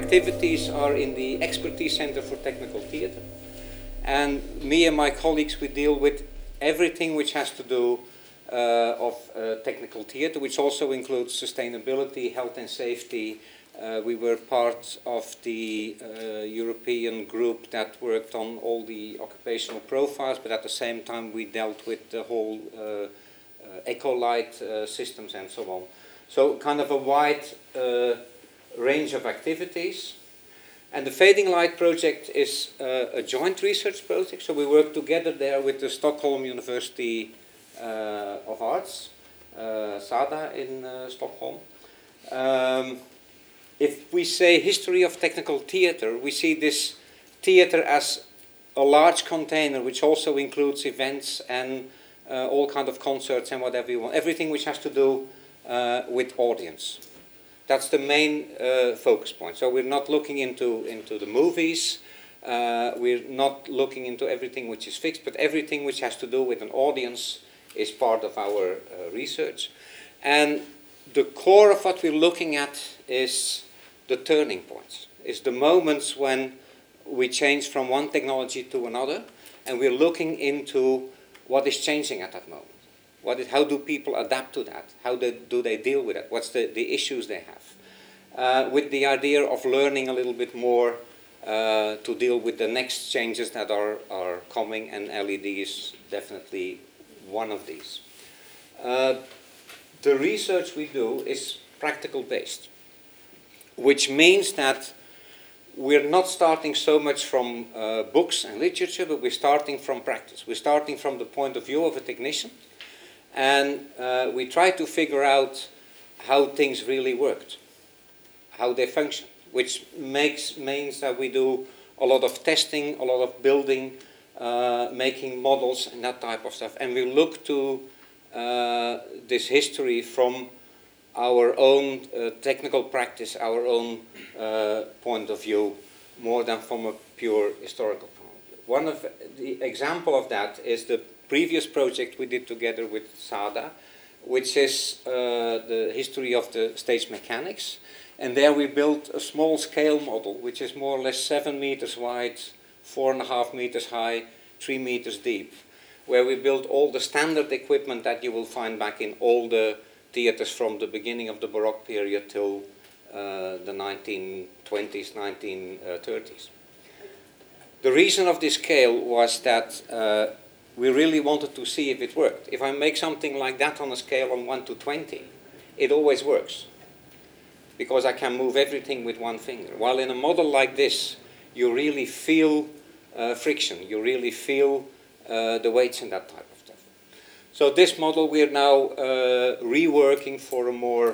activities are in the Expertise Center for Technical Theatre. And me and my colleagues, we deal with everything which has to do of technical theatre, which also includes sustainability, health and safety. We were part of the European group that worked on all the occupational profiles, but at the same time we dealt with the whole Ecolight systems and so on. So kind of a wide range of activities. And the Fading Light project is a joint research project, so we work together there with the Stockholm University of Arts, SADA in Stockholm. If we say history of technical theatre, we see this theatre as a large container which also includes events and all kind of concerts and whatever you want, everything which has to do with audience. That's the main focus point. So we're not looking into the movies, we're not looking into everything which is fixed, but everything which has to do with an audience is part of our research. And the core of what we're looking at is the turning points, is the moments when we change from one technology to another, and we're looking into what is changing at that moment. How do people adapt to that? How do they deal with it? What's the issues they have? With the idea of learning a little bit more to deal with the next changes that are coming, and LED is definitely one of these. The research we do is practical based, which means that we're not starting so much from books and literature, but we're starting from practice. We're starting from the point of view of a technician, and we try to figure out how things really worked, how they function, which means that we do a lot of testing, a lot of building, making models and that type of stuff. And we look to this history from our own technical practice, our own point of view, more than from a pure historical point of view. One of the example of that is the previous project we did together with SADA, which is the history of the stage mechanics. And there we built a small scale model, which is more or less 7 meters wide, 4.5 meters high, 3 meters deep, where we built all the standard equipment that you will find back in all the theaters from the beginning of the Baroque period till the 1920s, 1930s. The reason of this scale was that we really wanted to see if it worked. If I make something like that on a scale of 1 to 20, it always works, because I can move everything with one finger. While in a model like this, you really feel friction, you really feel the weights and that type of stuff. So this model we are now reworking for a more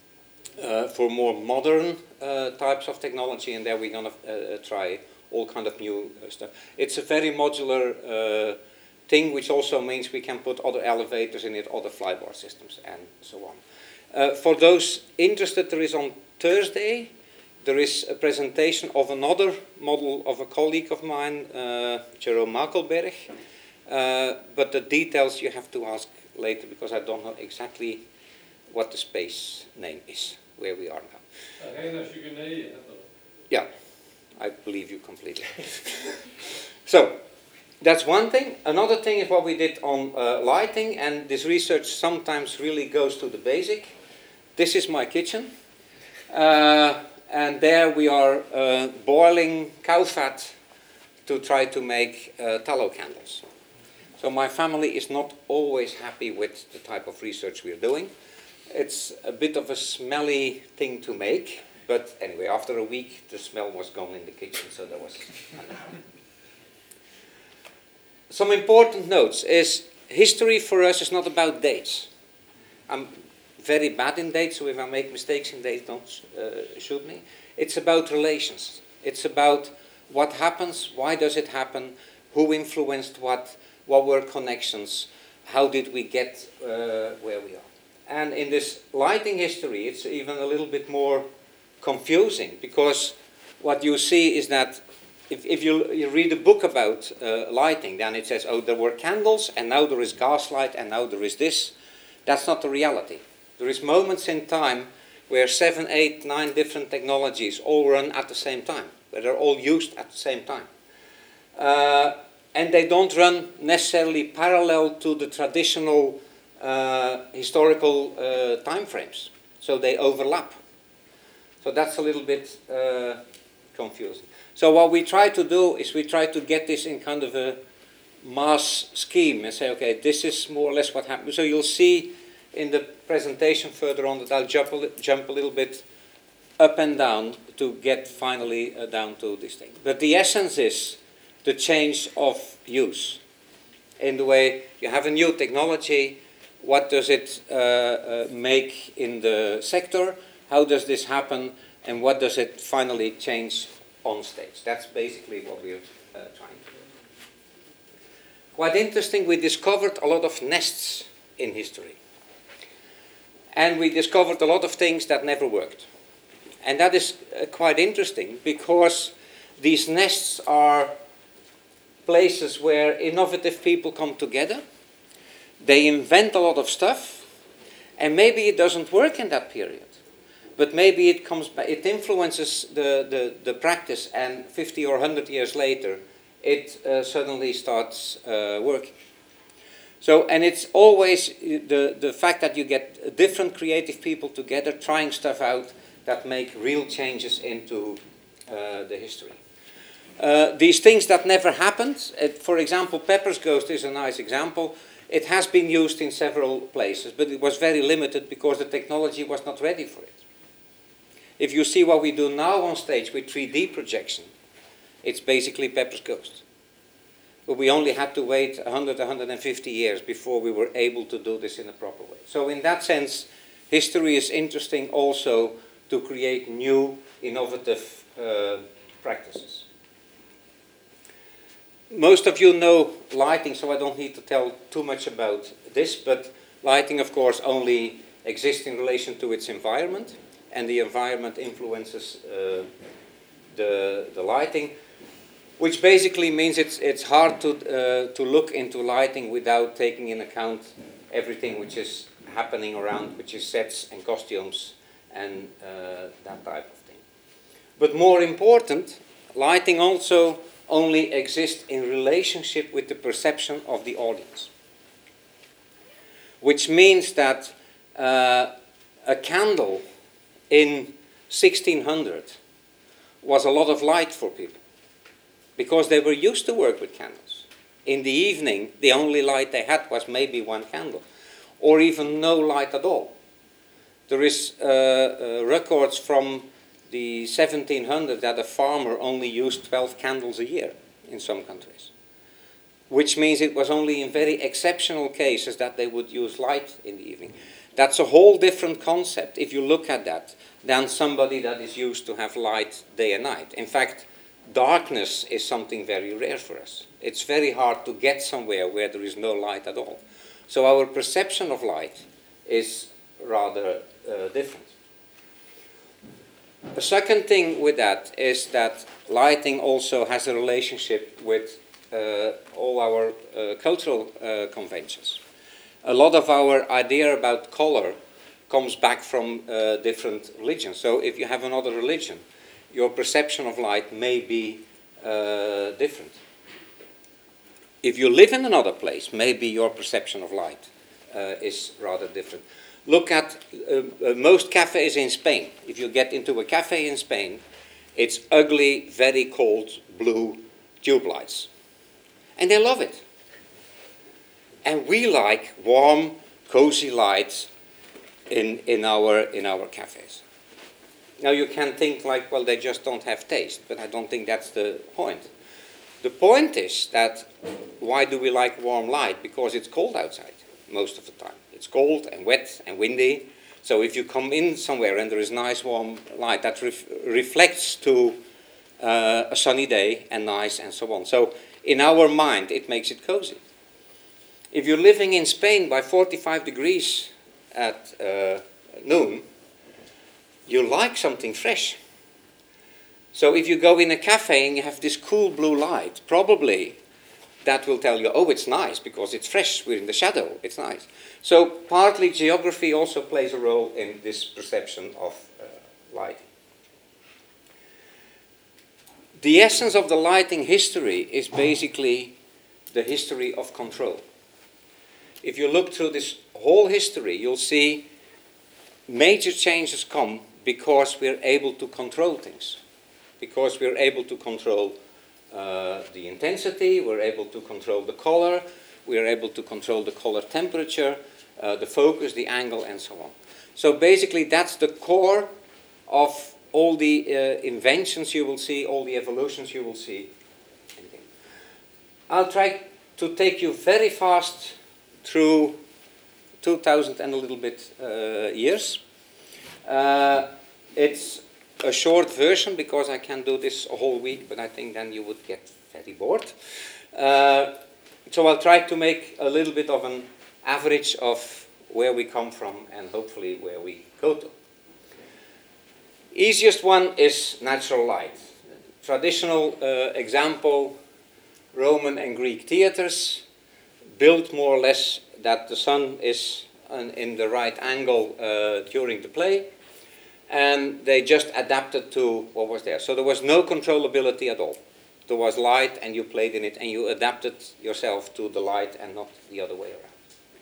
modern types of technology, and there we're going to try all kind of new stuff. It's a very modular thing, which also means we can put other elevators in it, other flybar systems, and so on. For those interested, there is on Thursday, there is a presentation of another model of a colleague of mine, Jerome Makelberg, but the details you have to ask later, because I don't know exactly what the space name is, where we are now. Yeah, I believe you completely. So, that's one thing. Another thing is what we did on lighting, and this research sometimes really goes to the basic. This is my kitchen, and there we are boiling cow fat to try to make tallow candles. So my family is not always happy with the type of research we're doing. It's a bit of a smelly thing to make, but anyway, after a week the smell was gone in the kitchen, so that was Some important notes is history for us is not about dates. I'm very bad in dates, so if I make mistakes in dates, don't shoot me. It's about relations. It's about what happens, why does it happen, who influenced what were connections, how did we get where we are. And in this lighting history, it's even a little bit more confusing, because what you see is that if you read a book about lighting, then it says, oh, there were candles, and now there is gaslight, and now there is this. That's not the reality. There is moments in time where 7, 8, 9 different technologies all run at the same time, where they're all used at the same time. And they don't run necessarily parallel to the traditional historical time frames. So they overlap. So that's a little bit confusing. So what we try to do is we try to get this in kind of a mass scheme and say, okay, this is more or less what happens. So you'll see in the presentation further on that I'll jump a little bit up and down to get finally down to this thing. But the essence is the change of use. In the way you have a new technology, what does it make in the sector? How does this happen? And what does it finally change on stage? That's basically what we're trying to do. Quite interesting, we discovered a lot of nests in history. And we discovered a lot of things that never worked. And that is quite interesting because these nests are places where innovative people come together. They invent a lot of stuff, and maybe it doesn't work in that period. But maybe it comes back, it influences the practice, and 50 or 100 years later, it suddenly starts working. So, and it's always the fact that you get different creative people together trying stuff out that make real changes into the history. These things that never happened, for example, Pepper's Ghost is a nice example. It has been used in several places, but it was very limited because the technology was not ready for it. If you see what we do now on stage with 3D projection, it's basically Pepper's Ghost. But we only had to wait 100, 150 years before we were able to do this in a proper way. So in that sense, history is interesting also to create new, innovative practices. Most of you know lighting, so I don't need to tell too much about this, but lighting, of course, only exists in relation to its environment, and the environment influences the lighting, which basically means it's hard to look into lighting without taking in account everything which is happening around, which is sets and costumes and that type of thing. But more important, lighting also only exists in relationship with the perception of the audience. Which means that a candle in 1600 was a lot of light for people, because they were used to work with candles. In the evening, the only light they had was maybe one candle, or even no light at all. There is records from the 1700s that a farmer only used 12 candles a year in some countries, which means it was only in very exceptional cases that they would use light in the evening. That's a whole different concept, if you look at that, than somebody that is used to have light day and night. In fact, darkness is something very rare for us. It's very hard to get somewhere where there is no light at all. So our perception of light is rather different. The second thing with that is that lighting also has a relationship with all our cultural conventions. A lot of our idea about color comes back from different religions. So if you have another religion, your perception of light may be different. If you live in another place, maybe your perception of light is rather different. Look at most cafes in Spain. If you get into a cafe in Spain, it's ugly, very cold blue tube lights. And they love it. And we like warm, cozy lights in our cafes. Now you can think like, well, they just don't have taste, but I don't think that's the point. The point is that why do we like warm light? Because it's cold outside most of the time. It's cold and wet and windy. So if you come in somewhere and there is nice warm light, that reflects to a sunny day and nice and so on. So in our mind, it makes it cozy. If you're living in Spain by 45 degrees at noon, you like something fresh. So if you go in a cafe and you have this cool blue light, probably that will tell you, oh, it's nice because it's fresh, we're in the shadow, it's nice. So partly geography also plays a role in this perception of lighting. The essence of the lighting history is basically the history of control. If you look through this whole history, you'll see major changes come because we're able to control things. Because we're able to control the intensity, we're able to control the color, we're able to control the color temperature, the focus, the angle, and so on. So basically that's the core of all the inventions you will see, all the evolutions you will see. I'll try to take you very fast through 2000 and a little bit years. It's a short version because I can do this a whole week, but I think then you would get very bored. So I'll try to make a little bit of an average of where we come from and hopefully where we go to. Easiest one is natural light. Traditional example, Roman and Greek theaters built more or less that the sun is in the right angle during the play, and they just adapted to what was there. So there was no controllability at all. There was light and you played in it and you adapted yourself to the light and not the other way around.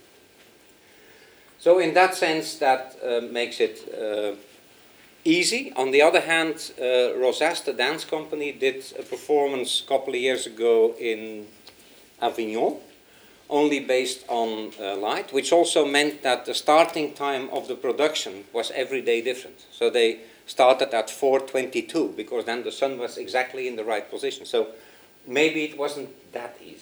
So in that sense that makes it easy. On the other hand, Rosas, the dance company, did a performance a couple of years ago in Avignon, only based on light, which also meant that the starting time of the production was every day different. So they started at 4:22 because then the sun was exactly in the right position. So maybe it wasn't that easy.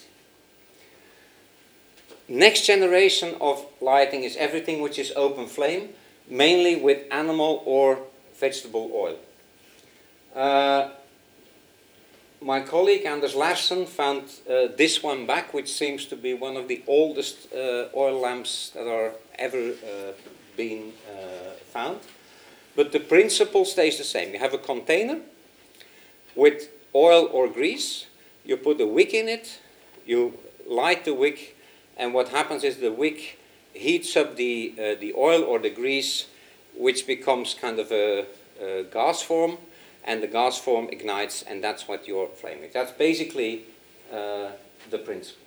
Next generation of lighting is everything which is open flame, mainly with animal or vegetable oil. My colleague Anders Larsson found this one back, which seems to be one of the oldest oil lamps that are ever been found. But the principle stays the same. You have a container with oil or grease. You put a wick in it. You light the wick. And what happens is the wick heats up the oil or the grease, which becomes kind of a gas form. And the gas form ignites, and that's what you're flaming. That's basically the principle.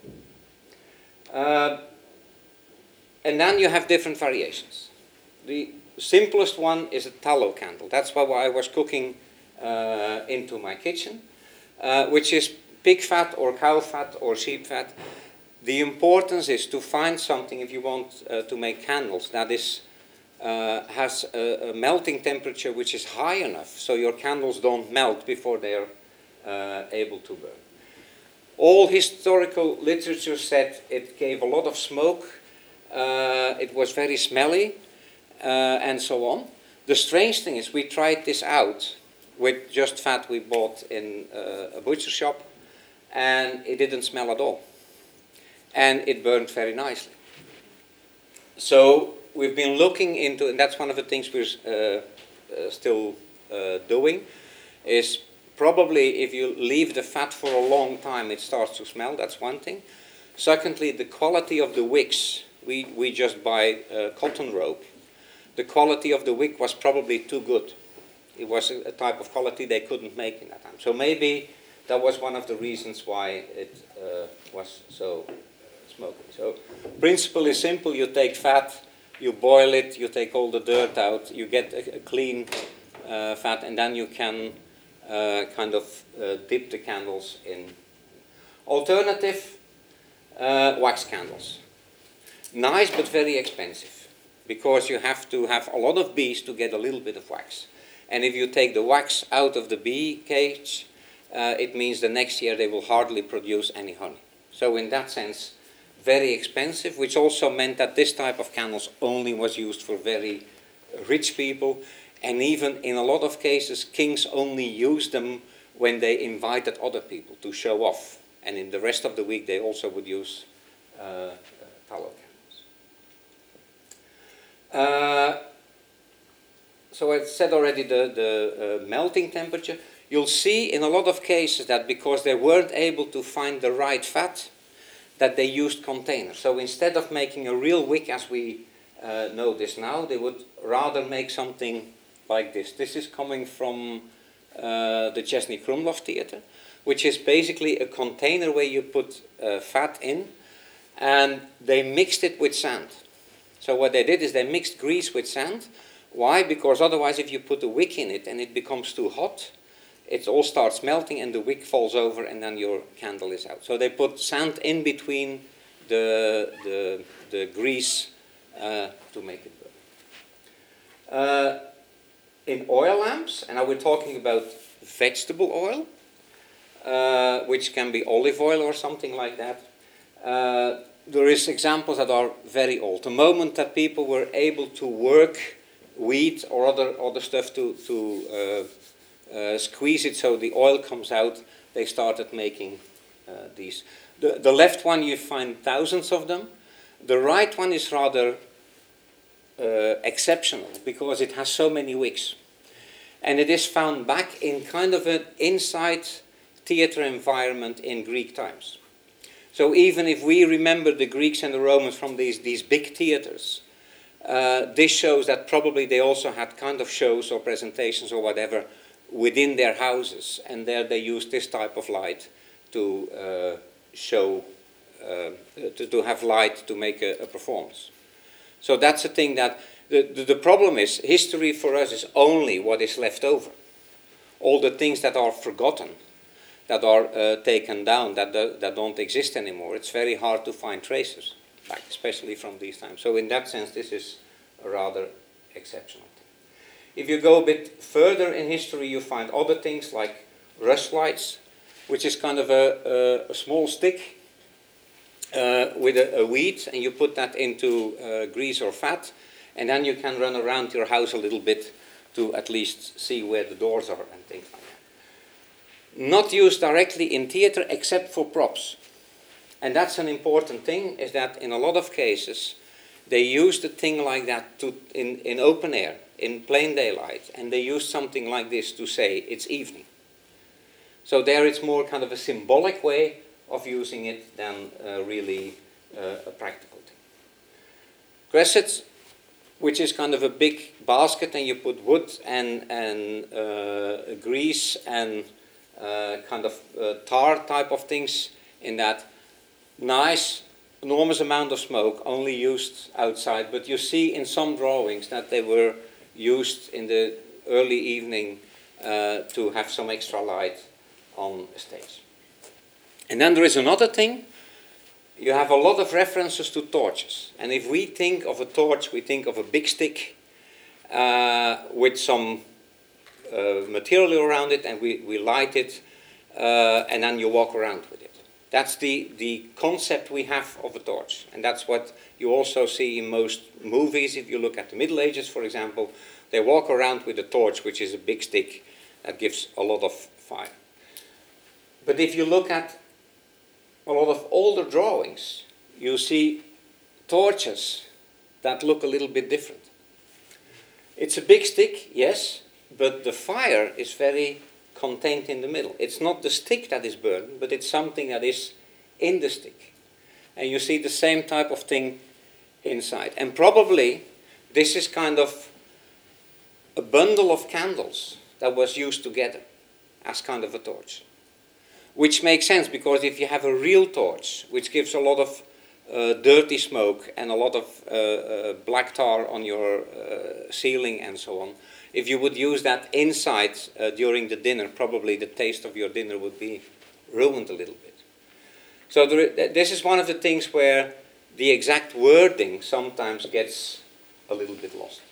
And then you have different variations. The simplest one is a tallow candle. That's what I was cooking into my kitchen, which is pig fat or cow fat or sheep fat. The importance is to find something, if you want to make candles, that is has a melting temperature which is high enough so your candles don't melt before they're able to burn. All historical literature said it gave a lot of smoke, it was very smelly, and so on. The strange thing is we tried this out with just fat we bought in a butcher shop, and it didn't smell at all. And it burned very nicely. So we've been looking into, and that's one of the things we're still doing, is probably if you leave the fat for a long time, it starts to smell. That's one thing. Secondly, the quality of the wicks. We just buy cotton rope. The quality of the wick was probably too good. It was a type of quality they couldn't make in that time. So maybe that was one of the reasons why it was so smoky. So principle is simple. You take fat, you boil it, you take all the dirt out, you get a clean fat, and then you can kind of dip the candles in. Alternative, wax candles. Nice but very expensive, because you have to have a lot of bees to get a little bit of wax. And if you take the wax out of the bee cage, it means the next year they will hardly produce any honey. So in that sense, very expensive, which also meant that this type of candles only was used for very rich people, and even in a lot of cases kings only used them when they invited other people to show off, and in the rest of the week they also would use tallow candles. So I said already the melting temperature. You'll see in a lot of cases that because they weren't able to find the right fat, that they used containers. So instead of making a real wick as we know this now, they would rather make something like this. This is coming from the Chesney Krumlov Theater, which is basically a container where you put fat in, and they mixed it with sand. So what they did is they mixed grease with sand. Why? Because otherwise if you put a wick in it and it becomes too hot, it all starts melting and the wick falls over and then your candle is out. So they put sand in between the grease to make it burn. In oil lamps, and now we're talking about vegetable oil, which can be olive oil or something like that. There is examples that are very old. The moment that people were able to work wheat or other stuff to squeeze it so the oil comes out, they started making these. The left one you find thousands of them. The right one is rather exceptional because it has so many wicks. And it is found back in kind of an inside theater environment in Greek times. So even if we remember the Greeks and the Romans from these big theaters, this shows that probably they also had kind of shows or presentations or whatever within their houses, and there they used this type of light to show, to have light to make a performance. So that's the thing that, the problem is, history for us is only what is left over. All the things that are forgotten, that are taken down, that don't exist anymore, it's very hard to find traces back, especially from these times. So in that sense, this is a rather exceptional thing. If you go a bit further in history, you find other things like rushlights, which is kind of a small stick with a weed, and you put that into grease or fat, and then you can run around your house a little bit to at least see where the doors are and things like that. Not used directly in theater except for props. And that's an important thing, is that in a lot of cases they used a thing like that in open air, in plain daylight, and they used something like this to say it's evening. So there it's more kind of a symbolic way of using it than really a practical thing. Cressets, which is kind of a big basket, and you put wood and grease and kind of tar type of things in that. Nice, enormous amount of smoke, only used outside, but you see in some drawings that they were used in the early evening to have some extra light on stage. And then there is another thing. You have a lot of references to torches. And if we think of a torch, we think of a big stick with some material around it, and we light it, and then you walk around with it. That's the concept we have of a torch. And that's what you also see in most movies. If you look at the Middle Ages, for example, they walk around with a torch, which is a big stick that gives a lot of fire. But if you look at a lot of older drawings, you see torches that look a little bit different. It's a big stick, yes, but the fire is very contained in the middle. It's not the stick that is burning, but it's something that is in the stick. And you see the same type of thing inside. And probably this is kind of a bundle of candles that was used together as kind of a torch. Which makes sense, because if you have a real torch, which gives a lot of dirty smoke and a lot of black tar on your ceiling and so on, if you would use that inside during the dinner, probably the taste of your dinner would be ruined a little bit. So this is one of the things where the exact wording sometimes gets a little bit lost.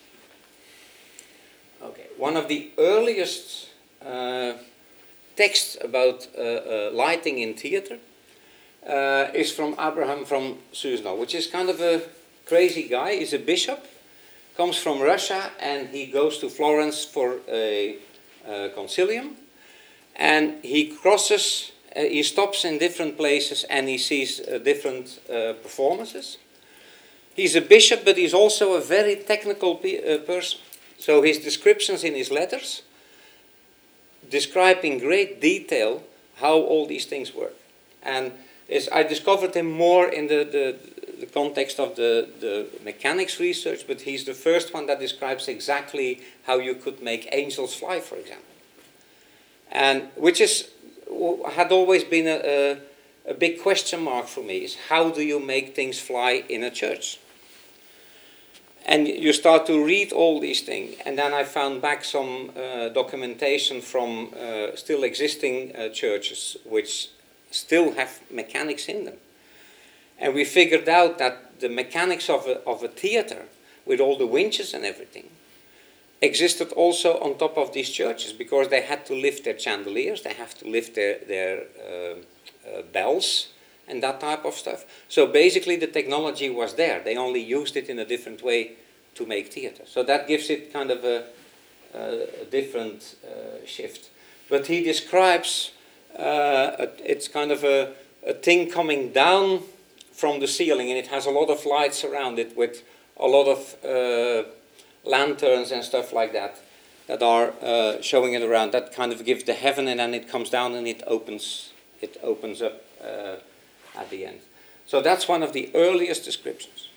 Okay, one of the earliest texts about lighting in theater is from Abraham from Suzdal, which is kind of a crazy guy. He's a bishop, comes from Russia, and he goes to Florence for a concilium, and he crosses, he stops in different places, and he sees different performances. He's a bishop, but he's also a very technical person. So his descriptions in his letters describe in great detail how all these things work. And is I discovered him more in the context of the mechanics research, but he's the first one that describes exactly how you could make angels fly, for example. And which had always been a big question mark for me, is how do you make things fly in a church? And you start to read all these things, and then I found back some documentation from still existing churches which still have mechanics in them. And we figured out that the mechanics of a theater, with all the winches and everything, existed also on top of these churches, because they had to lift their chandeliers, they have to lift their bells, and that type of stuff. So basically the technology was there. They only used it in a different way to make theater. So that gives it kind of a different shift. But he describes it's kind of a thing coming down from the ceiling, and it has a lot of lights around it with a lot of lanterns and stuff like that that are showing it around. That kind of gives the heaven, and then it comes down and it opens up at the end. So that's one of the earliest descriptions.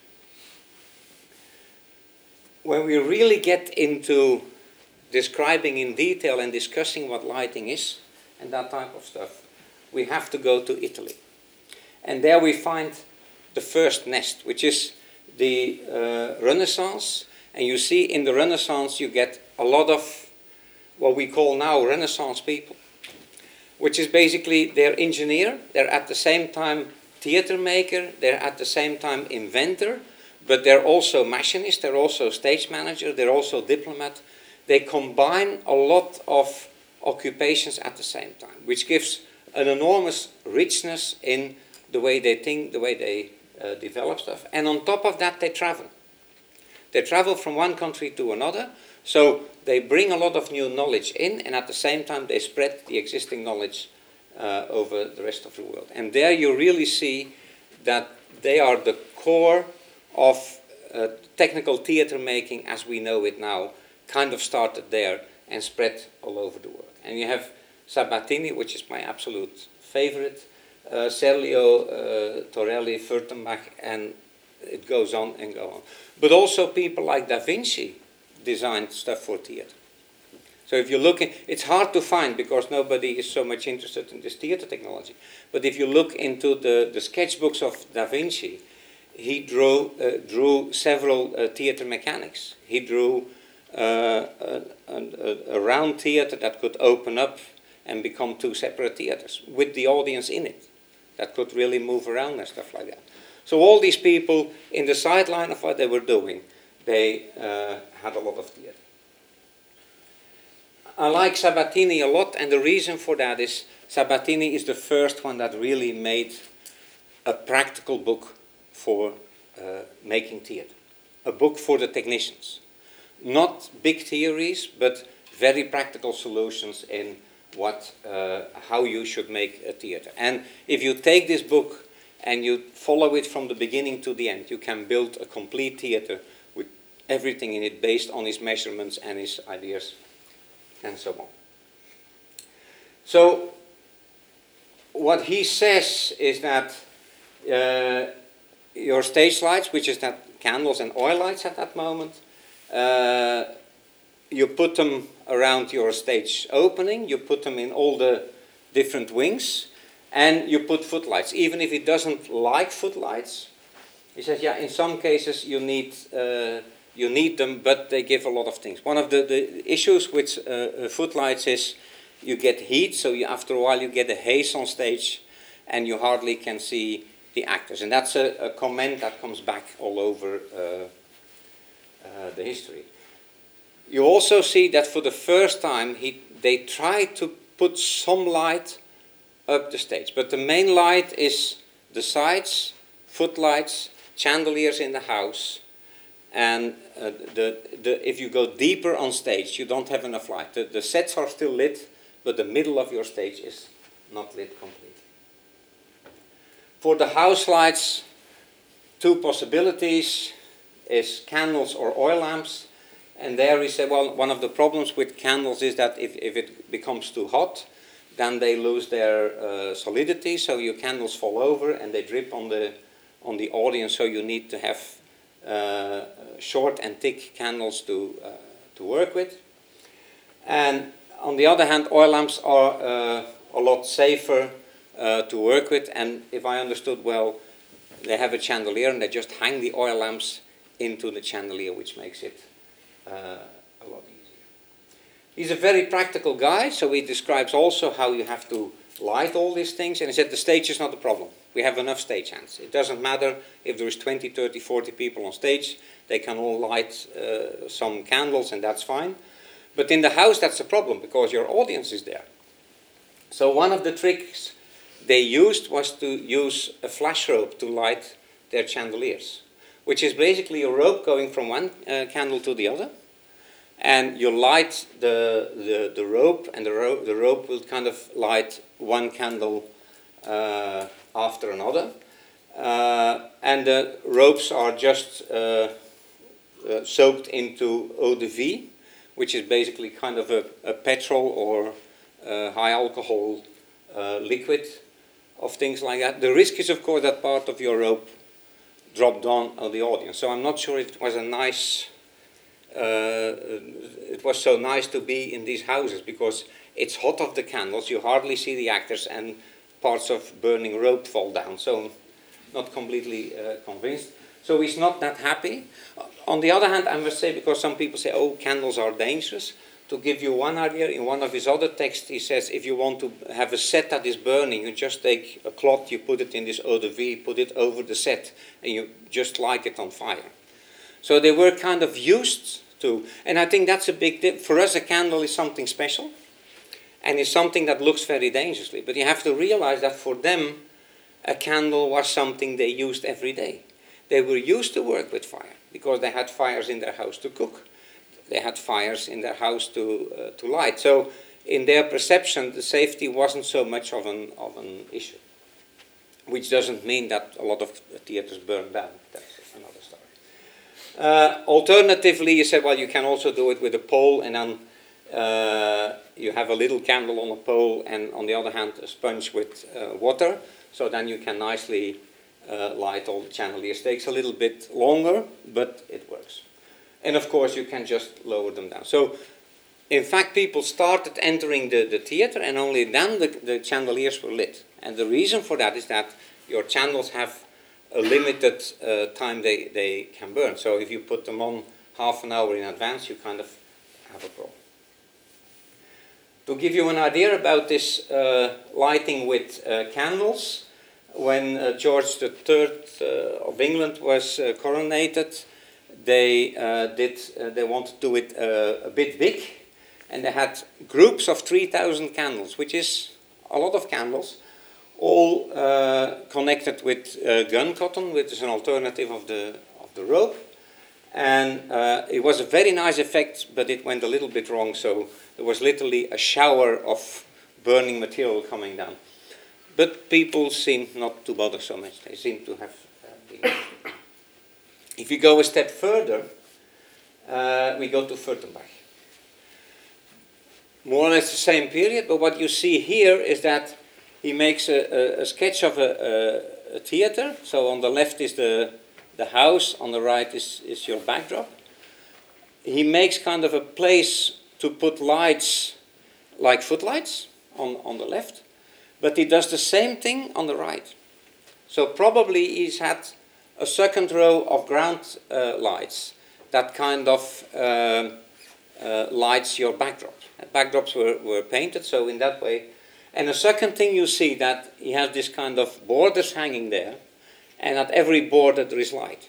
When we really get into describing in detail and discussing what lighting is and that type of stuff, we have to go to Italy. And there we find the first nest, which is the Renaissance. And you see in the Renaissance you get a lot of what we call now Renaissance people, which is basically they're engineer, they're at the same time theater maker, they're at the same time inventor, but they're also machinist, they're also stage manager, they're also diplomat. They combine a lot of occupations at the same time, which gives an enormous richness in the way they think, the way they develop stuff. And on top of that, they travel. They travel from one country to another, so they bring a lot of new knowledge in, and at the same time they spread the existing knowledge over the rest of the world. And there you really see that they are the core of technical theater making as we know it now, kind of started there and spread all over the world. And you have Sabatini, which is my absolute favorite, Serlio, Torelli, Furtenbach, and it goes on and go on. But also people like Da Vinci designed stuff for theater. So if you look it's hard to find because nobody is so much interested in this theater technology. But if you look into the sketchbooks of Da Vinci, he drew several theater mechanics. He drew a round theater that could open up and become two separate theaters with the audience in it, that could really move around and stuff like that. So all these people in the sideline of what they were doing, they had a lot of theater. I like Sabatini a lot, and the reason for that is Sabatini is the first one that really made a practical book for making theater. A book for the technicians. Not big theories, but very practical solutions in how you should make a theater. And if you take this book and you follow it from the beginning to the end, you can build a complete theater with everything in it based on his measurements and his ideas and so on. So what he says is that your stage lights, which is that candles and oil lights at that moment, you put them around your stage opening, you put them in all the different wings, and you put footlights. Even if he doesn't like footlights, he says, yeah, in some cases you need them, but they give a lot of things. One of the issues with footlights is you get heat, so after a while you get a haze on stage, and you hardly can see the actors. And that's a comment that comes back all over the history. You also see that for the first time they try to put some light up the stage, but the main light is the sides, footlights, chandeliers in the house, and if you go deeper on stage, you don't have enough light. The sets are still lit, but the middle of your stage is not lit completely. For the house lights, two possibilities is candles or oil lamps. And there we say, well, one of the problems with candles is that if it becomes too hot, then they lose their solidity, so your candles fall over and they drip on the audience. So you need to have short and thick candles to work with. And on the other hand, oil lamps are a lot safer to work with. And if I understood well, they have a chandelier and they just hang the oil lamps into the chandelier, which makes it a lot easier. He's a very practical guy, so he describes also how you have to light all these things. And he said the stage is not a problem. We have enough stagehands. It doesn't matter if there is 20, 30, 40 people on stage. They can all light some candles and that's fine. But in the house, that's a problem because your audience is there. So one of the tricks they used was to use a flash rope to light their chandeliers, which is basically a rope going from one candle to the other. And you light the rope, and the rope will kind of light one candle after another. And the ropes are just soaked into eau de vie, which is basically kind of a petrol or high alcohol liquid of things like that. The risk is, of course, that part of your rope dropped on the audience. So I'm not sure it was a nice, it was so nice to be in these houses because it's hot off the candles, you hardly see the actors, and parts of burning rope fall down. So not completely convinced. So he's not that happy. On the other hand, I must say, because some people say, oh, candles are dangerous, to give you one idea, in one of his other texts, he says, if you want to have a set that is burning, you just take a cloth, you put it in this eau de vie, put it over the set, and you just light it on fire. So they were kind of used to, and I think that's a big difference. For us, a candle is something special, and it's something that looks very dangerously. But you have to realize that for them, a candle was something they used every day. They were used to work with fire, because they had fires in their house to cook. They had fires in their house to light. So in their perception, the safety wasn't so much of an issue. Which doesn't mean that a lot of theaters burned down. That's another story. Alternatively, you said, well, you can also do it with a pole, and then you have a little candle on a pole, and on the other hand, a sponge with water. So then you can nicely light all the chandeliers. It takes a little bit longer, but it works. And of course, you can just lower them down. So, in fact, people started entering the theater, and only then the chandeliers were lit. And the reason for that is that your candles have a limited time they can burn. So if you put them on half an hour in advance, you kind of have a problem. To give you an idea about this lighting with candles, when George III of England was coronated, they wanted to do it a bit big, and they had groups of 3,000 candles, which is a lot of candles, all connected with gun cotton, which is an alternative of the rope. And it was a very nice effect, but it went a little bit wrong, so there was literally a shower of burning material coming down. But people seemed not to bother so much. They seemed to have been. If you go a step further, we go to Furtenbach. More or less the same period, but what you see here is that he makes a sketch of a theater. So on the left is the house, on the right is your backdrop. He makes kind of a place to put lights like footlights on the left, but he does the same thing on the right. So probably he's had a second row of ground lights that kind of lights your backdrop. Backdrops were painted, so in that way. And the second thing you see that he has this kind of borders hanging there, and at every border there is light.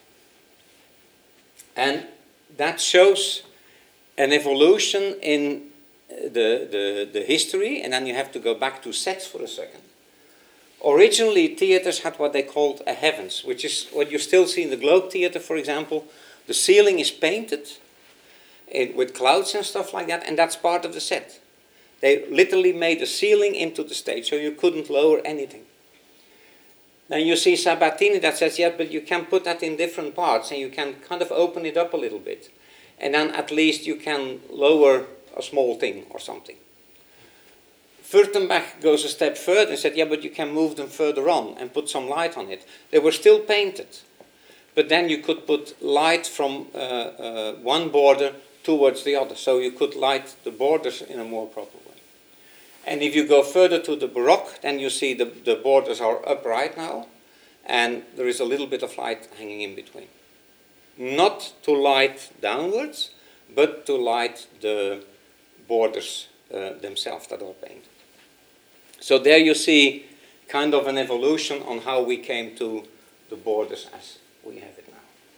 And that shows an evolution in the history, and then you have to go back to sets for a second. Originally, theaters had what they called a heavens, which is what you still see in the Globe Theatre, for example. The ceiling is painted with clouds and stuff like that, and that's part of the set. They literally made a ceiling into the stage, so you couldn't lower anything. Then you see Sabatini that says, yeah, but you can put that in different parts, and you can kind of open it up a little bit. And then at least you can lower a small thing or something. Württemberg goes a step further and said, yeah, but you can move them further on and put some light on it. They were still painted, but then you could put light from one border towards the other, so you could light the borders in a more proper way. And if you go further to the Baroque, then you see the borders are upright now, and there is a little bit of light hanging in between. Not to light downwards, but to light the borders themselves that are painted. So there you see kind of an evolution on how we came to the borders as we have it now.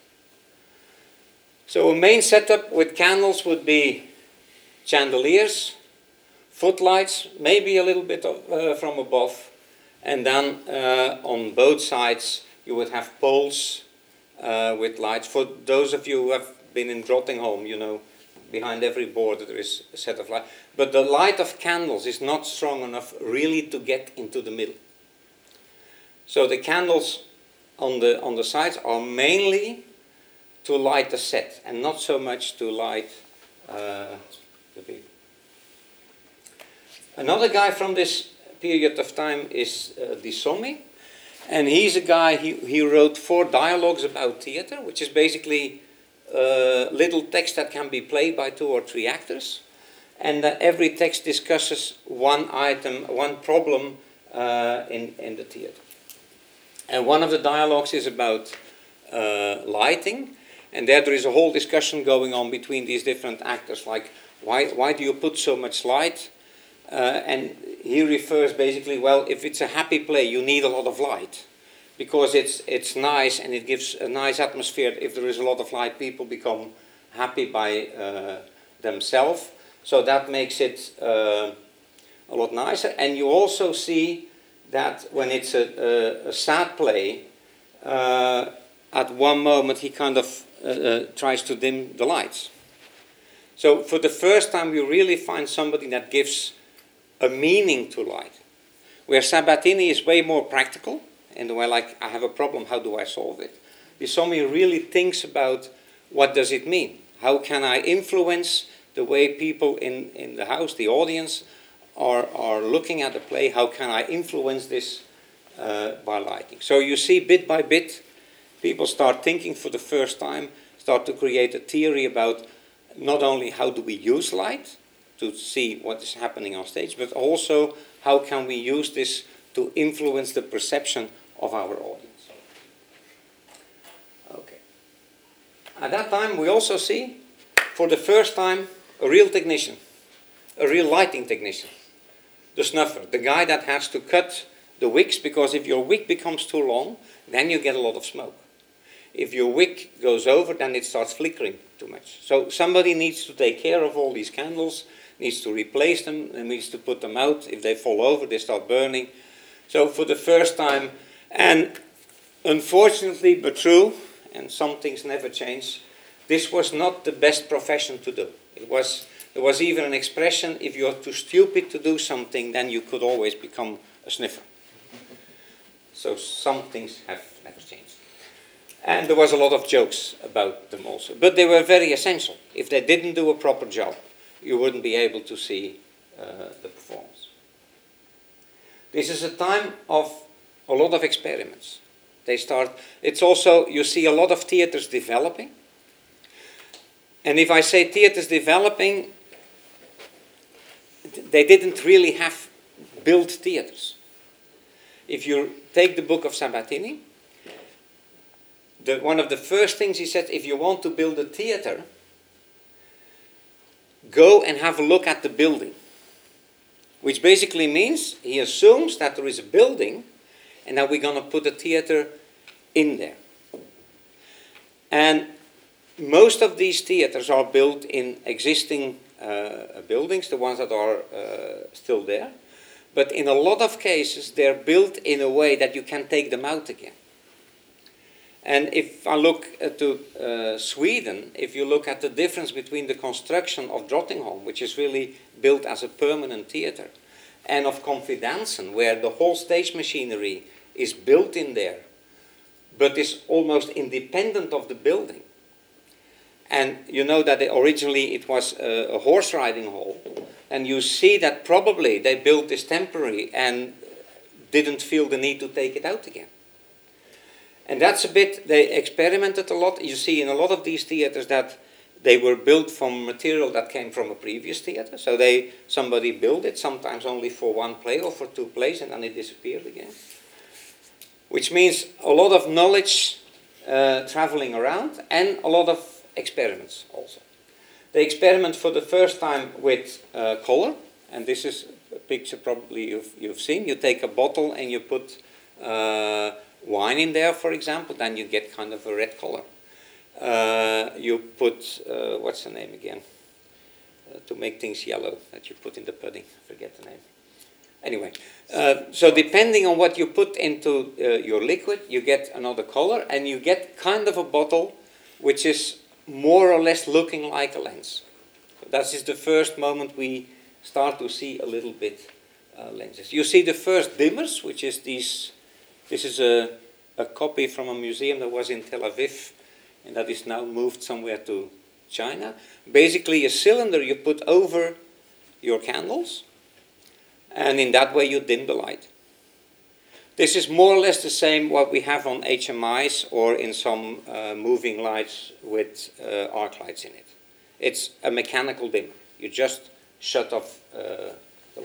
So a main setup with candles would be chandeliers, footlights, maybe a little bit of, from above, and then on both sides you would have poles with lights. For those of you who have been in Drottningholm, you know, behind every border there is a set of light. But the light of candles is not strong enough really to get into the middle. So the candles on the sides are mainly to light the set and not so much to light the people. Another guy from this period of time is Di Sommi, and he's a guy, he wrote 4 dialogues about theater, which is basically little text that can be played by 2 or 3 actors, and every text discusses one item, one problem in the theater. And one of the dialogues is about lighting, and there is a whole discussion going on between these different actors, like why do you put so much light? And he refers basically, well, if it's a happy play, you need a lot of light, because it's nice and it gives a nice atmosphere. If there is a lot of light, people become happy by themselves. So that makes it a lot nicer. And you also see that when it's a sad play, at one moment he kind of tries to dim the lights. So for the first time you really find somebody that gives a meaning to light. Where Sabatini is way more practical, in the way like, I have a problem, how do I solve it? Di Sommi really thinks about what does it mean? How can I influence the way people in the house, the audience, are looking at the play? How can I influence this by lighting? So you see bit by bit, people start thinking for the first time, start to create a theory about not only how do we use light to see what is happening on stage, but also how can we use this to influence the perception of our audience. Okay. At that time we also see, for the first time, a real technician, a real lighting technician, the snuffer, the guy that has to cut the wicks, because if your wick becomes too long, then you get a lot of smoke. If your wick goes over, then it starts flickering too much. So somebody needs to take care of all these candles, needs to replace them, and needs to put them out. If they fall over, they start burning. So for the first time, and unfortunately but true, and some things never change, this was not the best profession to do. There was even an expression, if you're too stupid to do something, then you could always become a sniffer. So some things have never changed. And there was a lot of jokes about them also. But they were very essential. If they didn't do a proper job, you wouldn't be able to see the performance. This is a time of a lot of experiments. It's also, you see a lot of theaters developing. And if I say theaters developing, they didn't really have built theaters. If you take the book of Sabatini, one of the first things he said, if you want to build a theater, go and have a look at the building. Which basically means he assumes that there is a building and that we're going to put a theater in there. And most of these theaters are built in existing buildings, the ones that are still there. But in a lot of cases, they're built in a way that you can take them out again. And if I look to Sweden, if you look at the difference between the construction of Drottningholm, which is really built as a permanent theater, and of Confidensen, where the whole stage machinery is built in there, but is almost independent of the building, and you know that originally it was a horse riding hall, and you see that probably they built this temporary and didn't feel the need to take it out again. And that's a bit, they experimented a lot. You see in a lot of these theaters that they were built from material that came from a previous theater. So somebody built it, sometimes only for one play or for two plays, and then it disappeared again. Which means a lot of knowledge traveling around and a lot of experiments also. They experiment for the first time with color, and this is a picture probably you've seen. You take a bottle and you put wine in there, for example, then you get kind of a red color. You put, what's the name again? To make things yellow that you put in the pudding. I forget the name. Anyway, so depending on what you put into your liquid, you get another color, and you get kind of a bottle which is more or less looking like a lens. So that is the first moment we start to see a little bit lenses. You see the first dimmers, which is these. This is a copy from a museum that was in Tel Aviv, and that is now moved somewhere to China. Basically a cylinder you put over your candles, and in that way you dim the light. This is more or less the same what we have on HMIs or in some moving lights with arc lights in it. It's a mechanical dimmer. You just shut off the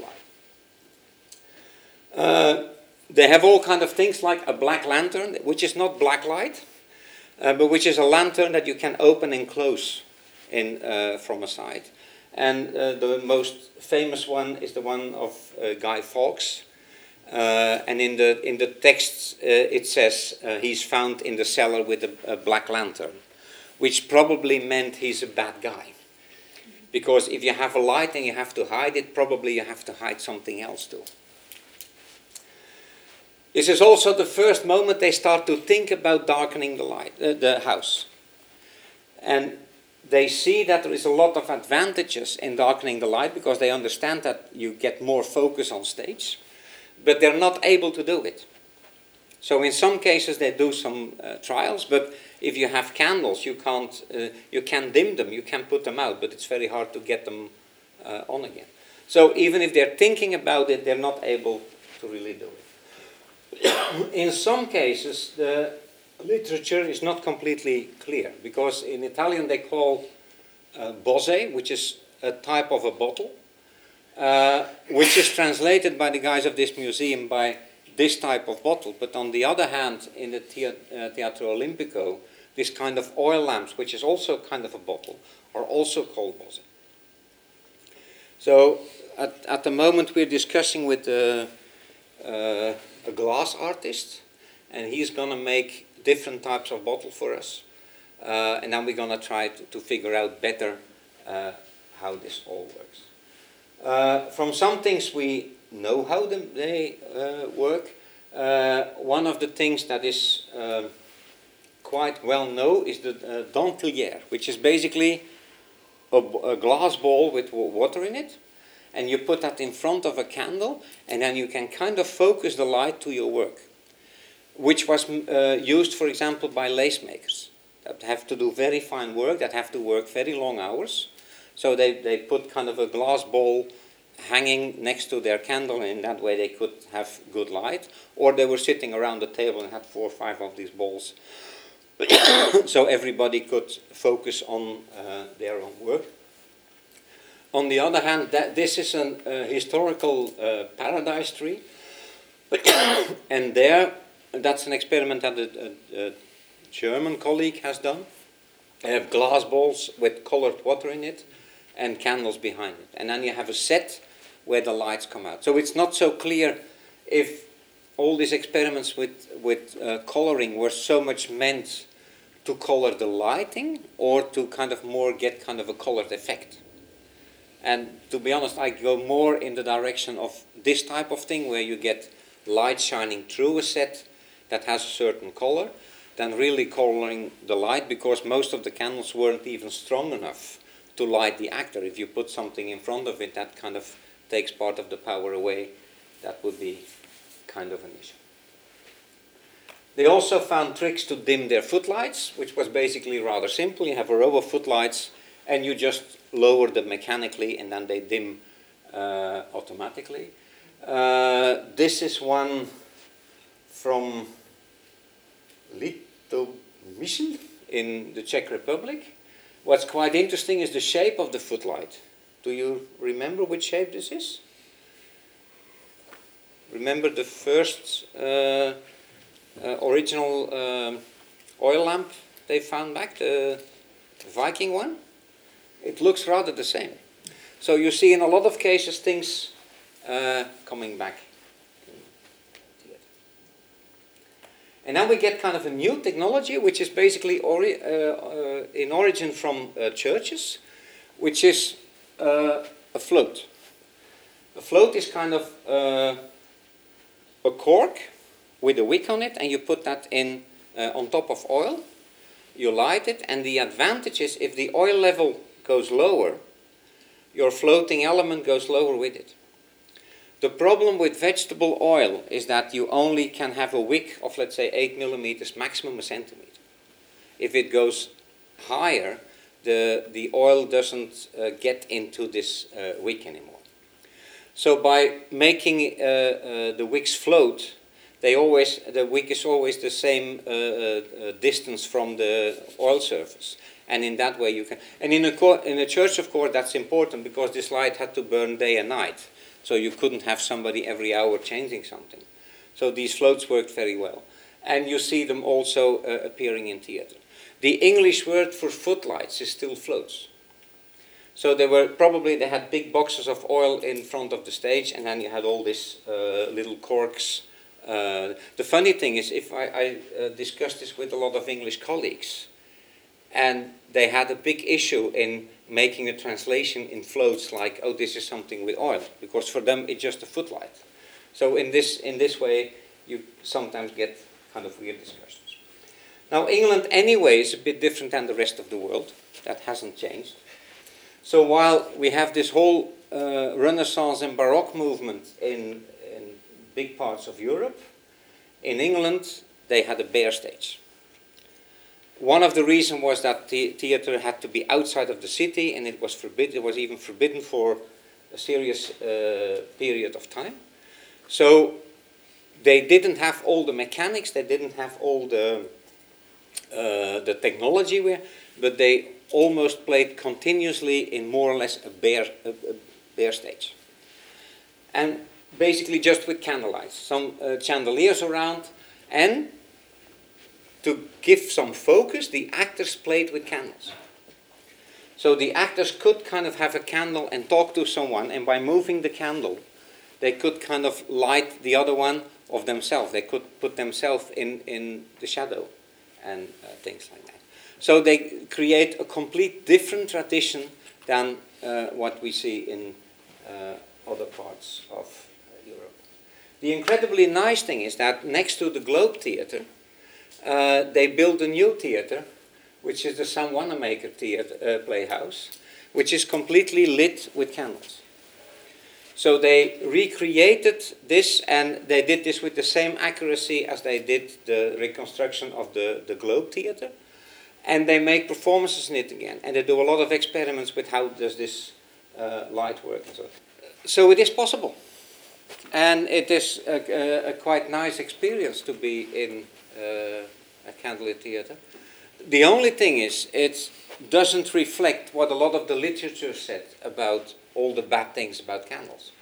light. They have all kind of things like a black lantern, which is not black light, but which is a lantern that you can open and close from a side. And the most famous one is the one of Guy Fawkes. And in the text it says he's found in the cellar with a black lantern, which probably meant he's a bad guy. Because if you have a light and you have to hide it, probably you have to hide something else too. This is also the first moment they start to think about darkening the house. And they see that there is a lot of advantages in darkening the light because they understand that you get more focus on stage, but they're not able to do it. So in some cases they do some trials, but if you have candles, you can dim them, you can put them out, but it's very hard to get them on again. So even if they're thinking about it, they're not able to really do it. In some cases, the literature is not completely clear, because in Italian they call bose, which is a type of a bottle, which is translated by the guys of this museum by this type of bottle. But on the other hand, in the Teatro Olimpico, this kind of oil lamps, which is also kind of a bottle, are also called bose. So at the moment we're discussing with a glass artist, and he's going to make different types of bottle for us, and then we're going to try to figure out better how this all works. From some things we know how they work. One of the things that is quite well known is the dentellière, which is basically a glass ball with water in it. And you put that in front of a candle, and then you can kind of focus the light to your work, which was used, for example, by lace makers that have to do very fine work, that have to work very long hours. So they put kind of a glass ball hanging next to their candle, and in that way they could have good light. Or they were sitting around the table and had 4 or 5 of these balls, so everybody could focus on their own work. On the other hand, this is an historical paradise tree, and that's an experiment that a German colleague has done. They have glass balls with colored water in it and candles behind it. And then you have a set where the lights come out. So it's not so clear if all these experiments with coloring were so much meant to color the lighting or to kind of more get kind of a colored effect. And to be honest, I go more in the direction of this type of thing where you get light shining through a set that has a certain color than really coloring the light, because most of the candles weren't even strong enough to light the actor. If you put something in front of it that kind of takes part of the power away, that would be kind of an issue. They also found tricks to dim their footlights, which was basically rather simple. You have a row of footlights, and you just lower them mechanically, and then they dim automatically. This is one from Litomyšl in the Czech Republic. What's quite interesting is the shape of the footlight. Do you remember which shape this is? Remember the first original oil lamp they found back, the Viking one? It looks rather the same. So you see in a lot of cases things coming back. And now we get kind of a new technology, which is basically in origin from churches, which is a float. A float is kind of a cork with a wick on it, and you put that in on top of oil. You light it, and the advantage is if the oil level goes lower, your floating element goes lower with it. The problem with vegetable oil is that you only can have a wick of, let's say, 8 millimeters, maximum a centimeter. If it goes higher, the oil doesn't get into this wick anymore. So by making the wicks float, the wick is always the same distance from the oil surface. And in that way you can... And in a church, of course, that's important because this light had to burn day and night. So you couldn't have somebody every hour changing something. So these floats worked very well. And you see them also appearing in theater. The English word for footlights is still floats. So they had big boxes of oil in front of the stage, and then you had all these little corks. The funny thing is, if I discussed this with a lot of English colleagues, and they had a big issue in making a translation in floats like, oh, this is something with oil, because for them it's just a footlight. So in this way, you sometimes get kind of weird discussions. Now England anyway is a bit different than the rest of the world. That hasn't changed. So while we have this whole Renaissance and Baroque movement in big parts of Europe, in England they had a bare stage. One of the reasons was that the theatre had to be outside of the city, and it was forbidden. It was even forbidden for a serious period of time. So they didn't have all the mechanics. They didn't have all the technology, but they almost played continuously in more or less a bare stage, and basically just with candlelight, some chandeliers around, and to give some focus, the actors played with candles. So the actors could kind of have a candle and talk to someone, and by moving the candle, they could kind of light the other one of themselves. They could put themselves in the shadow and things like that. So they create a complete different tradition than what we see in other parts of Europe. The incredibly nice thing is that next to the Globe Theatre, they built a new theatre, which is the Sam Wanamaker Playhouse, which is completely lit with candles. So they recreated this, and they did this with the same accuracy as they did the reconstruction of the Globe Theatre. And they make performances in it again. And they do a lot of experiments with how does this light work and so on. So it is possible. And it is a quite nice experience to be in a candlelit theatre. The only thing is, it doesn't reflect what a lot of the literature said about all the bad things about candles.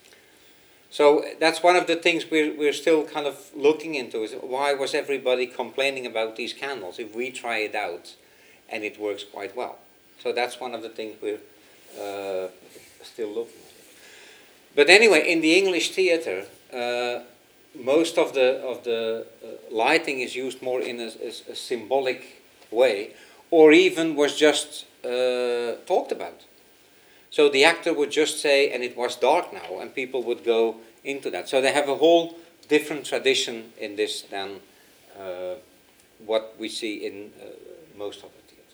So that's one of the things we're still kind of looking into, is why was everybody complaining about these candles if we try it out and it works quite well. So that's one of the things we're still looking at. But anyway, in the English theatre, most of the lighting is used more in a symbolic way, or even was just talked about. So the actor would just say, and it was dark now, and people would go into that. So they have a whole different tradition in this than what we see in most of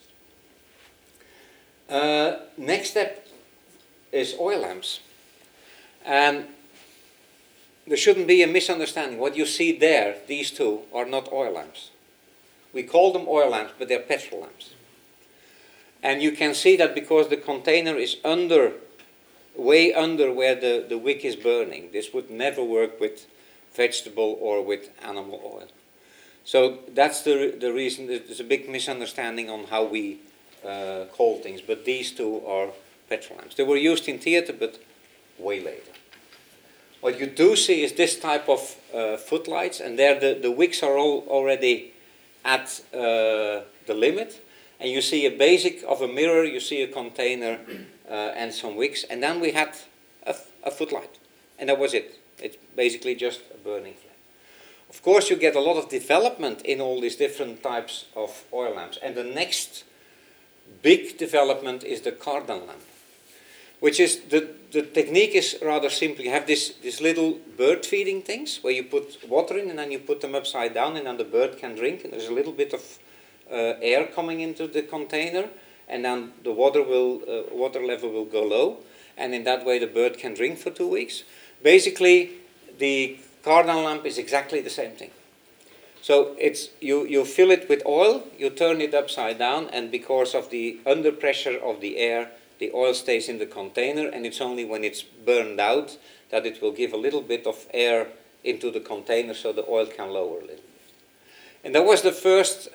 the theatres. Next step is oil lamps. And there shouldn't be a misunderstanding. What you see there, these two, are not oil lamps. We call them oil lamps, but they're petrol lamps. And you can see that because the container is under, way under where the wick is burning. This would never work with vegetable or with animal oil. So that's the reason. There's a big misunderstanding on how we call things, but these two are petrol lamps. They were used in theater, but way later. What you do see is this type of footlights, and there the wicks are all already at the limit. And you see a basic of a mirror, you see a container and some wicks, and then we had a footlight. And that was it. It's basically just a burning flame. Of course, you get a lot of development in all these different types of oil lamps. And the next big development is the cardan lamp, which is, the technique is rather simple. You have this little bird feeding things where you put water in and then you put them upside down and then the bird can drink. And there's a little bit of air coming into the container, and then the water level will go low, and in that way the bird can drink for 2 weeks. Basically, the cardan lamp is exactly the same thing. So it's you fill it with oil, you turn it upside down, and because of the under pressure of the air, the oil stays in the container, and it's only when it's burned out that it will give a little bit of air into the container so the oil can lower a little bit. And that was the first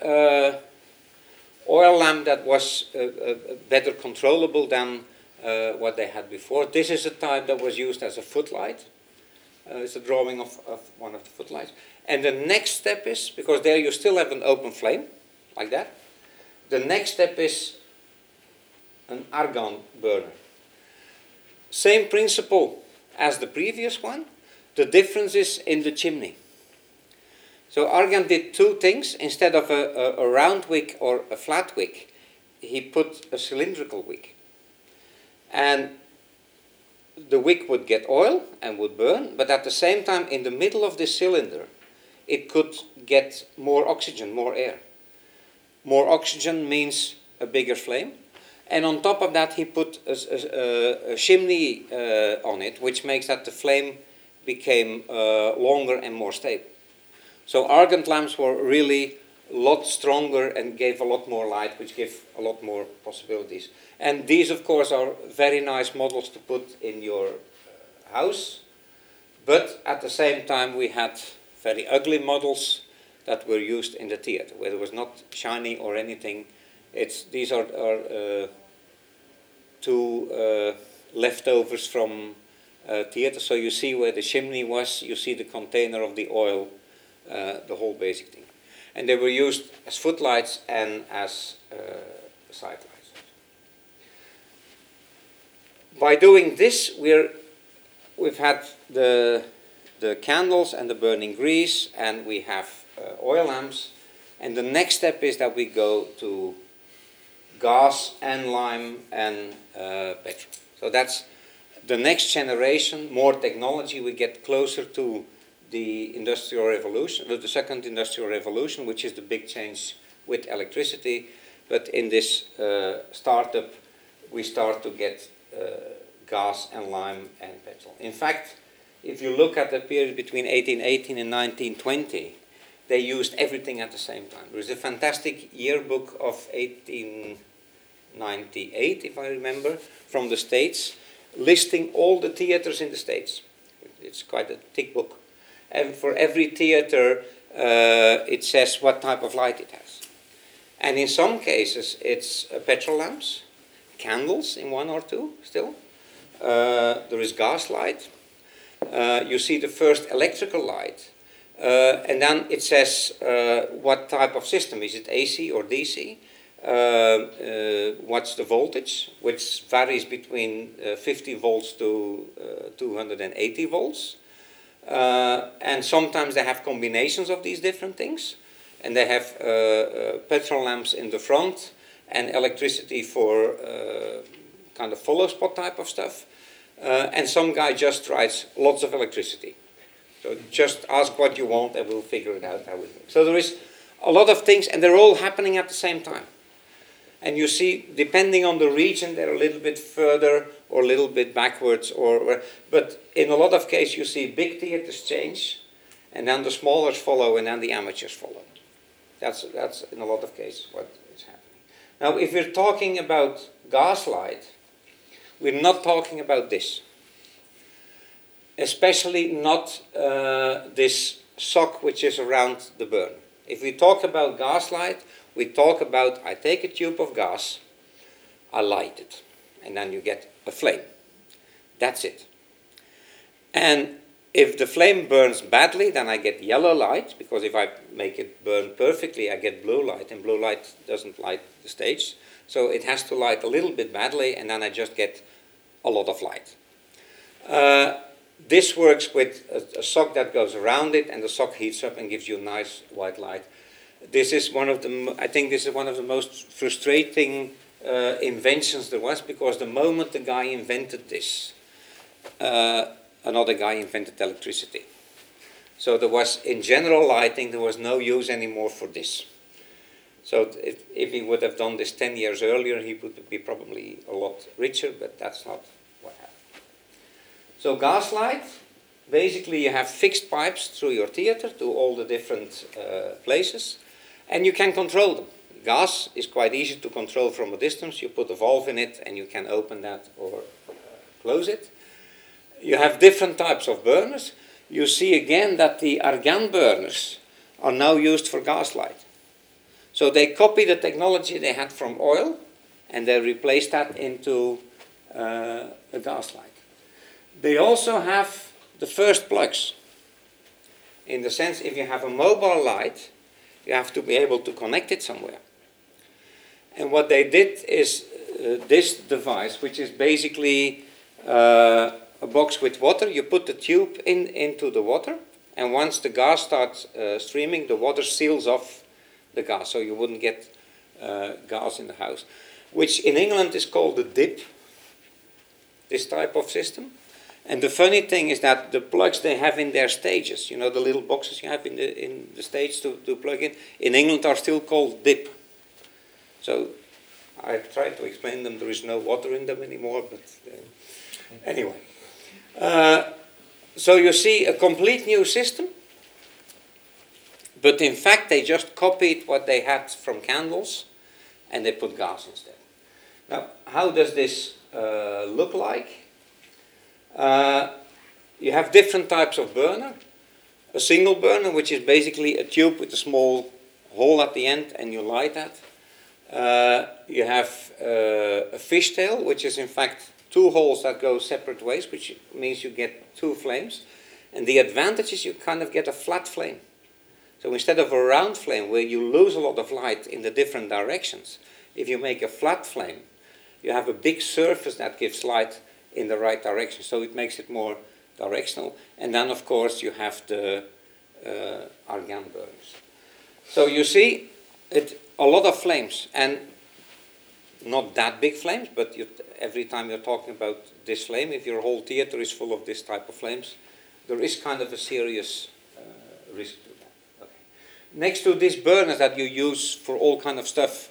oil lamp that was better controllable than what they had before. This is a type that was used as a footlight. It's a drawing of one of the footlights. And the next step is, because there you still have an open flame, like that. The next step is an argon burner. Same principle as the previous one. The difference is in the chimney. So Argan did two things. Instead of a round wick or a flat wick, he put a cylindrical wick. And the wick would get oil and would burn, but at the same time, in the middle of this cylinder, it could get more oxygen, more air. More oxygen means a bigger flame. And on top of that, he put a chimney on it, which makes that the flame became longer and more stable. So argand lamps were really a lot stronger and gave a lot more light, which gave a lot more possibilities. And these, of course, are very nice models to put in your house. But at the same time, we had very ugly models that were used in the theater, where it was not shiny or anything. These are two leftovers from theater. So you see where the chimney was, you see the container of the oil, the whole basic thing. And they were used as footlights and as sidelights. By doing this, we've had the candles and the burning grease, and we have oil lamps. And the next step is that we go to gas and lime and petrol. So that's the next generation, more technology. We get closer to the Industrial Revolution, the second Industrial Revolution, which is the big change with electricity. But in this startup, we start to get gas and lime and petrol. In fact, if you look at the period between 1818 and 1920, they used everything at the same time. There is a fantastic yearbook of 1898, if I remember, from the States, listing all the theaters in the States. It's quite a thick book. And for every theater, it says what type of light it has. And in some cases, it's petrol lamps, candles in one or two still. There is gas light. You see the first electrical light. And then it says what type of system. Is it AC or DC? What's the voltage, which varies between 50 volts to 280 volts. And sometimes they have combinations of these different things. And they have petrol lamps in the front and electricity for kind of follow spot type of stuff. And some guy just writes lots of electricity. So just ask what you want and we'll figure it out how it works. So there is a lot of things, and they're all happening at the same time. And you see, depending on the region, they're a little bit further or a little bit backwards. But in a lot of cases, you see big theaters change, and then the smallers follow, and then the amateurs follow. That's in a lot of cases what is happening. Now, if we're talking about gaslight, we're not talking about this. Especially not this sock which is around the burner. If we talk about gaslight, we talk about, I take a tube of gas, I light it, and then you get a flame. That's it. And if the flame burns badly, then I get yellow light, because if I make it burn perfectly, I get blue light, and blue light doesn't light the stage. So it has to light a little bit badly, and then I just get a lot of light. This works with a sock that goes around it, and the sock heats up and gives you a nice white light. This is one of the, I think this is one of the most frustrating inventions there was, because the moment the guy invented this, another guy invented electricity. So there was, in general lighting, there was no use anymore for this. So if he would have done this 10 years earlier, he would be probably a lot richer, but that's not what happened. So gaslight, basically you have fixed pipes through your theater to all the different places, and you can control them. Gas is quite easy to control from a distance. You put a valve in it and you can open that or close it. You have different types of burners. You see again that the argan burners are now used for gaslight. So they copy the technology they had from oil and they replace that into a gaslight. They also have the first plugs. In the sense, if you have a mobile light, you have to be able to connect it somewhere. And what they did is this device, which is basically a box with water. You put the tube into the water, and once the gas starts streaming, the water seals off the gas, so you wouldn't get gas in the house. Which in England is called a dip, this type of system. And the funny thing is that the plugs they have in their stages, you know, the little boxes you have in the stage to plug in England are still called dip. So I tried to explain them, there is no water in them anymore, but anyway. So you see a complete new system, but in fact they just copied what they had from candles and they put gas instead. Now, how does this look like? You have different types of burner. A single burner, which is basically a tube with a small hole at the end, and you light that. You have a fishtail, which is in fact two holes that go separate ways, which means you get two flames. And the advantage is you kind of get a flat flame. So instead of a round flame where you lose a lot of light in the different directions, if you make a flat flame, you have a big surface that gives light in the right direction, so it makes it more directional. And then, of course, you have the argan burners. So you see, a lot of flames, and not that big flames, but every time you're talking about this flame, if your whole theater is full of this type of flames, there is kind of a serious risk to that. Okay. Next to these burners that you use for all kind of stuff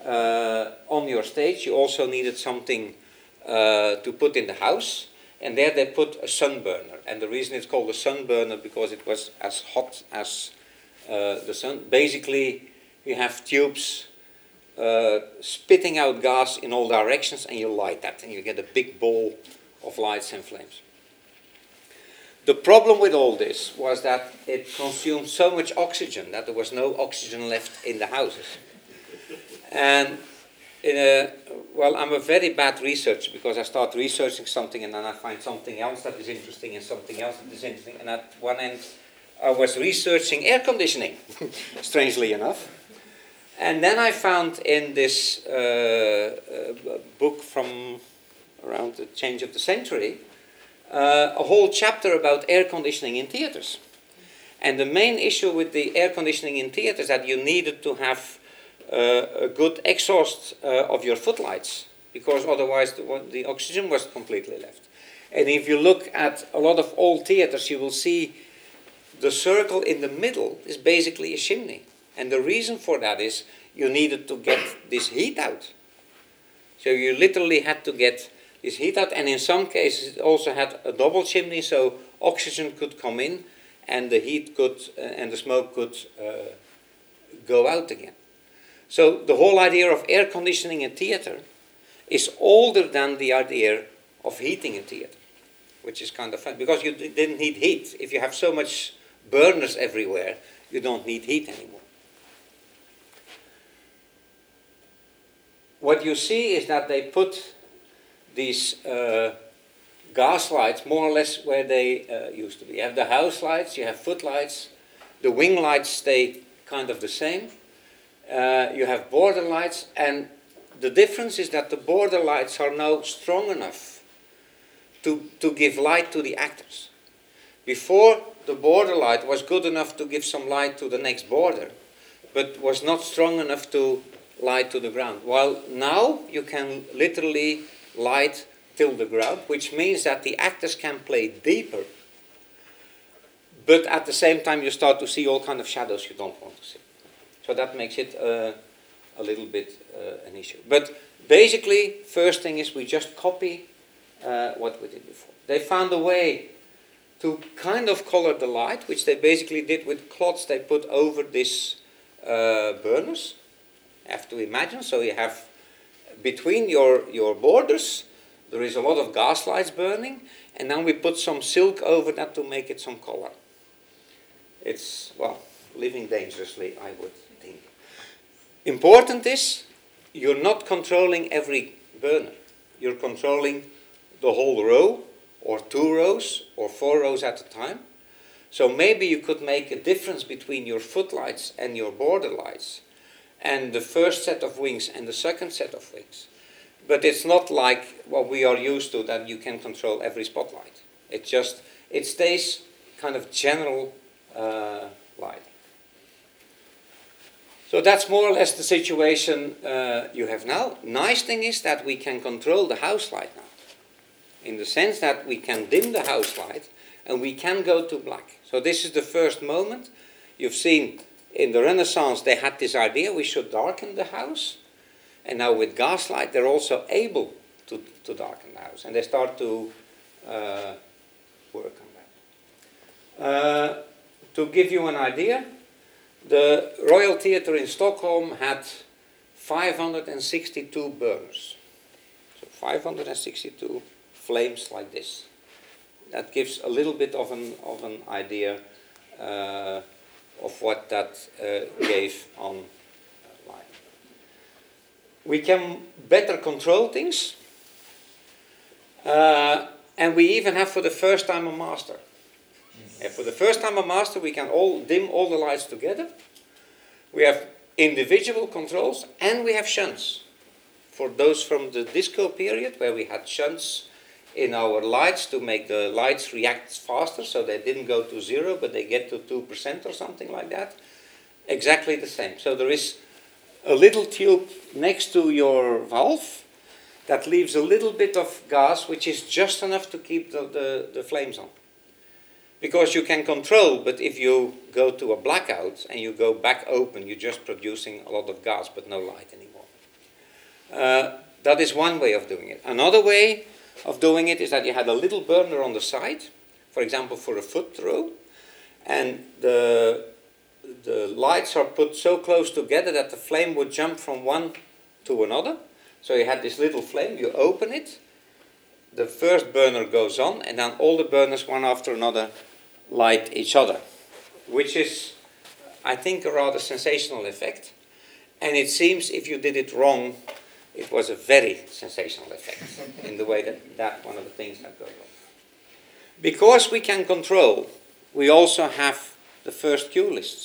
on your stage, you also needed something to put in the house, and there they put a sun burner. And the reason it's called a sun burner because it was as hot as the sun. Basically, you have tubes spitting out gas in all directions, and you light that, and you get a big ball of lights and flames. The problem with all this was that it consumed so much oxygen that there was no oxygen left in the houses. And well, I'm a very bad researcher because I start researching something and then I find something else that is interesting and something else that is interesting. And at one end, I was researching air conditioning, strangely enough. And then I found in this book from around the change of the century, a whole chapter about air conditioning in theaters. And the main issue with the air conditioning in theaters is that you needed to have a good exhaust of your footlights, because otherwise the oxygen was completely left. And if you look at a lot of old theaters, you will see the circle in the middle is basically a chimney. And the reason for that is you needed to get this heat out. So you literally had to get this heat out, and in some cases it also had a double chimney, so oxygen could come in, and the heat could and the smoke could go out again. So the whole idea of air conditioning a theater is older than the idea of heating a theater, which is kind of fun, because you didn't need heat. If you have so much burners everywhere, you don't need heat anymore. What you see is that they put these gas lights more or less where they used to be. You have the house lights, you have footlights, the wing lights stay kind of the same. You have border lights, and the difference is that the border lights are now strong enough to give light to the actors. Before, the border light was good enough to give some light to the next border, but was not strong enough to light to the ground. While now you can literally light till the ground, which means that the actors can play deeper, but at the same time you start to see all kind of shadows you don't want to see. So that makes it a little bit an issue. But basically, first thing is we just copy what we did before. They found a way to kind of color the light, which they basically did with cloths they put over these burners. You have to imagine, so you have between your borders, there is a lot of gas lights burning, and then we put some silk over that to make it some color. It's, well, living dangerously, I would think. Important is, you're not controlling every burner. You're controlling the whole row, or 2 rows, or 4 rows at a time. So maybe you could make a difference between your footlights and your border lights, and the first set of wings and the second set of wings. But it's not like what we are used to, that you can control every spotlight. It stays kind of general lighting. So that's more or less the situation you have now. Nice thing is that we can control the house light now, in the sense that we can dim the house light and we can go to black. So this is the first moment. You've seen in the Renaissance they had this idea we should darken the house, and now with gaslight they're also able to darken the house, and they start to work on that. To give you an idea, the Royal Theatre in Stockholm had 562 burners. So 562 flames like this. That gives a little bit of an idea of what that gave on light. We can better control things, and we even have for the first time a master. And for the first time a master, we can dim all the lights together. We have individual controls, and we have shunts. For those from the disco period, where we had shunts in our lights to make the lights react faster, so they didn't go to 0, but they get to 2% or something like that. Exactly the same. So there is a little tube next to your valve that leaves a little bit of gas, which is just enough to keep the flames on. Because you can control, but if you go to a blackout and you go back open, you're just producing a lot of gas but no light anymore. That is one way of doing it. Another way of doing it is that you had a little burner on the side, for example for a foot row, and the lights are put so close together that the flame would jump from one to another. So you had this little flame, you open it, the first burner goes on, and then all the burners one after another light each other, which is, I think, a rather sensational effect. And it seems if you did it wrong, it was a very sensational effect in the way that one of the things that goes on. Because we can control, we also have the first cue lists.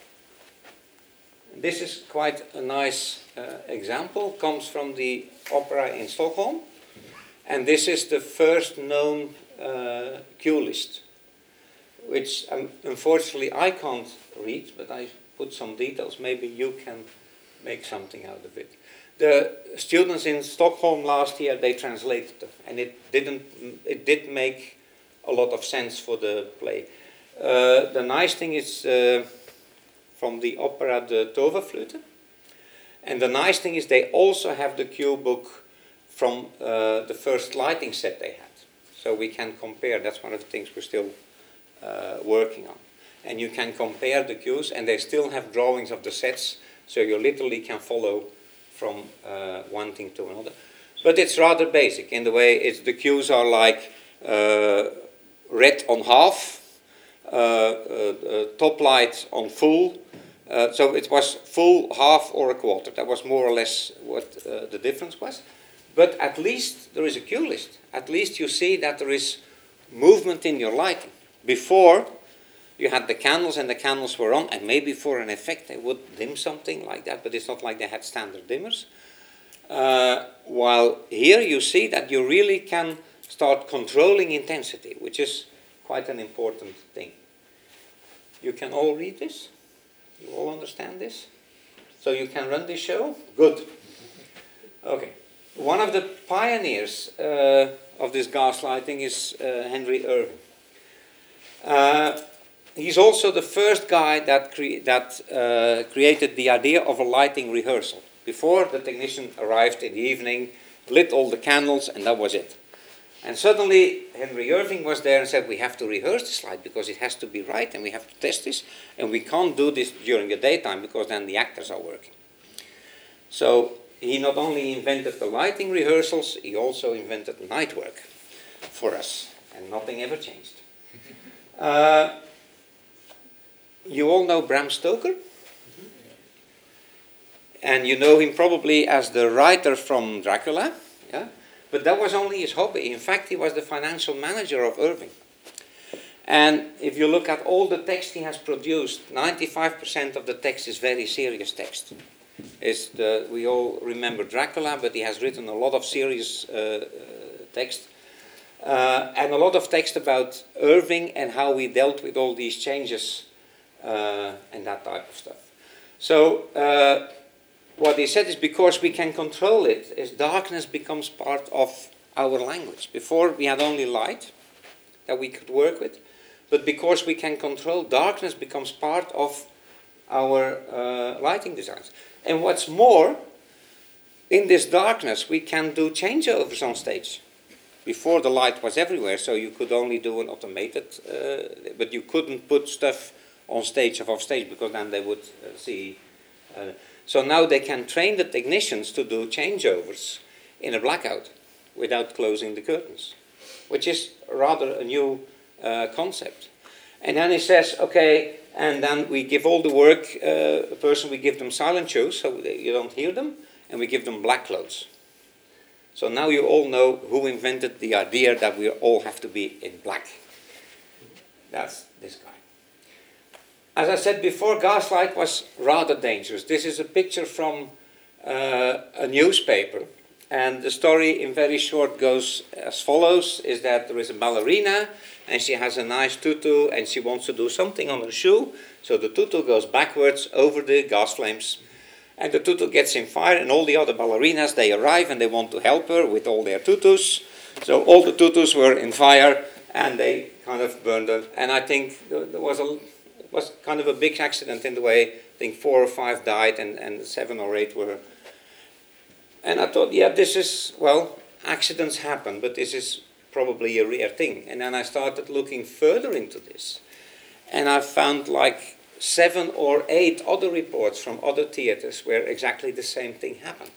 This is quite a nice example, comes from the opera in Stockholm, and this is the first known cue list, which unfortunately I can't read, but I put some details, maybe you can make something out of it. The students in Stockholm last year, they translated them, and it did make a lot of sense for the play. The nice thing is from the opera, the Toverflöte, and the nice thing is they also have the cue book from the first lighting set they had. So we can compare. That's one of the things we're still working on. And you can compare the cues, and they still have drawings of the sets, so you literally can follow from one thing to another. But it's rather basic in the way the cues are like red on half, top light on full. So it was full, half, or a quarter. That was more or less what the difference was. But at least there is a cue list. At least you see that there is movement in your lighting. Before, you had the candles and the candles were on, and maybe for an effect they would dim something like that, but it's not like they had standard dimmers. While here you see that you really can start controlling intensity, which is quite an important thing. You can all read this? You all understand this? So you can run this show? Good. Okay. One of the pioneers of this gaslighting is Henry Irving. He's also the first guy that created the idea of a lighting rehearsal. Before, the technician arrived in the evening, lit all the candles, and that was it. And suddenly, Henry Irving was there and said, we have to rehearse this light because it has to be right, and we have to test this, and we can't do this during the daytime because then the actors are working. So he not only invented the lighting rehearsals, he also invented night work for us, and nothing ever changed. You all know Bram Stoker? And you know him probably as the writer from Dracula, yeah? But that was only his hobby. In fact, he was the financial manager of Irving. And if you look at all the text he has produced, 95% of the text is very serious text. We all remember Dracula, but he has written a lot of serious text. And a lot of text about Irving and how he dealt with all these changes and that type of stuff. So what he said is because we can control it, is darkness becomes part of our language. Before we had only light that we could work with, but because we can control, darkness becomes part of our lighting designs. And what's more, in this darkness we can do changeovers on stage. Before the light was everywhere, so you could only do an automated, but you couldn't put stuff on stage or off stage because then they would see. So now they can train the technicians to do changeovers in a blackout without closing the curtains, which is rather a new concept. And then he says, okay, and then we give all the work person, we give them silent shoes so you don't hear them, and we give them black clothes. So now you all know who invented the idea that we all have to be in black. That's this guy. As I said before, gaslight was rather dangerous. This is a picture from a newspaper. And the story in very short goes as follows, is that there is a ballerina and she has a nice tutu and she wants to do something on her shoe. So the tutu goes backwards over the gas flames. And the tutu gets in fire and all the other ballerinas, they arrive and they want to help her with all their tutus. So all the tutus were in fire and they kind of burned her. And I think there was kind of a big accident in the way. I think 4 or 5 died and 7 or 8 were. And I thought, yeah, this is, well, accidents happen, but this is probably a rare thing. And then I started looking further into this. And I found like 7 or 8 other reports from other theaters where exactly the same thing happened.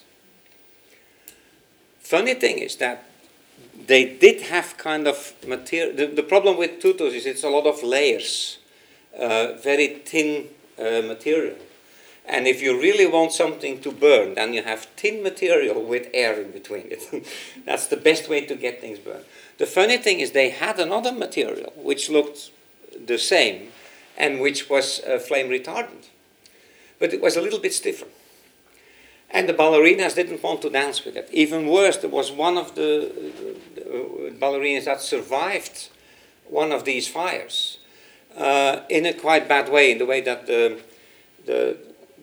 Funny thing is that they did have kind of material. The problem with tutus is it's a lot of layers, very thin material. And if you really want something to burn, then you have thin material with air in between it. That's the best way to get things burned. The funny thing is they had another material which looked the same and which was flame retardant. But it was a little bit stiffer. And the ballerinas didn't want to dance with it. Even worse, there was one of the ballerinas that survived one of these fires in a quite bad way, in the way that the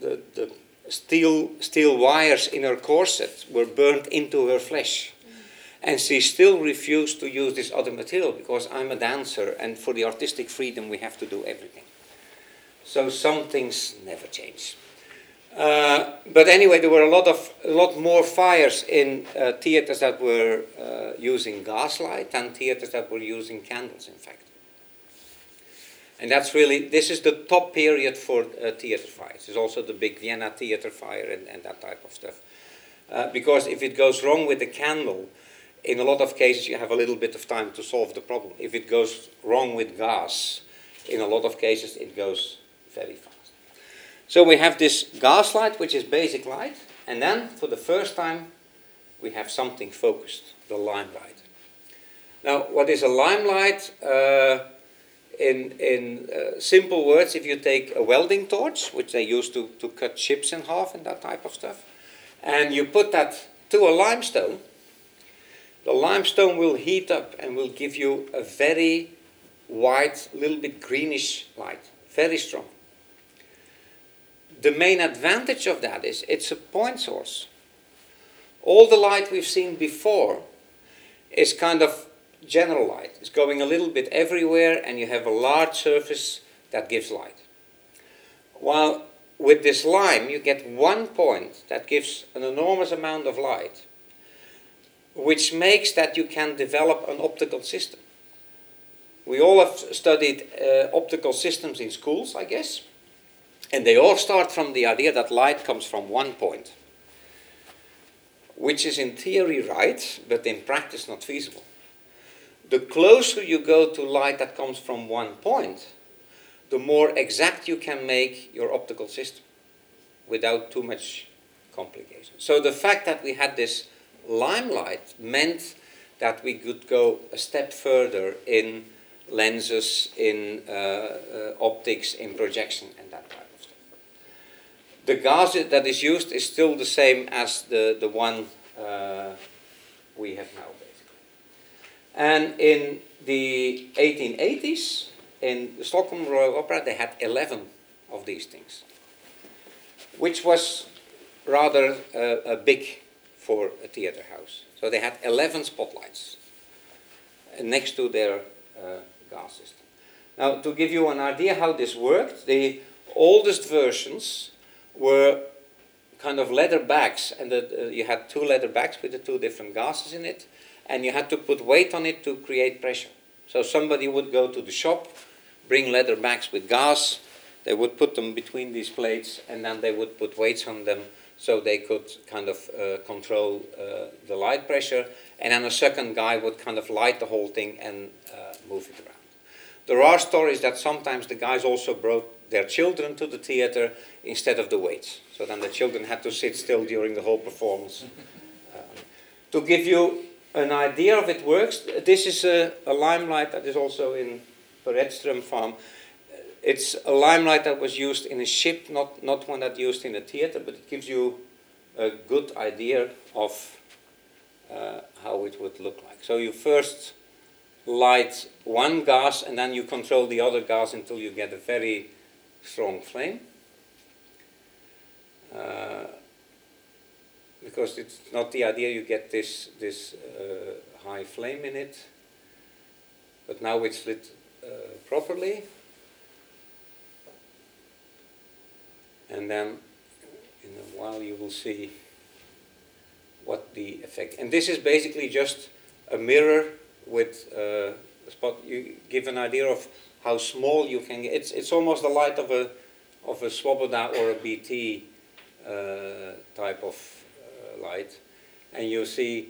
steel wires in her corset were burnt into her flesh. And she still refused to use this other material because I'm a dancer and for the artistic freedom we have to do everything. So some things never change. But anyway, there were a lot more fires in theaters that were using gaslight than theaters that were using candles, in fact. And this is the top period for theater fires. There's also the big Vienna theater fire and that type of stuff. Because if it goes wrong with the candle, in a lot of cases you have a little bit of time to solve the problem. If it goes wrong with gas, in a lot of cases it goes very fast. So we have this gas light, which is basic light, and then for the first time we have something focused, the limelight. Now, what is a limelight? In simple words, if you take a welding torch, which they use to cut chips in half and that type of stuff, and you put that to a limestone, the limestone will heat up and will give you a very white, little bit greenish light, very strong. The main advantage of that is it's a point source. All the light we've seen before is kind of general light. It's going a little bit everywhere and you have a large surface that gives light. While with this lime you get one point that gives an enormous amount of light, which makes that you can develop an optical system. We all have studied optical systems in schools, I guess. And they all start from the idea that light comes from one point, which is in theory right, but in practice not feasible. The closer you go to light that comes from one point, the more exact you can make your optical system without too much complication. So the fact that we had this limelight meant that we could go a step further in lenses, in optics, in projection, and that type of stuff. The gas that is used is still the same as the one we have now, basically. And in the 1880s, in the Stockholm Royal Opera, they had 11 of these things, which was rather big for a theater house. So they had 11 spotlights next to their gas system. Now, to give you an idea how this worked, the oldest versions were kind of leather bags, and you had two leather bags with the two different gases in it, and you had to put weight on it to create pressure. So somebody would go to the shop, bring leather bags with gas, they would put them between these plates, and then they would put weights on them so they could kind of control the light pressure, and then a second guy would kind of light the whole thing and move it around. There are stories that sometimes the guys also brought their children to the theater instead of the weights. So then the children had to sit still during the whole performance. To give you an idea of it works, this is a limelight that is also in the Redström farm. It's a limelight that was used in a ship, not one that used in a theater, but it gives you a good idea of how it would look like. So you first light one gas and then you control the other gas until you get a very strong flame. Because it's not the idea you get this high flame in it, but now it's lit properly. And then in a while you will see what the effect. And this is basically just a mirror with a spot. You give an idea of how small you can get. It's almost the light of a Swoboda or a BT type of light, and you see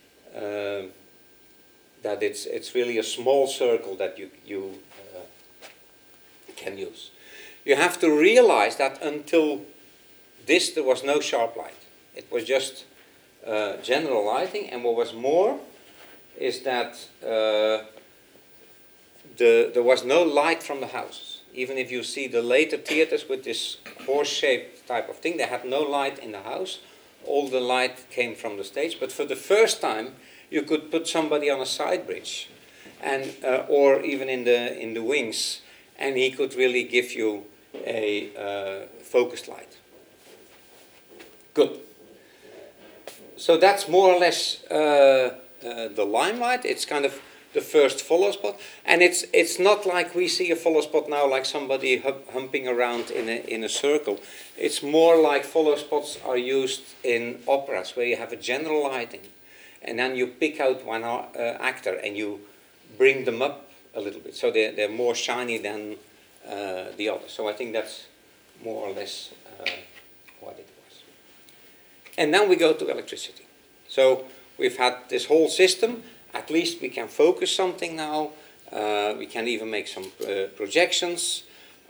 that it's really a small circle that you can use. You have to realize that until this there was no sharp light. It was just general lighting, and what was more is that there was no light from the houses. Even if you see the later theaters with this horse-shaped type of thing, they had no light in the house. All the light came from the stage. But for the first time, you could put somebody on a side bridge, and or even in the wings, and he could really give you a focused light. Good. So that's more or less the limelight. It's kind of the first follow spot. And it's not like we see a follow spot now like somebody humping around in a circle. It's more like follow spots are used in operas where you have a general lighting and then you pick out one actor and you bring them up a little bit. So they're more shiny than the others. So I think that's more or less what it was. And then we go to electricity. So we've had this whole system. At least we can focus something now. We can even make some projections.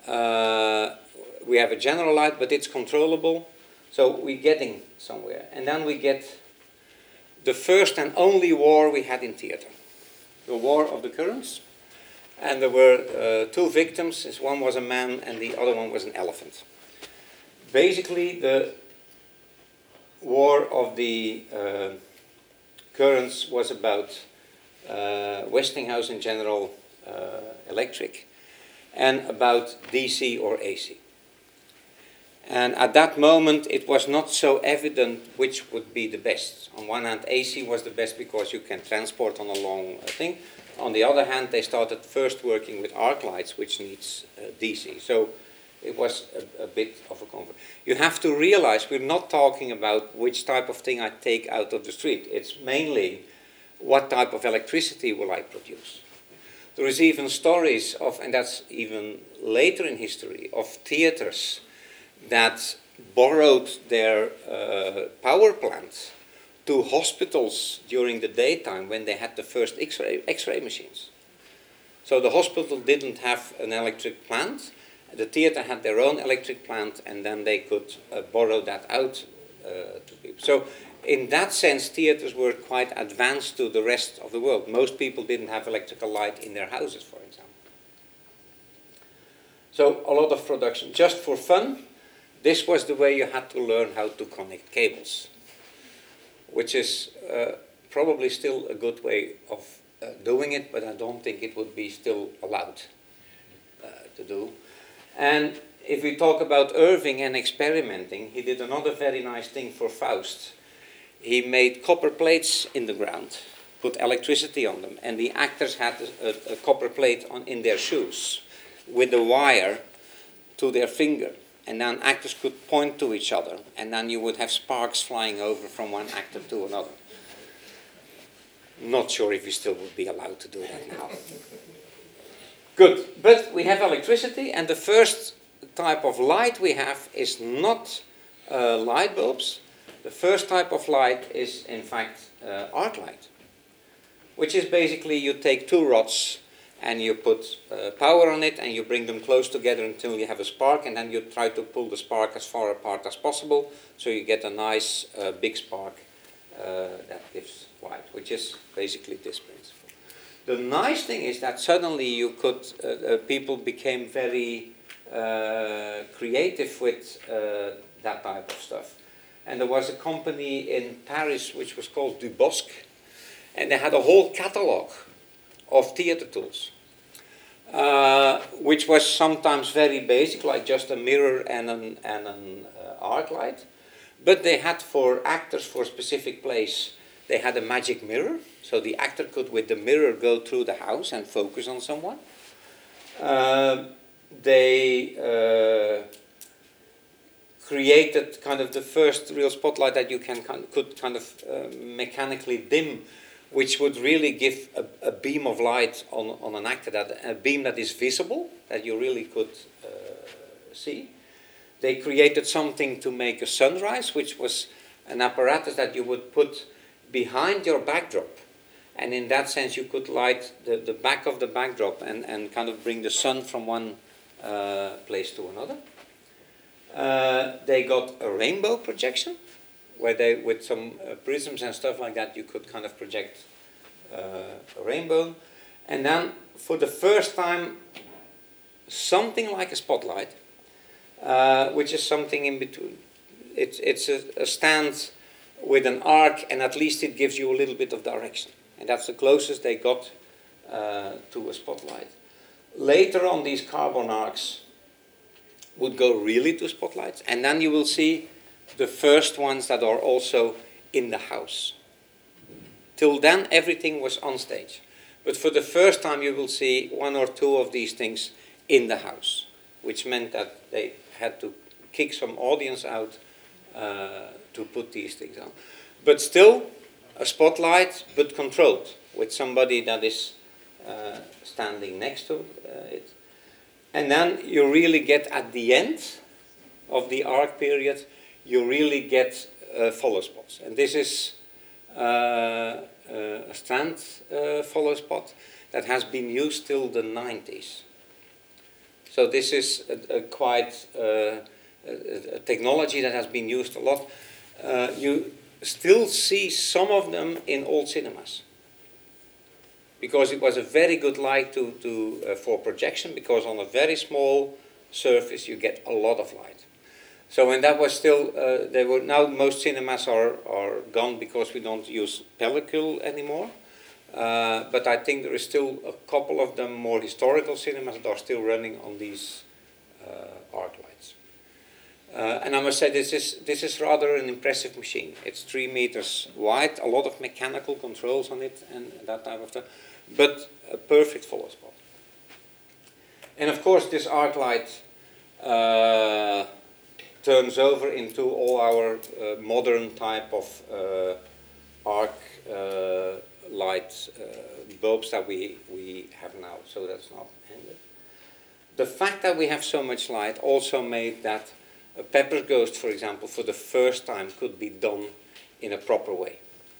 We have a general light, but it's controllable. So we're getting somewhere. And then we get the first and only war we had in theater. The War of the Currents. And there were two victims. One was a man and the other one was an elephant. Basically, the War of the Currents was about Westinghouse and General Electric, and about DC or AC. And at that moment, it was not so evident which would be the best. On one hand, AC was the best because you can transport on a long thing. On the other hand, they started first working with arc lights, which needs DC. So it was a bit of a comfort. You have to realize we're not talking about which type of thing I take out of the street. It's mainly what type of electricity will I produce. There is even stories of, and that's even later in history, of theaters that borrowed their power plants to hospitals during the daytime when they had the first X-ray machines. So the hospital didn't have an electric plant. The theater had their own electric plant, and then they could borrow that out to people. So in that sense, theaters were quite advanced to the rest of the world. Most people didn't have electrical light in their houses, for example. So a lot of production. Just for fun, this was the way you had to learn how to connect cables, which is probably still a good way of doing it, but I don't think it would be still allowed to do. And if we talk about Irving and experimenting, he did another very nice thing for Faust. He made copper plates in the ground, put electricity on them, and the actors had a copper plate in their shoes with a wire to their finger. And then actors could point to each other, and then you would have sparks flying over from one actor to another. Not sure if we still would be allowed to do that now. Good, but we have electricity, and the first type of light we have is not light bulbs. The first type of light is, in fact, arc light, which is basically you take two rods and you put power on it and you bring them close together until you have a spark, and then you try to pull the spark as far apart as possible so you get a nice big spark that gives light, which is basically this principle. The nice thing is that suddenly you could, people became very creative with that type of stuff. And there was a company in Paris which was called Dubosc, and they had a whole catalog of theater tools, which was sometimes very basic, like just a mirror and an arc light. But they had for actors for a specific place, they had a magic mirror, so the actor could with the mirror go through the house and focus on someone. They created kind of the first real spotlight that you could kind of mechanically dim, which would really give a beam of light on an actor, a beam that is visible, that you really could see. They created something to make a sunrise, which was an apparatus that you would put behind your backdrop. And in that sense, you could light the back of the backdrop and kind of bring the sun from one place to another. They got a rainbow projection, where they, with some prisms and stuff like that, you could kind of project a rainbow. And then, for the first time, something like a spotlight, which is something in between. It's a stand with an arc, and at least it gives you a little bit of direction. And that's the closest they got to a spotlight. Later on, these carbon arcs would go really to spotlights, and then you will see the first ones that are also in the house. Till then, everything was on stage. But for the first time you will see one or two of these things in the house, which meant that they had to kick some audience out to put these things on. But still, a spotlight, but controlled, with somebody that is standing next to it. And then you really get, at the end of the arc period, you really get follow spots. And this is a strand follow spot that has been used till the 90s. So this is quite a technology that has been used a lot. You still see some of them in old cinemas, because it was a very good light for projection, because on a very small surface you get a lot of light. So when that was still, now most cinemas are gone because we don't use pellicule anymore. But I think there is still a couple of them more historical cinemas that are still running on these arc lights. And I must say this is rather an impressive machine. It's 3 meters wide, a lot of mechanical controls on it and that type of stuff, but a perfect follow spot. And of course this arc light turns over into all our modern type of arc light bulbs that we have now, so that's not ended. The fact that we have so much light also made that a Pepper's Ghost, for example, for the first time could be done in a proper way.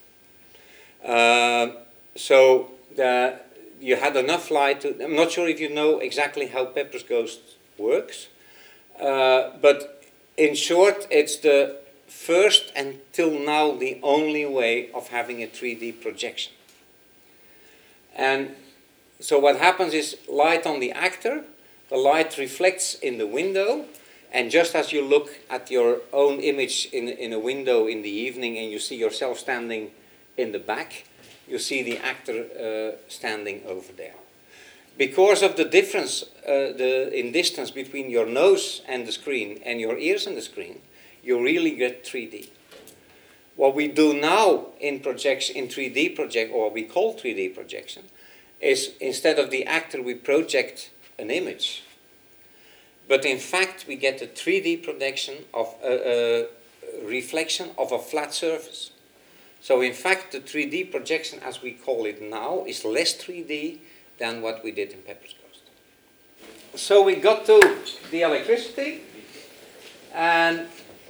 So you had enough light to, I'm not sure if you know exactly how Pepper's Ghost works, but in short, it's the first and till now the only way of having a 3D projection. And so what happens is light on the actor, the light reflects in the window, and just as you look at your own image in a window in the evening and you see yourself standing in the back, you see the actor standing over there. Because of the difference in distance between your nose and the screen and your ears and the screen, you really get 3D. What we do now in projection, in 3D project, or what we call 3D projection, is instead of the actor we project an image, but in fact we get a 3D projection of a reflection of a flat surface. So in fact the 3D projection as we call it now is less 3D than what we did in Pepper's Ghost. So we got to the electricity, and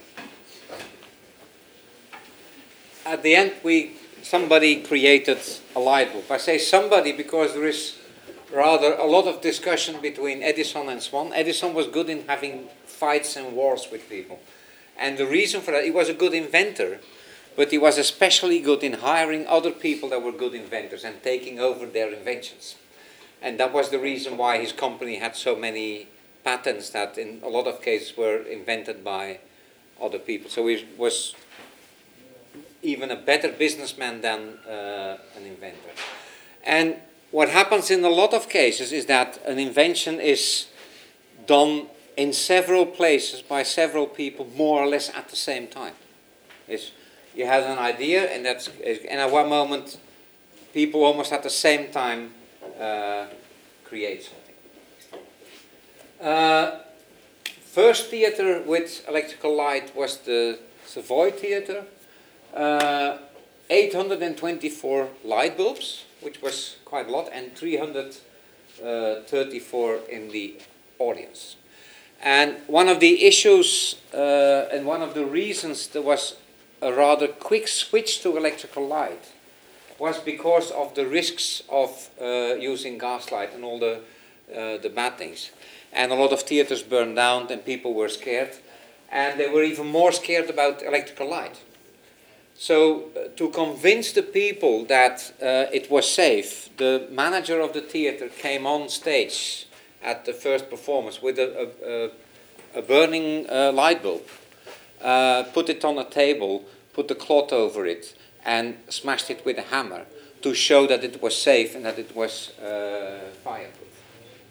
at the end somebody created a light bulb. I say somebody because there is rather a lot of discussion between Edison and Swan. Edison was good in having fights and wars with people. And the reason for that, he was a good inventor, but he was especially good in hiring other people that were good inventors and taking over their inventions. And that was the reason why his company had so many patents that in a lot of cases were invented by other people. So he was even a better businessman than an inventor. And what happens in a lot of cases is that an invention is done in several places by several people more or less at the same time. You have an idea, and at one moment people almost at the same time create something. First theater with electrical light was the Savoy Theater. 824 light bulbs, which was quite a lot, and 334 in the audience. And one of the issues and one of the reasons there was a rather quick switch to electrical light was because of the risks of using gaslight and all the bad things. And a lot of theaters burned down and people were scared. And they were even more scared about electrical light. So to convince the people that it was safe, the manager of the theater came on stage at the first performance with a burning light bulb, put it on a table, put a cloth over it, and smashed it with a hammer to show that it was safe and that it was fireproof.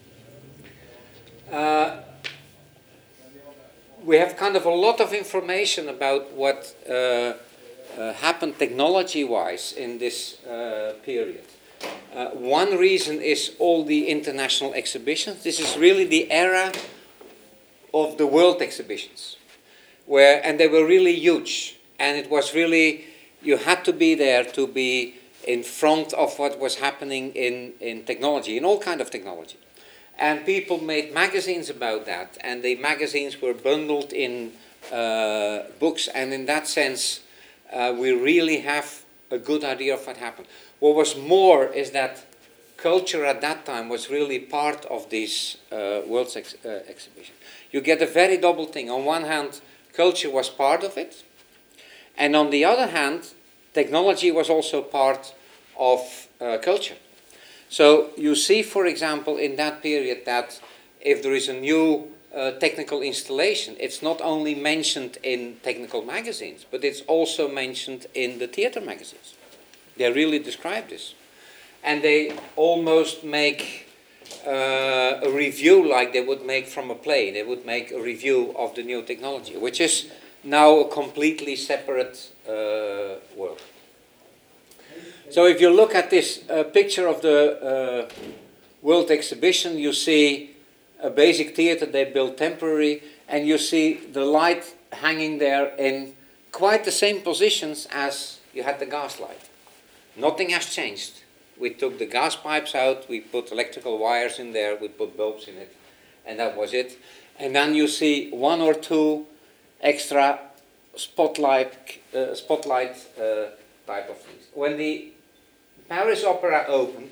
We have kind of a lot of information about what happened technology-wise in this period. One reason is all the international exhibitions. This is really the era of the world exhibitions, and they were really huge, and it was really, you had to be there to be in front of what was happening in technology, in all kind of technology. And people made magazines about that, and the magazines were bundled in books, and in that sense, we really have a good idea of what happened. What was more is that culture at that time was really part of this World exhibition. You get a very double thing. On one hand, culture was part of it, and on the other hand, technology was also part of culture. So you see, for example, in that period that if there is a new technical installation, it's not only mentioned in technical magazines, but it's also mentioned in the theater magazines. They really describe this. And they almost make a review like they would make from a play. They would make a review of the new technology, which is now a completely separate world. So if you look at this picture of the World Exhibition, you see a basic theater they built temporary, and you see the light hanging there in quite the same positions as you had the gas light. Nothing has changed. We took the gas pipes out, we put electrical wires in there, we put bulbs in it, and that was it. And then you see one or two extra spotlight type of things. When the Paris Opera opened,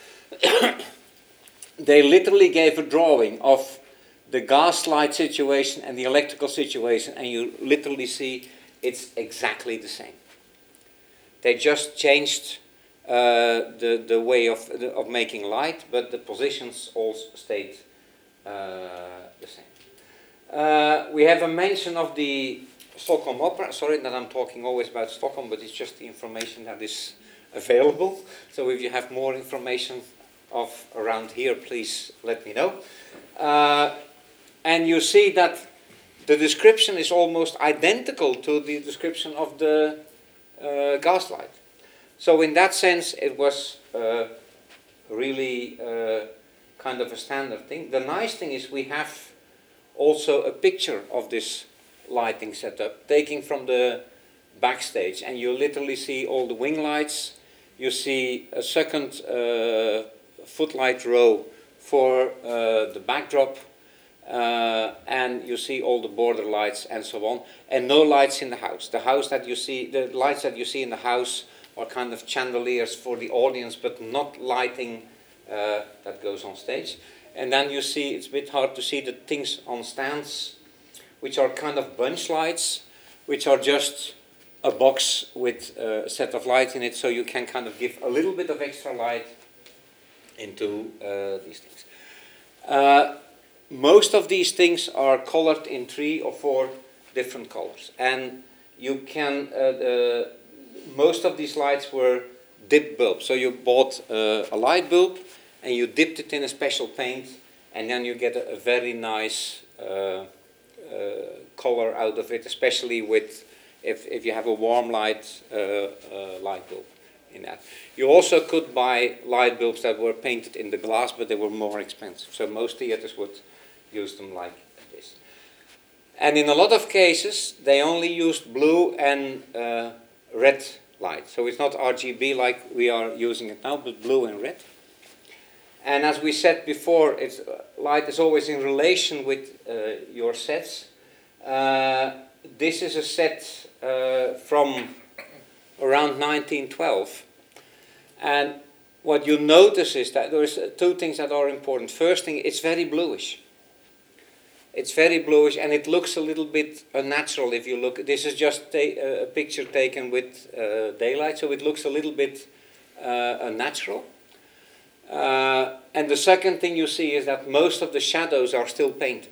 they literally gave a drawing of the gas light situation and the electrical situation, and you literally see it's exactly the same. They just changed the way of making light, but the positions all stayed the same. We have a mention of the Stockholm Opera. Sorry that I'm talking always about Stockholm, but it's just the information that is available. So if you have more information of around here, please let me know. And you see that the description is almost identical to the description of the gaslight. So in that sense, it was really kind of a standard thing. The nice thing is we have also a picture of this lighting setup taken from the backstage, and you literally see all the wing lights. You see a second footlight row for the backdrop, and you see all the border lights and so on, and no lights in the house. The lights that you see in the house are kind of chandeliers for the audience, but not lighting that goes on stage. And then you see, it's a bit hard to see the things on stands, which are kind of bunch lights, which are just a box with a set of lights in it, so you can kind of give a little bit of extra light into these things. Most of these things are colored in 3 or 4 different colors, and you can. Most of these lights were dip bulbs. So you bought a light bulb and you dipped it in a special paint, and then you get a very nice color out of it, especially with if you have a warm light light bulb in that. You also could buy light bulbs that were painted in the glass, but they were more expensive. So most theaters would use them like this. And in a lot of cases, they only used blue and red light. So it's not RGB like we are using it now, but blue and red. And as we said before, light is always in relation with your sets. This is a set from around 1912. And what you notice is that there's 2 things that are important. First thing, it's very bluish. It's very bluish, and it looks a little bit unnatural if you look. This is just a picture taken with daylight, so it looks a little bit unnatural. And the second thing you see is that most of the shadows are still painted.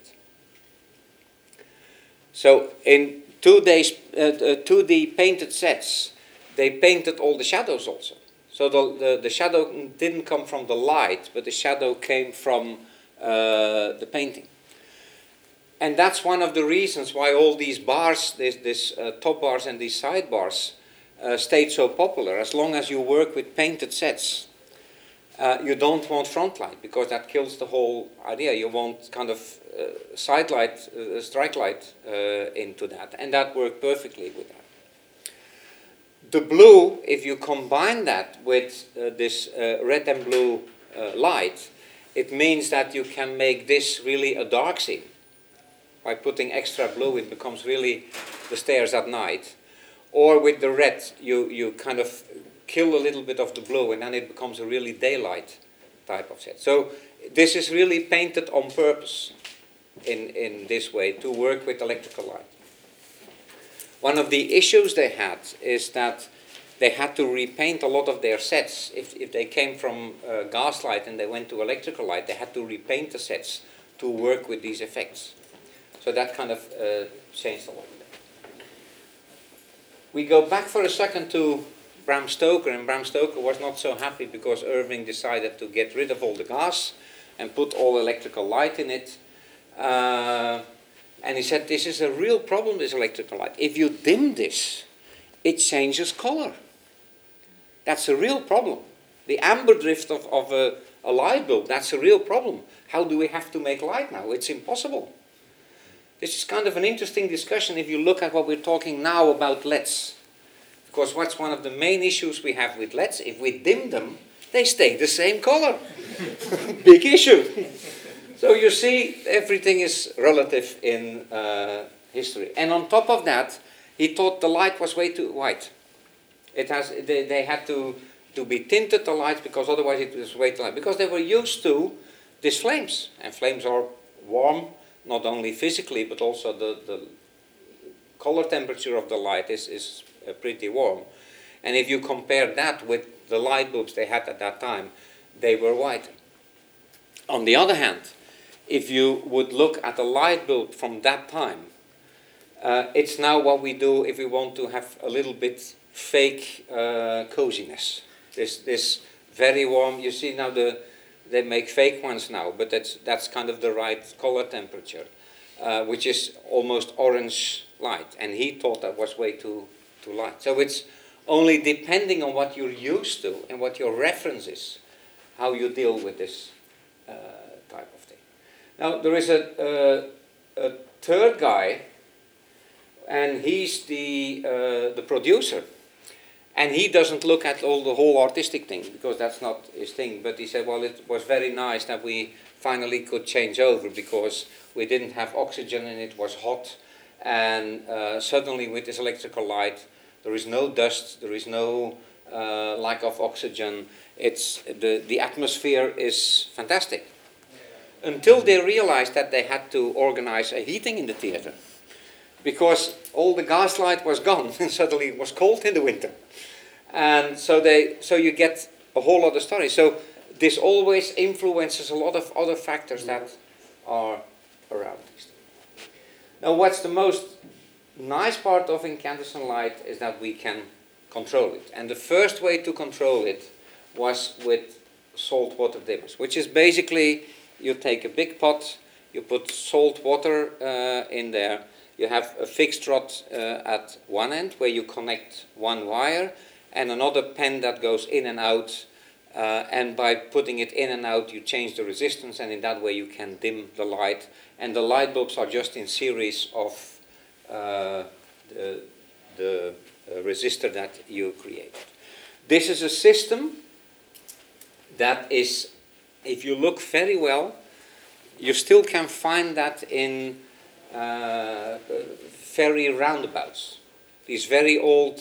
So in 2D painted sets, they painted all the shadows also. So the shadow didn't come from the light, but the shadow came from the painting. And that's one of the reasons why all these bars, this top bars and these side bars, stayed so popular. As long as you work with painted sets, You don't want front light because that kills the whole idea. You want kind of side light, strike light into that, and that worked perfectly with that. The blue, if you combine that with this red and blue light, it means that you can make this really a dark scene. By putting extra blue, it becomes really the stairs at night. Or with the red, you kind of kill a little bit of the blue, and then it becomes a really daylight type of set. So this is really painted on purpose in this way to work with electrical light. One of the issues they had is that they had to repaint a lot of their sets. If they came from gas light and they went to electrical light, they had to repaint the sets to work with these effects. So that kind of changed a lot. We go back for a second to Bram Stoker, and Bram Stoker was not so happy because Irving decided to get rid of all the gas and put all electrical light in it. And he said, this is a real problem, this electrical light. If you dim this, it changes color. That's a real problem. The amber drift of a light bulb, that's a real problem. How do we have to make light now? It's impossible. This is kind of an interesting discussion if you look at what we're talking now about LEDs. Because what's one of the main issues we have with LEDs? If we dim them, they stay the same color. Big issue. So you see, everything is relative in history. And on top of that, he thought the light was way too white. They had to be tinted, the lights, because otherwise it was way too light. Because they were used to these flames. And flames are warm, not only physically, but also the color temperature of the light is pretty warm. And if you compare that with the light bulbs they had at that time, they were white. On the other hand, if you would look at a light bulb from that time, it's now what we do if we want to have a little bit fake coziness. This very warm, you see now they make fake ones now, but that's kind of the right color temperature, which is almost orange light. And he thought that was way too light. So it's only depending on what you're used to and what your reference is, how you deal with this type of thing. Now there is a third guy, and he's the producer. And he doesn't look at the whole artistic thing, because that's not his thing. But he said, well, it was very nice that we finally could change over, because we didn't have oxygen and it was hot. And suddenly with this electrical light, there is no dust, there is no lack of oxygen. The atmosphere is fantastic. Until they realized that they had to organize a heating in the theater, because all the gas light was gone and suddenly it was cold in the winter. And so you get a whole other story. So this always influences a lot of other factors that are around. Now what's the most nice part of incandescent light is that we can control it. And the first way to control it was with salt water dimmers, which is basically you take a big pot, you put salt water in there. You have a fixed rod at one end where you connect one wire, and another pen that goes in and out. And by putting it in and out, you change the resistance, and in that way you can dim the light. And the light bulbs are just in series of the resistor that you create. This is a system that is, if you look very well, you still can find that in ferry roundabouts. These very old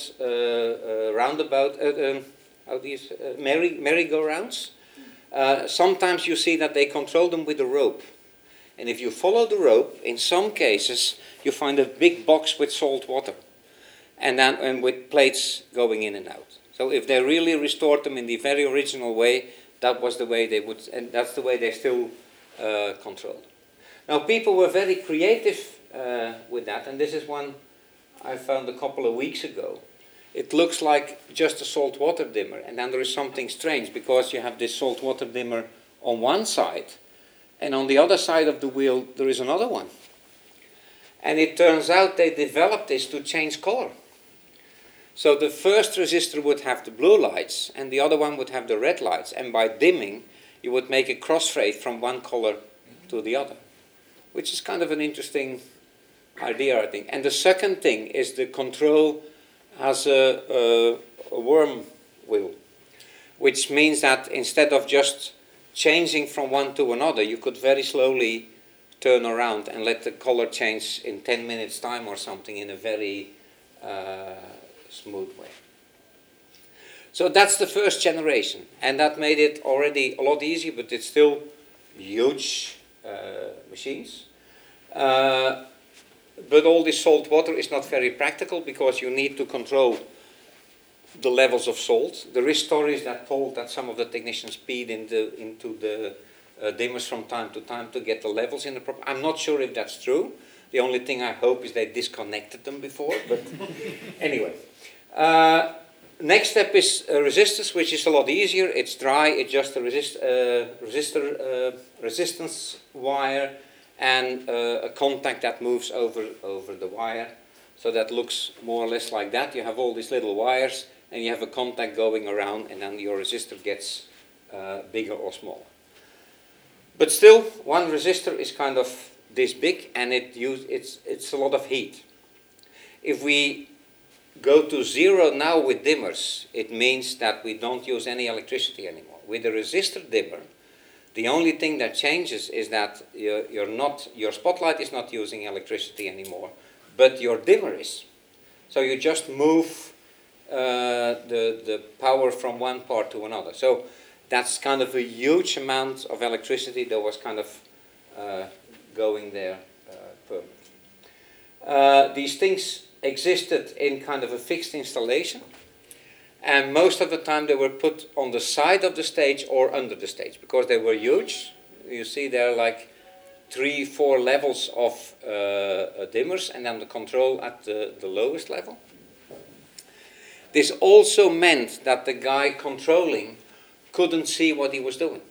merry-go-rounds. Sometimes you see that they control them with a rope. And if you follow the rope, in some cases, you find a big box with salt water. And with plates going in and out. So if they really restored them in the very original way, that was the way they would, and that's the way they still controlled. Now people were very creative with that, and this is one I found a couple of weeks ago. It looks like just a salt water dimmer, and then there is something strange, because you have this salt water dimmer on one side, and on the other side of the wheel there is another one. And it turns out they developed this to change color. So the first resistor would have the blue lights, and the other one would have the red lights. And by dimming, you would make a crossfade from one color to the other, which is kind of an interesting idea, I think. And the second thing is the control as a worm wheel, which means that instead of just changing from one to another, you could very slowly turn around and let the color change in 10 minutes time or something in a very smooth way. So that's the first generation, and that made it already a lot easier, but it's still huge machines. But all this salt water is not very practical because you need to control the levels of salt. There is stories that told that some of the technicians peed into the dimmers from time to get the levels in the proper. I'm not sure if that's true. The only thing I hope is they disconnected them before. But anyway, next step is resistors, which is a lot easier. It's dry. It's just a resistance wire and a contact that moves over the wire. So that looks more or less like that. You have all these little wires, and you have a contact going around, and then your resistor gets bigger or smaller. But still, one resistor is kind of this big, and it's a lot of heat. If we go to zero now with dimmers, it means that we don't use any electricity anymore. With a resistor dimmer, the only thing that changes is that your spotlight is not using electricity anymore, but your dimmer is. So you just move the power from one part to another. So that's kind of a huge amount of electricity that was kind of going there permanently. These things existed in kind of a fixed installation, and most of the time they were put on the side of the stage or under the stage because they were huge. You see there are like 3-4 levels of dimmers, and then the control at the lowest level. This also meant that the guy controlling couldn't see what he was doing.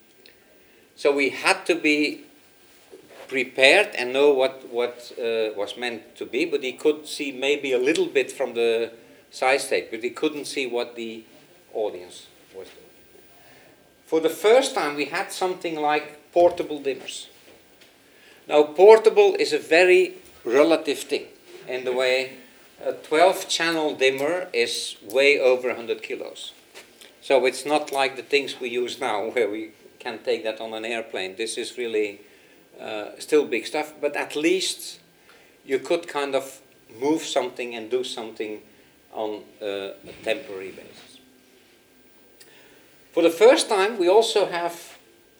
So we had to be prepared and know what was meant to be, but he could see maybe a little bit from the side stage, but he couldn't see what the audience was doing. For the first time, we had something like portable dimmers. Now, portable is a very relative thing in the way a 12-channel dimmer is way over 100 kilos. So it's not like the things we use now where we can take that on an airplane. This is really still big stuff, but at least you could kind of move something and do something on a temporary basis. For the first time, we also have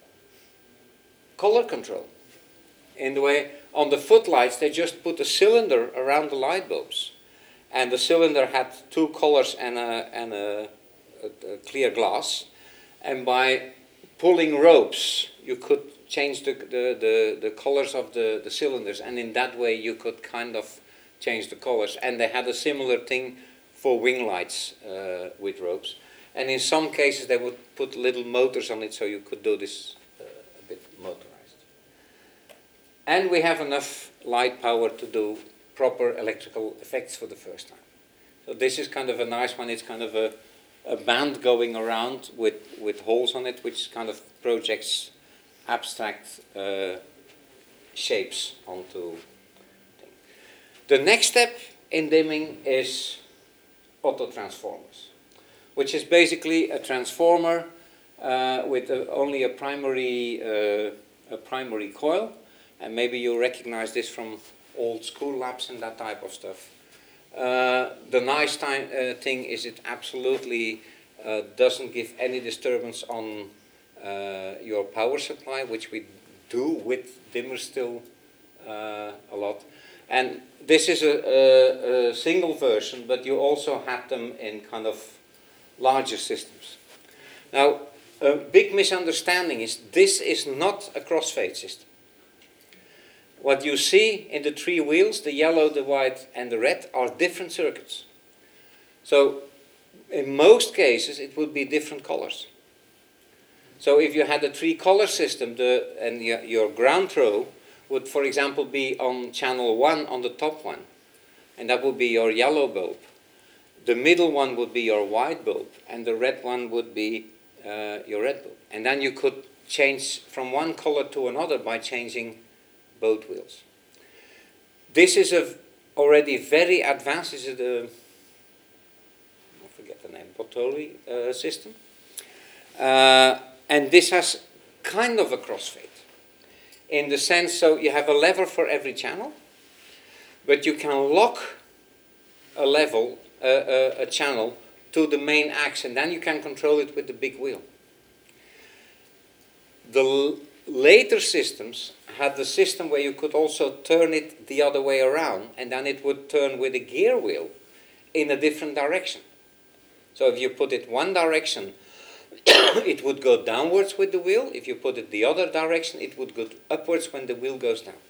color control. In the way, on the footlights, they just put a cylinder around the light bulbs. And the cylinder had 2 colors and a clear glass. And by pulling ropes, you could change the colors of the cylinders. And in that way, you could kind of change the colors. And they had a similar thing for wing lights with ropes. And in some cases, they would put little motors on it so you could do this a bit motorized. And we have enough light power to do proper electrical effects for the first time. So this is kind of a nice one. It's kind of a band going around with holes on it, which kind of projects abstract shapes onto things. The next step in dimming is autotransformers, which is basically a transformer with only a primary coil. And maybe you recognize this from old school labs and that type of stuff. The nice thing is it absolutely doesn't give any disturbance on your power supply, which we do with dimmers still a lot. And this is a single version, but you also have them in kind of larger systems. Now, a big misunderstanding is this is not a crossfade system. What you see in the 3 wheels, the yellow, the white, and the red, are different circuits. So, in most cases, it would be different colors. So, if you had a 3-color system, and your ground row would, for example, be on channel 1 on the top one, and that would be your yellow bulb. the middle one would be your white bulb, and the red one would be your red bulb. And then you could change from one color to another by changing both wheels. This is already very advanced. This is the, I forget the name, Bottoli system. And this has kind of a crossfade. In the sense, so you have a lever for every channel, but you can lock a level, a channel, to the main axe, and then you can control it with the big wheel. The later systems had the system where you could also turn it the other way around, and then it would turn with a gear wheel in a different direction. So if you put it one direction, it would go downwards with the wheel. If you put it the other direction, it would go upwards when the wheel goes down.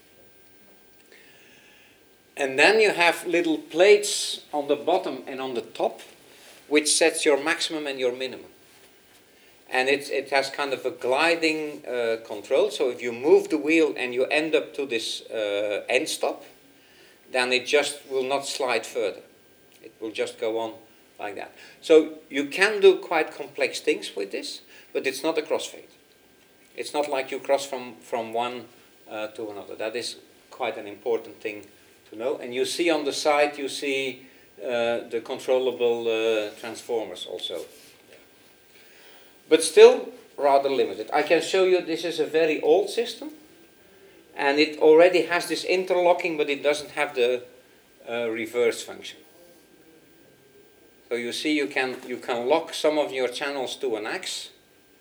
And then you have little plates on the bottom and on the top, which sets your maximum and your minimum. And it has kind of a gliding control. So if you move the wheel and you end up to this end stop, then it just will not slide further. It will just go on like that. So you can do quite complex things with this, but it's not a crossfade. It's not like you cross from one to another. That is quite an important thing to know. And you see on the side, you see the controllable transformers also. But still rather limited. I can show you this is a very old system, and it already has this interlocking, but it doesn't have the reverse function. So you see you can lock some of your channels to an axe,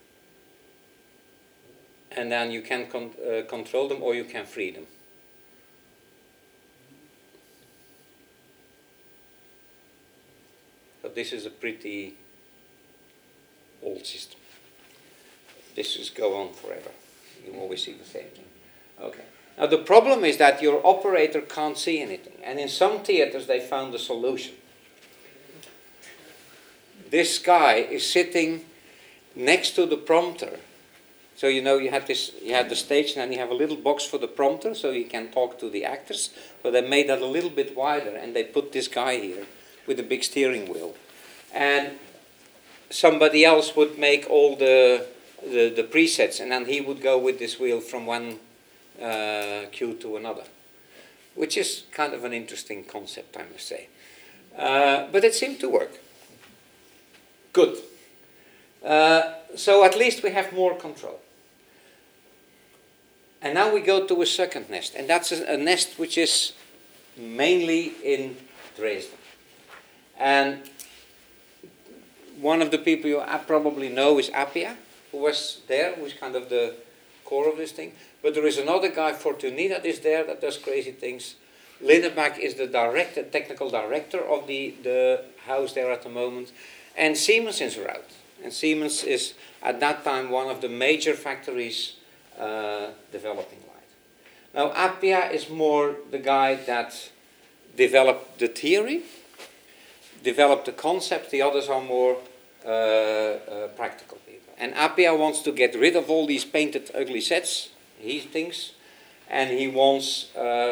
and then you can control them, or you can free them. But this is a pretty old system. This is go on forever. You always see the same thing. Okay. Now the problem is that your operator can't see anything, and in some theaters they found a solution. This guy is sitting next to the prompter. So you know you have the stage, and then you have a little box for the prompter, so you can talk to the actors. So they made that a little bit wider, and they put this guy here with a big steering wheel. And somebody else would make all the presets, and then he would go with this wheel from one cue to another, which is kind of an interesting concept, I must say. But it seemed to work. Good. So at least we have more control. And now we go to a second nest, and that's a nest which is mainly in Dresden. And one of the people you probably know is Appia, who was there, who is kind of the core of this thing. But there is another guy, Fortuny, that is there, that does crazy things. Lindenbach is the technical director of the house there at the moment. And Siemens is around. And Siemens is, at that time, one of the major factories developing light. Now, Appia is more the guy that developed the theory, developed the concept. The others are more practical people. And Appia wants to get rid of all these painted ugly sets, he thinks, and he wants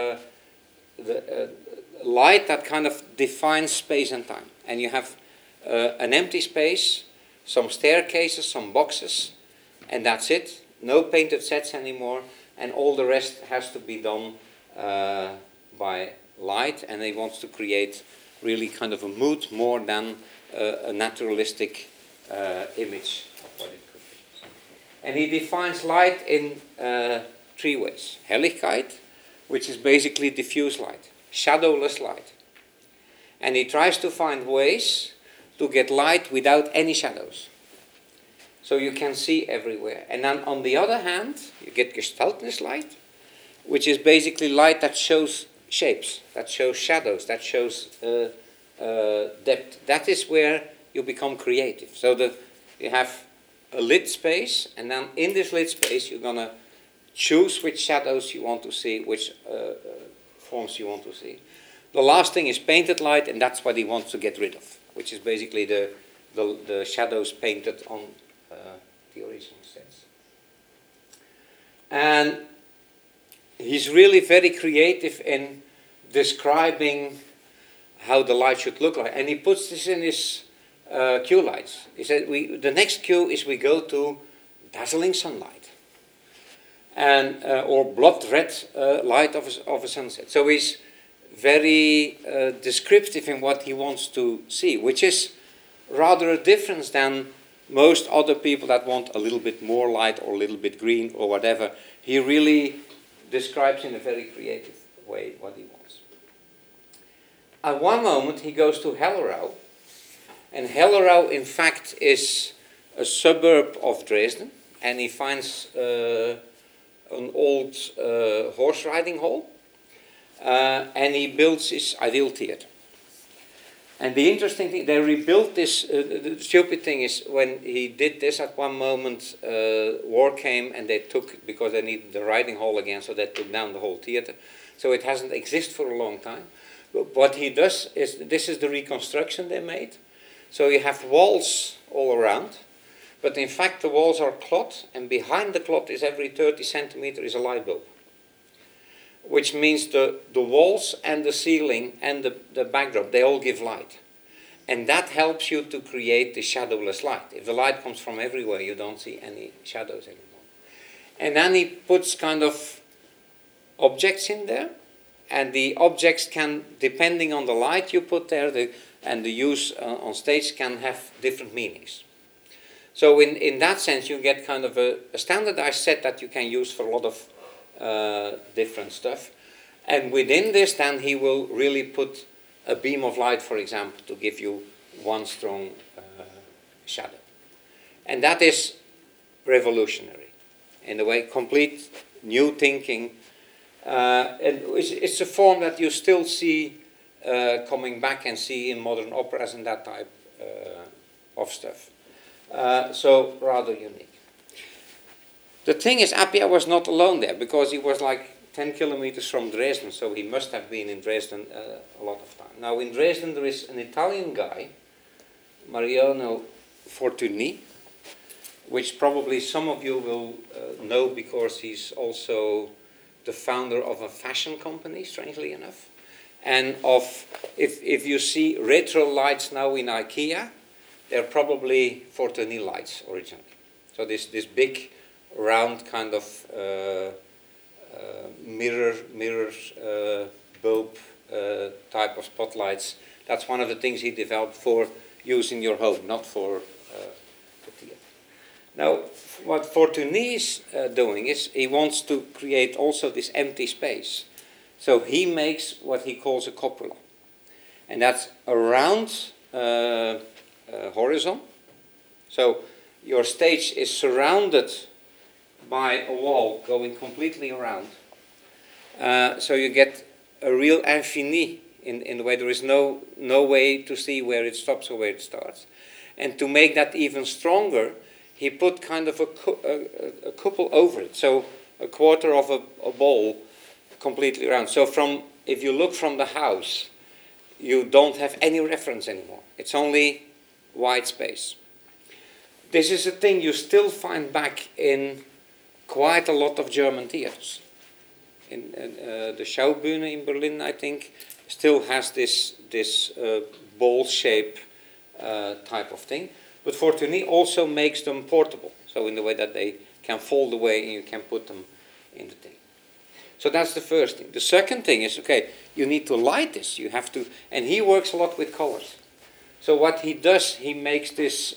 light that kind of defines space and time. And you have an empty space, some staircases, some boxes, and that's it. No painted sets anymore, and all the rest has to be done by light, and he wants to create really kind of a mood more than a naturalistic image of what it could be. And he defines light in three ways. Helligkeit, which is basically diffuse light, shadowless light. And he tries to find ways to get light without any shadows. So you can see everywhere. And then on the other hand, you get Gestaltnis light, which is basically light that shows shapes, that shows shadows, that shows depth. That is where you become creative. So you have a lit space, and then in this lit space you're going to choose which shadows you want to see, which forms you want to see. The last thing is painted light, and that's what he wants to get rid of, which is basically the shadows painted on the original sets. And he's really very creative in describing how the light should look like. And he puts this in his cue lights. He said, the next cue is we go to dazzling sunlight, and or blood red light of a sunset. So he's very descriptive in what he wants to see, which is rather a difference than most other people that want a little bit more light or a little bit green or whatever. He really describes in a very creative way what he wants. At one moment he goes to Hellerau, and Hellerau in fact is a suburb of Dresden, and he finds an old horse riding hall, and he builds his ideal theater. And the interesting thing, they rebuilt this, the stupid thing is when he did this at one moment, war came and they took, because they needed the riding hall again, so they took down the whole theater. So it hasn't existed for a long time. But what he does is, this is the reconstruction they made. So you have walls all around, but in fact the walls are cloth, and behind the cloth is every 30 centimeter is a light bulb. Which means the walls and the ceiling and the backdrop, they all give light. And that helps you to create the shadowless light. If the light comes from everywhere, you don't see any shadows anymore. And then he puts kind of objects in there, and the objects can, depending on the light you put there and the use on stage, can have different meanings. So in that sense, you get kind of a standardized set that you can use for a lot of different stuff, and within this then he will really put a beam of light, for example, to give you one strong shadow. And that is revolutionary in a way, complete new thinking, and it's a form that you still see coming back and see in modern operas and that type of stuff, so rather unique. The thing is, Appia was not alone there, because he was like 10 kilometers from Dresden, so he must have been in Dresden a lot of time. Now in Dresden there is an Italian guy, Mariano Fortuny, which probably some of you will know, because he's also the founder of a fashion company, strangely enough. And if you see retro lights now in IKEA, they're probably Fortuny lights originally. So this big round kind of mirror bulb type of spotlights. That's one of the things he developed for use in your home, not for the theater. Now, what Fortuny is doing is he wants to create also this empty space. So he makes what he calls a cupola, and that's a round horizon. So your stage is surrounded by a wall going completely around. So you get a real infini in the way there is no way to see where it stops or where it starts. And to make that even stronger, he put kind of a cupola over it. So a quarter of a ball completely around. So if you look from the house, you don't have any reference anymore. It's only white space. This is a thing you still find back in quite a lot of German theaters. In the Schaubühne in Berlin, I think, still has this ball shape type of thing. But Fortuny also makes them portable, so in the way that they can fold away and you can put them in the thing. So that's the first thing. The second thing is, okay, you need to light this. You have to, and he works a lot with colors. So what he does, he makes this.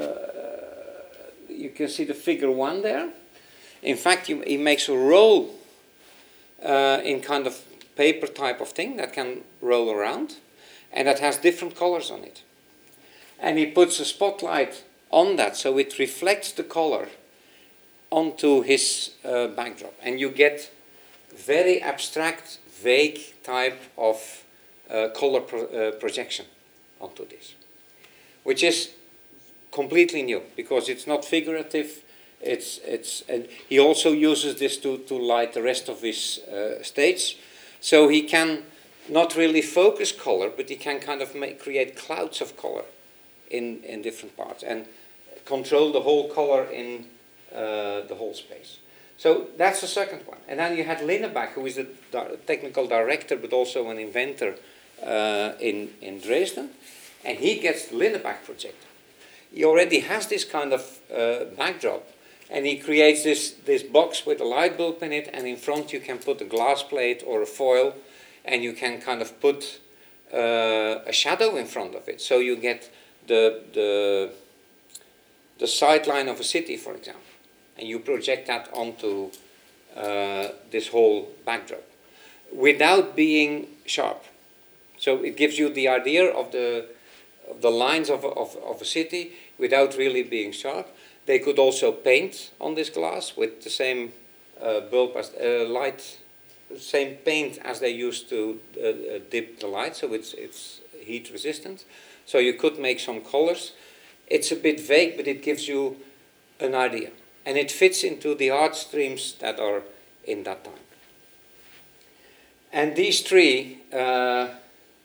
You can see the figure 1 there. In fact, he makes a roll in kind of paper type of thing that can roll around, and that has different colors on it. And he puts a spotlight on that, so it reflects the color onto his backdrop, and you get very abstract, vague type of color projection onto this, which is completely new because it's not figurative. And he also uses this to light the rest of his stage, so he can not really focus color, but he can kind of create clouds of color in different parts and control the whole color in the whole space. So that's the second one. And then you had Linnebach, who is the technical director, but also an inventor in Dresden, and he gets the Lindebach projector. He already has this kind of backdrop, and he creates this box with a light bulb in it, and in front you can put a glass plate or a foil, and you can kind of put a shadow in front of it, so you get the sight line of a city, for example, and you project that onto this whole backdrop without being sharp. So it gives you the idea of the lines of a city without really being sharp. They could also paint on this glass with the same bulb as light, same paint as they used to dip the light, so it's heat resistant. So you could make some colors. It's a bit vague, but it gives you an idea. And it fits into the art streams that are in that time. And these three are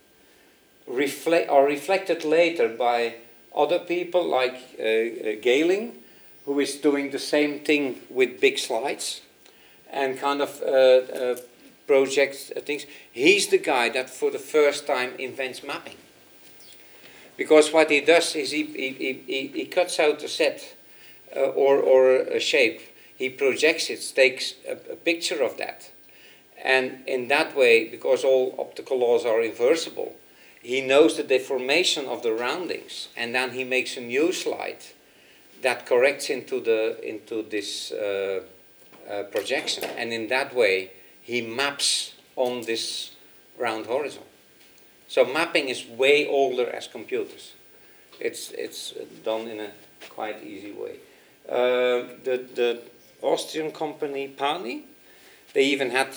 reflected later by other people like Gehling, who is doing the same thing with big slides and kind of projects things. He's the guy that for the first time invents mapping. Because what he does is he cuts out a set or a shape. He projects it, takes a picture of that. And in that way, because all optical laws are inversible, he knows the deformation of the roundings, and then he makes a new slide that corrects into this projection. And in that way, he maps on this round horizon. So mapping is way older as computers. It's done in a quite easy way. The Austrian company Pani, they even had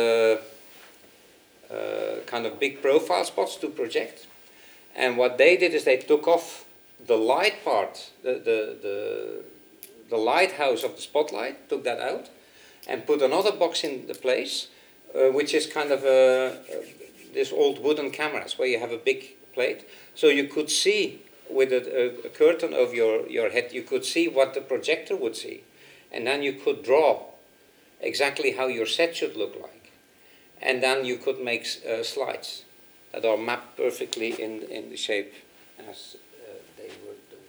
kind of big profile spots to project. And what they did is they took off the light part, the lighthouse of the spotlight, took that out, and put another box in the place, which is kind of this old wooden cameras where you have a big plate. So you could see with a curtain over your head, you could see what the projector would see. And then you could draw exactly how your set should look like. And then you could make slides that are mapped perfectly in the shape as they were doing.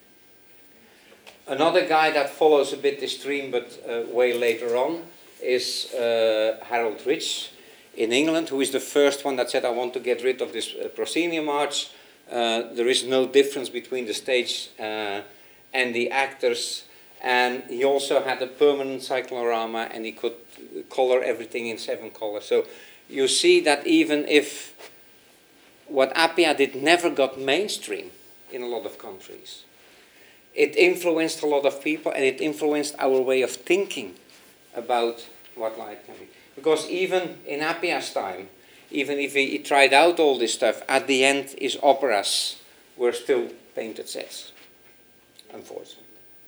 Another guy that follows a bit this stream, but way later on, is Harold Rich in England, who is the first one that said, I want to get rid of this proscenium arch. There is no difference between the stage and the actors. And he also had a permanent cyclorama, and he could color everything in 7 colors. So you see that even if what Appia did never got mainstream in a lot of countries, it influenced a lot of people, and it influenced our way of thinking about what light can be. Because even in Appia's time, even if he tried out all this stuff, at the end his operas were still painted sets, unfortunately.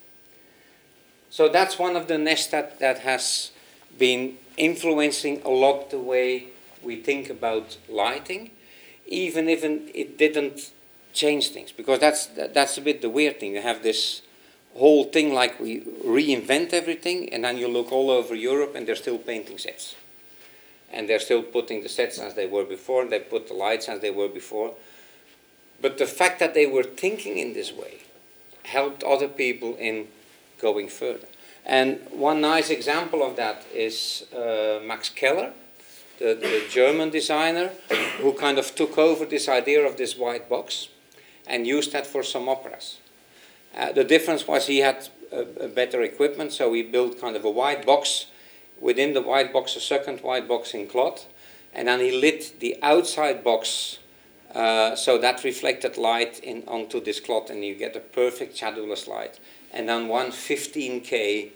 So that's one of the nests that has been influencing a lot the way we think about lighting, even if it didn't change things. Because that's a bit the weird thing. You have this whole thing like we reinvent everything, and then you look all over Europe and they're still painting sets. And they're still putting the sets as they were before, and they put the lights as they were before. But the fact that they were thinking in this way helped other people in going further. And one nice example of that is Max Keller, the German designer, who kind of took over this idea of this white box and used that for some operas. The difference was he had a better equipment, so he built kind of a white box, within the white box a second white box in cloth, and then he lit the outside box so that reflected light onto this cloth, and you get a perfect shadowless light. And then one 15K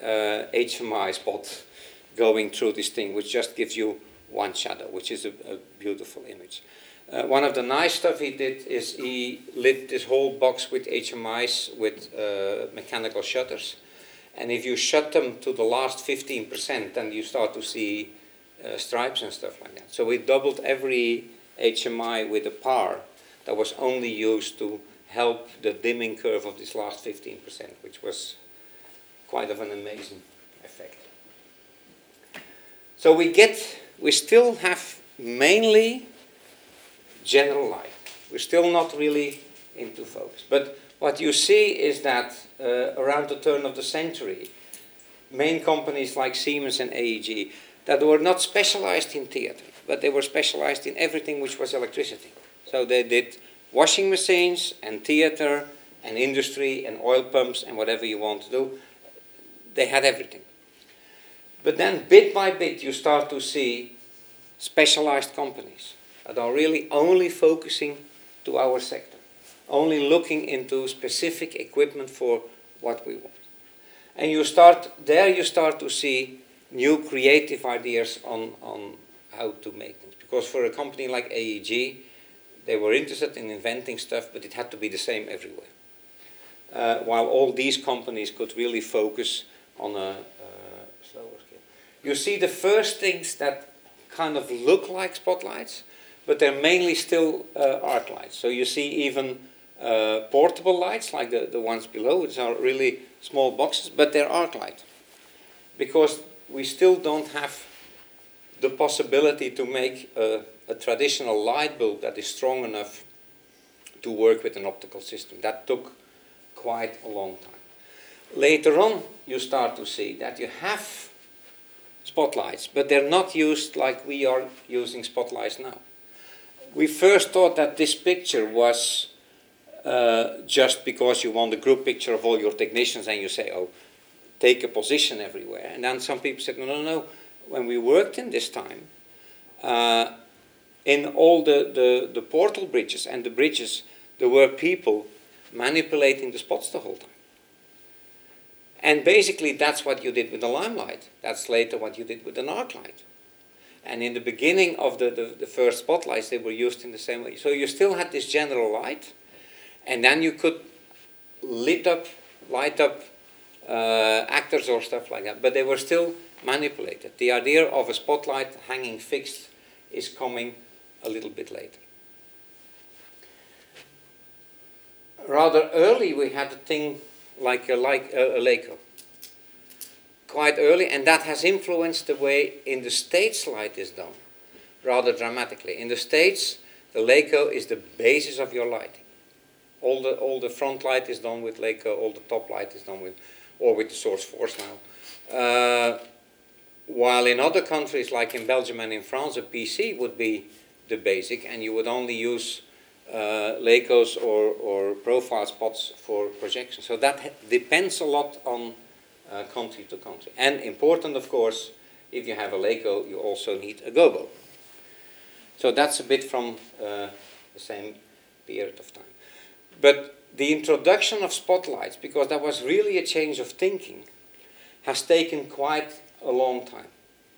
HMI spot going through this thing, which just gives you one shadow, which is a beautiful image. One of the nice stuff he did is he lit this whole box with HMIs with mechanical shutters. And if you shut them to the last 15%, then you start to see stripes and stuff like that. So we doubled every HMI with a par that was only used to help the dimming curve of this last 15%, which was quite of an amazing effect. So we still have mainly general light. We're still not really into focus. But what you see is that around the turn of the century, main companies like Siemens and AEG that were not specialized in theater, but they were specialized in everything which was electricity. So they did washing machines and theater and industry and oil pumps and whatever you want to do. They had everything. But then bit by bit you start to see specialized companies that are really only focusing to our sector, only looking into specific equipment for what we want. And you start to see new creative ideas on how to make things. Because for a company like AEG, they were interested in inventing stuff, but it had to be the same everywhere. While all these companies could really focus on a slower scale. You see the first things that kind of look like spotlights, but they're mainly still arc lights. So you see even portable lights, like the ones below, which are really small boxes, but they're arc light. Because we still don't have the possibility to make a traditional light bulb that is strong enough to work with an optical system. That took quite a long time. Later on, you start to see that you have spotlights, but they're not used like we are using spotlights now. We first thought that this picture was just because you want a group picture of all your technicians and you say, oh, take a position everywhere. And then some people said, no. When we worked in this time, in all the portal bridges and the bridges, there were people manipulating the spots the whole time. And basically that's what you did with the limelight. That's later what you did with an arc light. And in the beginning of the first spotlights, they were used in the same way. So you still had this general light, and then you could light up actors or stuff like that. But they were still manipulated. The idea of a spotlight hanging fixed is coming a little bit later. Rather early, we had a thing like a Leica. Quite early, and that has influenced the way in the States light is done, rather dramatically. In the States, the Leica is the basis of your lighting. All the front light is done with Leica, all the top light is done with the Source Force now. While in other countries, like in Belgium and in France, a PC would be the basic, and you would only use Leicos or profile spots for projection. So that depends a lot on country to country. And important, of course, if you have a Leica, you also need a gobo. So that's a bit from the same period of time. But the introduction of spotlights, because that was really a change of thinking, has taken quite a long time.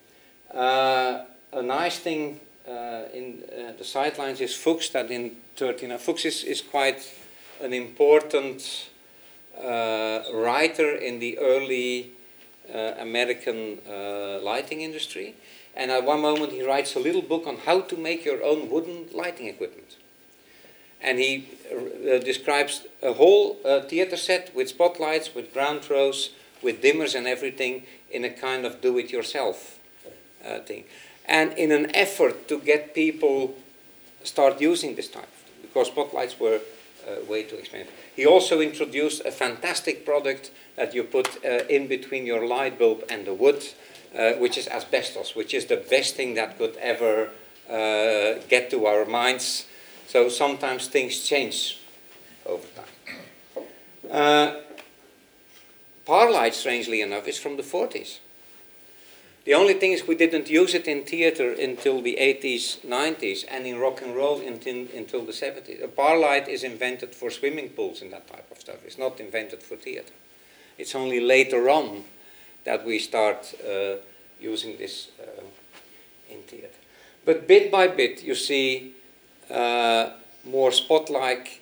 A nice thing in the sidelines is Fuchs, that in 13. Fuchs is quite an important writer in the early American lighting industry. And at one moment he writes a little book on how to make your own wooden lighting equipment. And he describes a whole theater set with spotlights, with ground throws, with dimmers and everything in a kind of do-it-yourself thing. And in an effort to get people start using this type of thing, because spotlights were way too expensive. He also introduced a fantastic product that you put in between your light bulb and the wood, which is asbestos, which is the best thing that could ever get to our minds. So sometimes things change over time. Parlight, strangely enough, is from the 40s. The only thing is we didn't use it in theater until the 80s, 90s, and in rock and roll until the 70s. A Parlight is invented for swimming pools and that type of stuff. It's not invented for theater. It's only later on that we start using this in theater. But bit by bit, you see more spotlights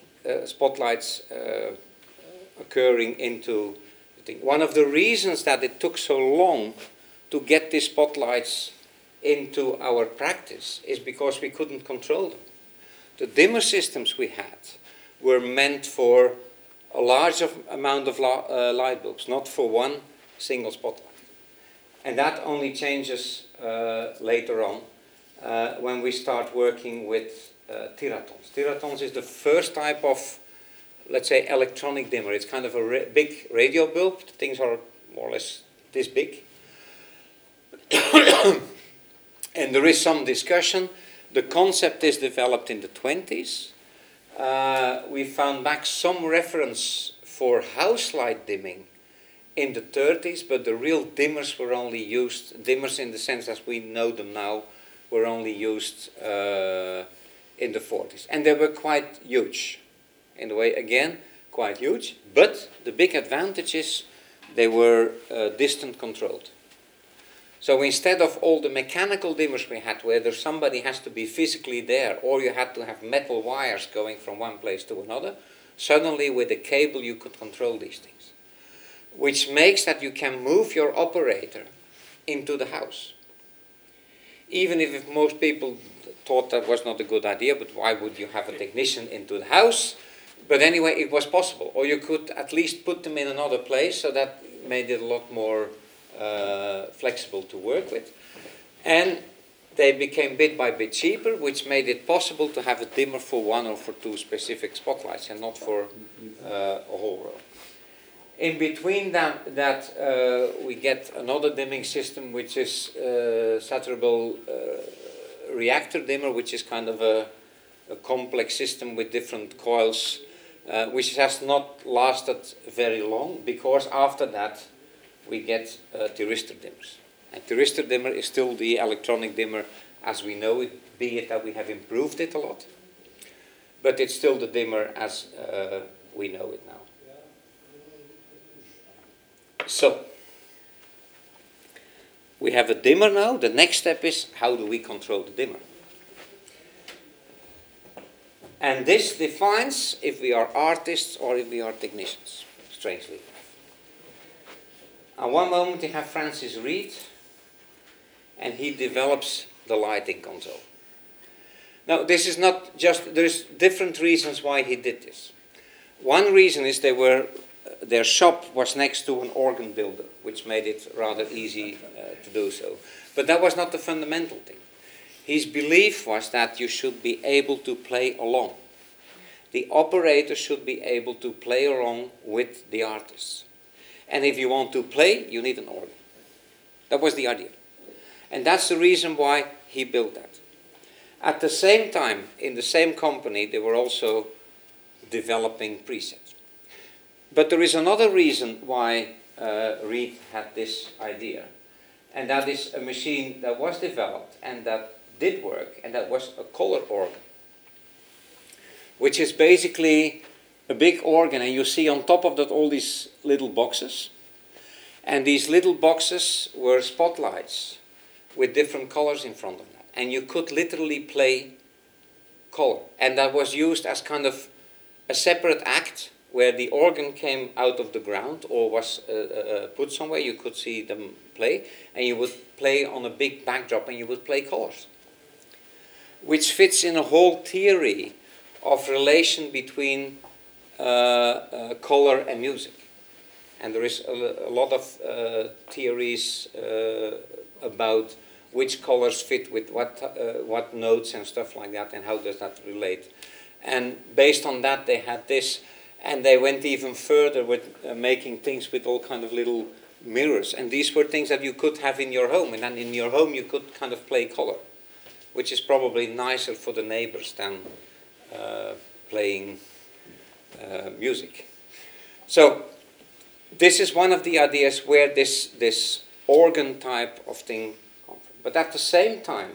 occurring into the thing. One of the reasons that it took so long to get these spotlights into our practice is because we couldn't control them. The dimmer systems we had were meant for a large amount of light bulbs, not for one single spotlight. And that only changes later on when we start working with Teratons. Teratons is the first type of, let's say, electronic dimmer. It's kind of a big radio bulb. The things are more or less this big. And there is some discussion. The concept is developed in the 20s. We found back some reference for house light dimming in the 30s, but the real dimmers were only used, dimmers in the sense as we know them now, were only used in the 40s. And they were quite huge. In a way, again, quite huge. But the big advantage is they were distant controlled. So instead of all the mechanical dimmers we had, where somebody has to be physically there, or you had to have metal wires going from one place to another, suddenly with a cable you could control these things. Which makes that you can move your operator into the house. Even if most people thought that was not a good idea, but why would you have a technician into the house? But anyway, it was possible. Or you could at least put them in another place, so that made it a lot more flexible to work with. And they became bit by bit cheaper, which made it possible to have a dimmer for one or for two specific spotlights and not for a whole row. In between that we get another dimming system, which is saturable reactor dimmer, which is kind of a complex system with different coils, which has not lasted very long, because after that we get thyristor dimmers. And thyristor dimmer is still the electronic dimmer as we know it, be it that we have improved it a lot, but it's still the dimmer as we know it now. So, we have a dimmer now. The next step is, how do we control the dimmer? And this defines if we are artists or if we are technicians, strangely. At one moment you have Francis Reed, and he develops the lighting console. Now, this is not just, there's different reasons why he did this. One reason is their shop was next to an organ builder, which made it rather easy to do so. But that was not the fundamental thing. His belief was that you should be able to play along. The operator should be able to play along with the artists. And if you want to play, you need an organ. That was the idea. And that's the reason why he built that. At the same time, in the same company, they were also developing presets. But there is another reason why Reed had this idea. And that is a machine that was developed and that did work, and that was a color organ. Which is basically a big organ, and you see on top of that all these little boxes. And these little boxes were spotlights with different colors in front of that. And you could literally play color. And that was used as kind of a separate act where the organ came out of the ground or was put somewhere. You could see them play, and you would play on a big backdrop and you would play colors. Which fits in a whole theory of relation between color and music. And there is a lot of theories about which colors fit with what notes and stuff like that, and how does that relate. And based on that they had this, and they went even further with making things with all kind of little mirrors. And these were things that you could have in your home, and then in your home you could kind of play color, which is probably nicer for the neighbors than playing music. So this is one of the ideas where this organ type of thing comes from. But at the same time,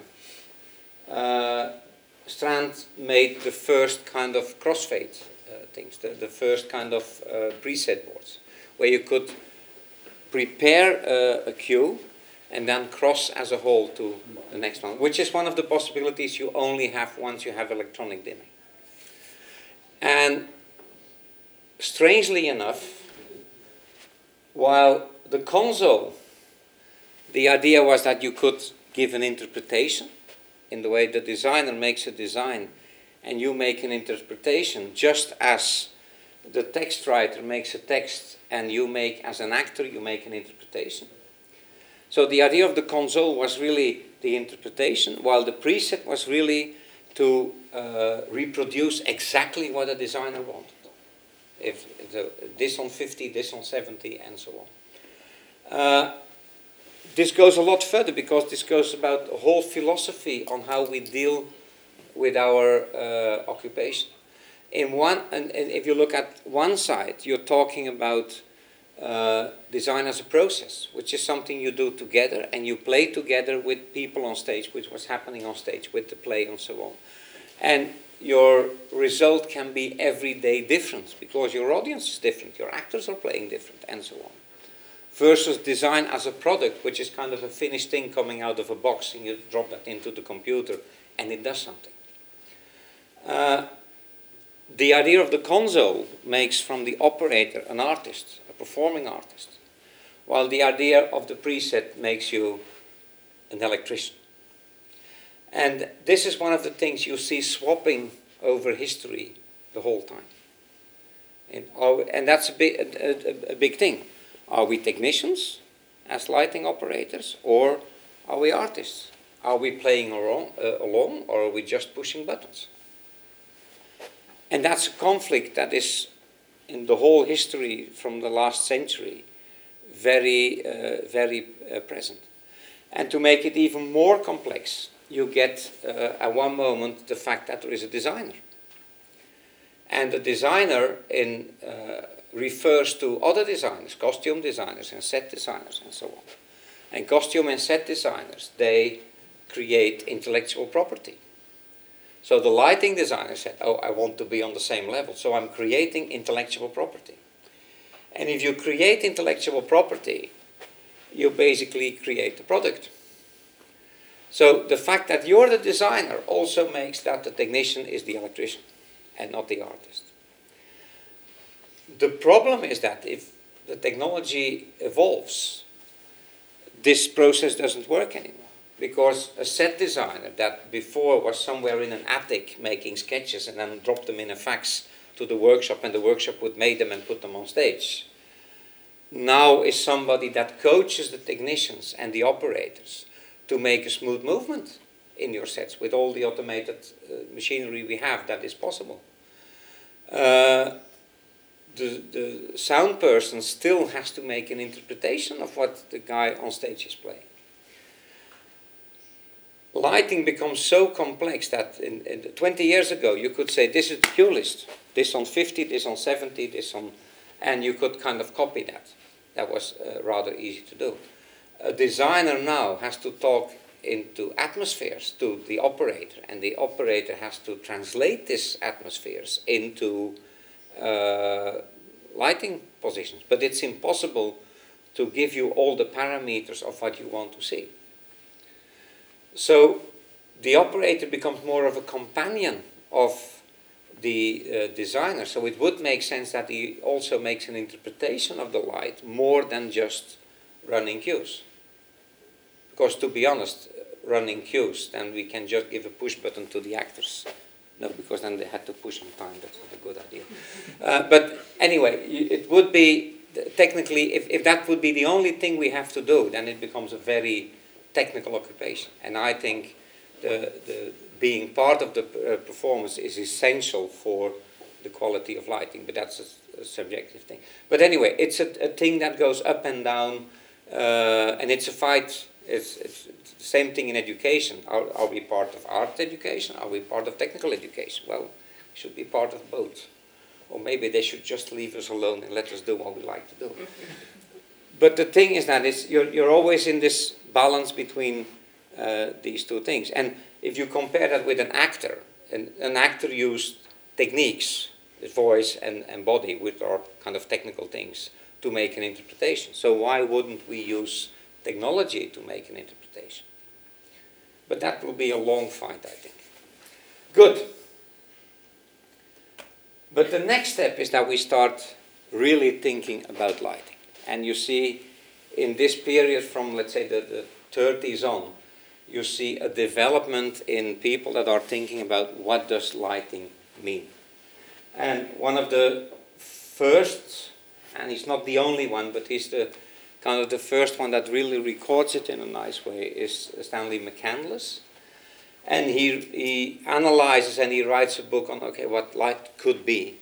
Strand made the first kind of crossfade things, the first kind of preset boards, where you could prepare a cue and then cross as a whole to the next one, which is one of the possibilities you only have once you have electronic dimming. And strangely enough, while the console, the idea was that you could give an interpretation in the way the designer makes a design and you make an interpretation, just as the text writer makes a text and you make, as an actor, you make an interpretation. So the idea of the console was really the interpretation, while the preset was really to reproduce exactly what a designer wanted. If this on 50, this on 70, and so on. This goes a lot further because this goes about a whole philosophy on how we deal with our occupation. And if you look at one side, you're talking about design as a process, which is something you do together and you play together with people on stage, with what's happening on stage, with the play and so on. And your result can be every day different because your audience is different, your actors are playing different, and so on. Versus design as a product, which is kind of a finished thing coming out of a box and you drop that into the computer and it does something. The idea of the console makes from the operator an artist, a performing artist, while the idea of the preset makes you an electrician. And this is one of the things you see swapping over history the whole time. And that's a big thing. Are we technicians as lighting operators, or are we artists? Are we playing along, or are we just pushing buttons? And that's a conflict that is in the whole history from the last century very present. And to make it even more complex, you get at one moment the fact that there is a designer. And the designer refers to other designers, costume designers and set designers and so on. And costume and set designers, they create intellectual property. So the lighting designer said, oh, I want to be on the same level, so I'm creating intellectual property. And if you create intellectual property, you basically create the product. So the fact that you're the designer also makes that the technician is the electrician and not the artist. The problem is that if the technology evolves, this process doesn't work anymore. Because a set designer that before was somewhere in an attic making sketches and then dropped them in a fax to the workshop and the workshop would make them and put them on stage, now is somebody that coaches the technicians and the operators to make a smooth movement in your sets with all the automated machinery we have that is possible. The sound person still has to make an interpretation of what the guy on stage is playing. Lighting becomes so complex that 20 years ago you could say this is the cue list, this on 50, this on 70, this on, and you could kind of copy that. That was rather easy to do. A designer now has to talk into atmospheres to the operator, and the operator has to translate these atmospheres into lighting positions. But it's impossible to give you all the parameters of what you want to see. So the operator becomes more of a companion of the designer. So it would make sense that he also makes an interpretation of the light more than just running cues. Because to be honest, running cues, then we can just give a push button to the actors. No, because then they had to push on time. That's not a good idea. But anyway, it would be, technically, if that would be the only thing we have to do, then it becomes a very technical occupation. And I think the being part of the performance is essential for the quality of lighting, but that's a subjective thing. But anyway, it's a thing that goes up and down, and it's a fight. It's the same thing in education. Are we part of art education? Are we part of technical education? Well, we should be part of both. Or maybe they should just leave us alone and let us do what we like to do. But the thing is that you're always in this balance between these two things. And if you compare that with an actor, an actor used techniques, his voice and body, which are kind of technical things, to make an interpretation. So why wouldn't we use technology to make an interpretation? But that will be a long fight, I think. Good. But the next step is that we start really thinking about lighting. And you see, in this period from, let's say, the 30s on, you see a development in people that are thinking about what does lighting mean. And one of the first, and he's not the only one, but he's the kind of the first one that really records it in a nice way, is Stanley McCandless. and he analyzes and he writes a book on, okay, what light could be.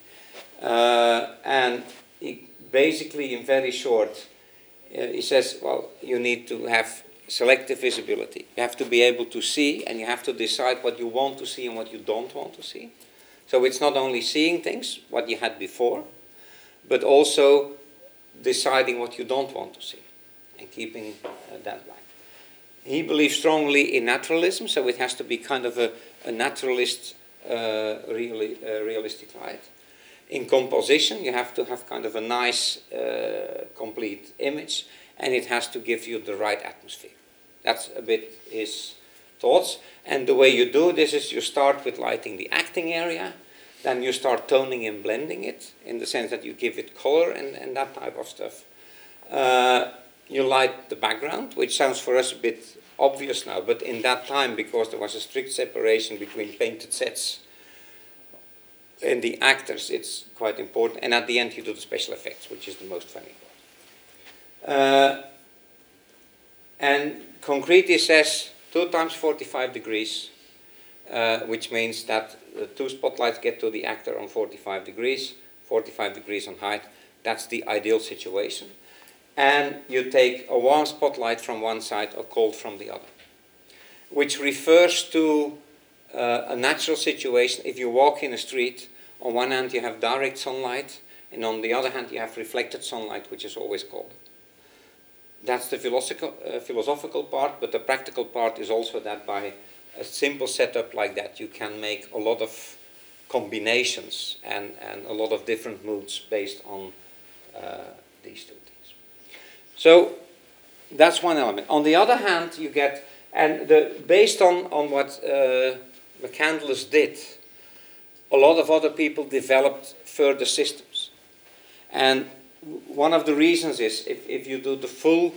And he basically, in very short, he says, well, you need to have selective visibility. You have to be able to see, and you have to decide what you want to see and what you don't want to see. So it's not only seeing things, what you had before, but also deciding what you don't want to see and keeping that blank. He believes strongly in naturalism, so it has to be kind of a naturalist, realistic light. In composition, you have to have kind of a nice, complete image, and it has to give you the right atmosphere. That's a bit his thoughts. And the way you do this is you start with lighting the acting area, then you start toning and blending it, in the sense that you give it color and that type of stuff. You light the background, which sounds for us a bit obvious now, but in that time, because there was a strict separation between painted sets and the actors, it's quite important. And at the end, you do the special effects, which is the most funny part. And concretely says 2 times 45 degrees, which means that the 2 spotlights get to the actor on 45 degrees on height. That's the ideal situation. And you take a warm spotlight from one side, a cold from the other, which refers to a natural situation. If you walk in a street, on one hand you have direct sunlight, and on the other hand you have reflected sunlight, which is always cold. That's the philosophical part, but the practical part is also that by a simple setup like that, you can make a lot of combinations and a lot of different moods based on these 2 things. So that's one element. On the other hand, you get, and based on what McCandless did, a lot of other people developed further systems. And one of the reasons is if you do the full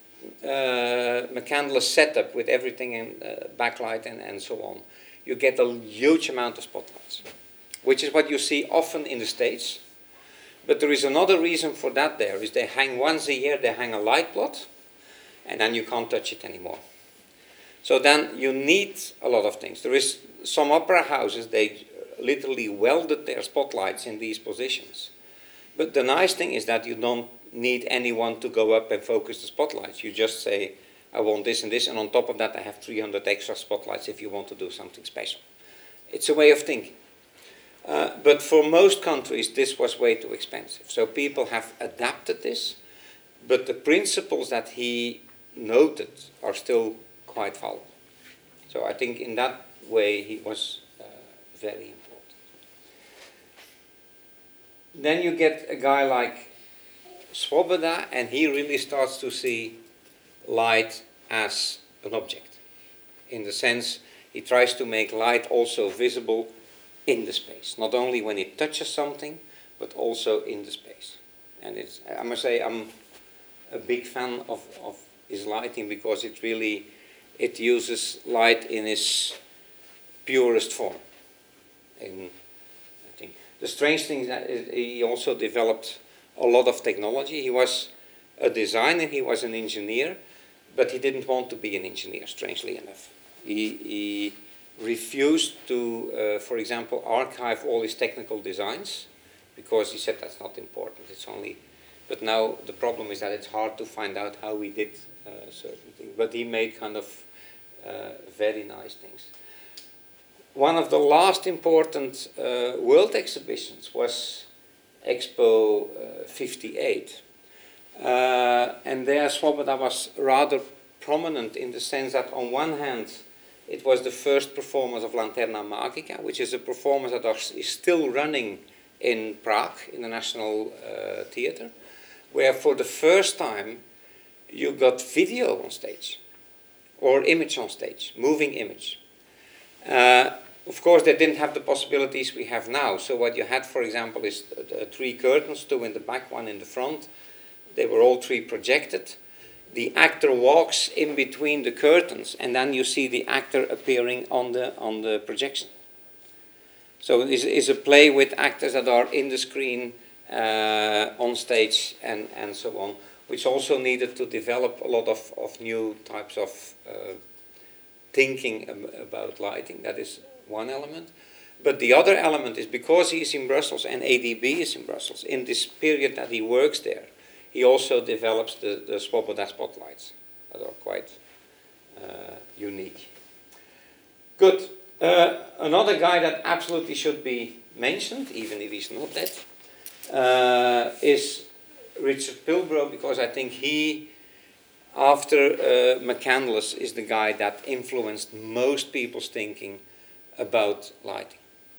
McCandless setup with everything in backlight and so on, you get a huge amount of spotlights, which is what you see often in the States. But there is another reason for that there, is they hang once a year, they hang a light plot, and then you can't touch it anymore. So then you need a lot of things. There is some opera houses, they literally welded their spotlights in these positions. But the nice thing is that you don't need anyone to go up and focus the spotlights. You just say, I want this and this, and on top of that I have 300 extra spotlights if you want to do something special. It's a way of thinking. But for most countries, this was way too expensive. So people have adapted this, but the principles that he noted are still quite valid. So I think in that way, he was very important. Then you get a guy like Swoboda, and he really starts to see light as an object. In the sense, he tries to make light also visible in the space, not only when it touches something, but also in the space. And I must say, I'm a big fan of his lighting, because it uses light in its purest form. And I think the strange thing is that he also developed a lot of technology. He was a designer, he was an engineer, but he didn't want to be an engineer, strangely enough. He refused to, for example, archive all his technical designs, because he said that's not important, it's only... But now the problem is that it's hard to find out how he did certain things. But he made kind of very nice things. One of the last important world exhibitions was Expo 58. And there Swoboda was rather prominent, in the sense that on one hand it was the first performance of Lanterna Magica, which is a performance that is still running in Prague, in the National Theatre, where for the first time you got video on stage, or image on stage, moving image. Of course, they didn't have the possibilities we have now. So what you had, for example, is 3 curtains, 2 in the back, 1 in the front. They were all 3 projected. The actor walks in between the curtains, and then you see the actor appearing on the projection. So it is a play with actors that are in the screen, on stage, and so on, which also needed to develop a lot of new types of thinking about lighting. That is one element. But the other element is because he is in Brussels and ADB is in Brussels, in this period that he works there, he also develops the Swoboda spotlights that are quite unique. Good. Another guy that absolutely should be mentioned, even if he's not dead, is Richard Pilbrow, because I think he, after McCandless, is the guy that influenced most people's thinking about lighting.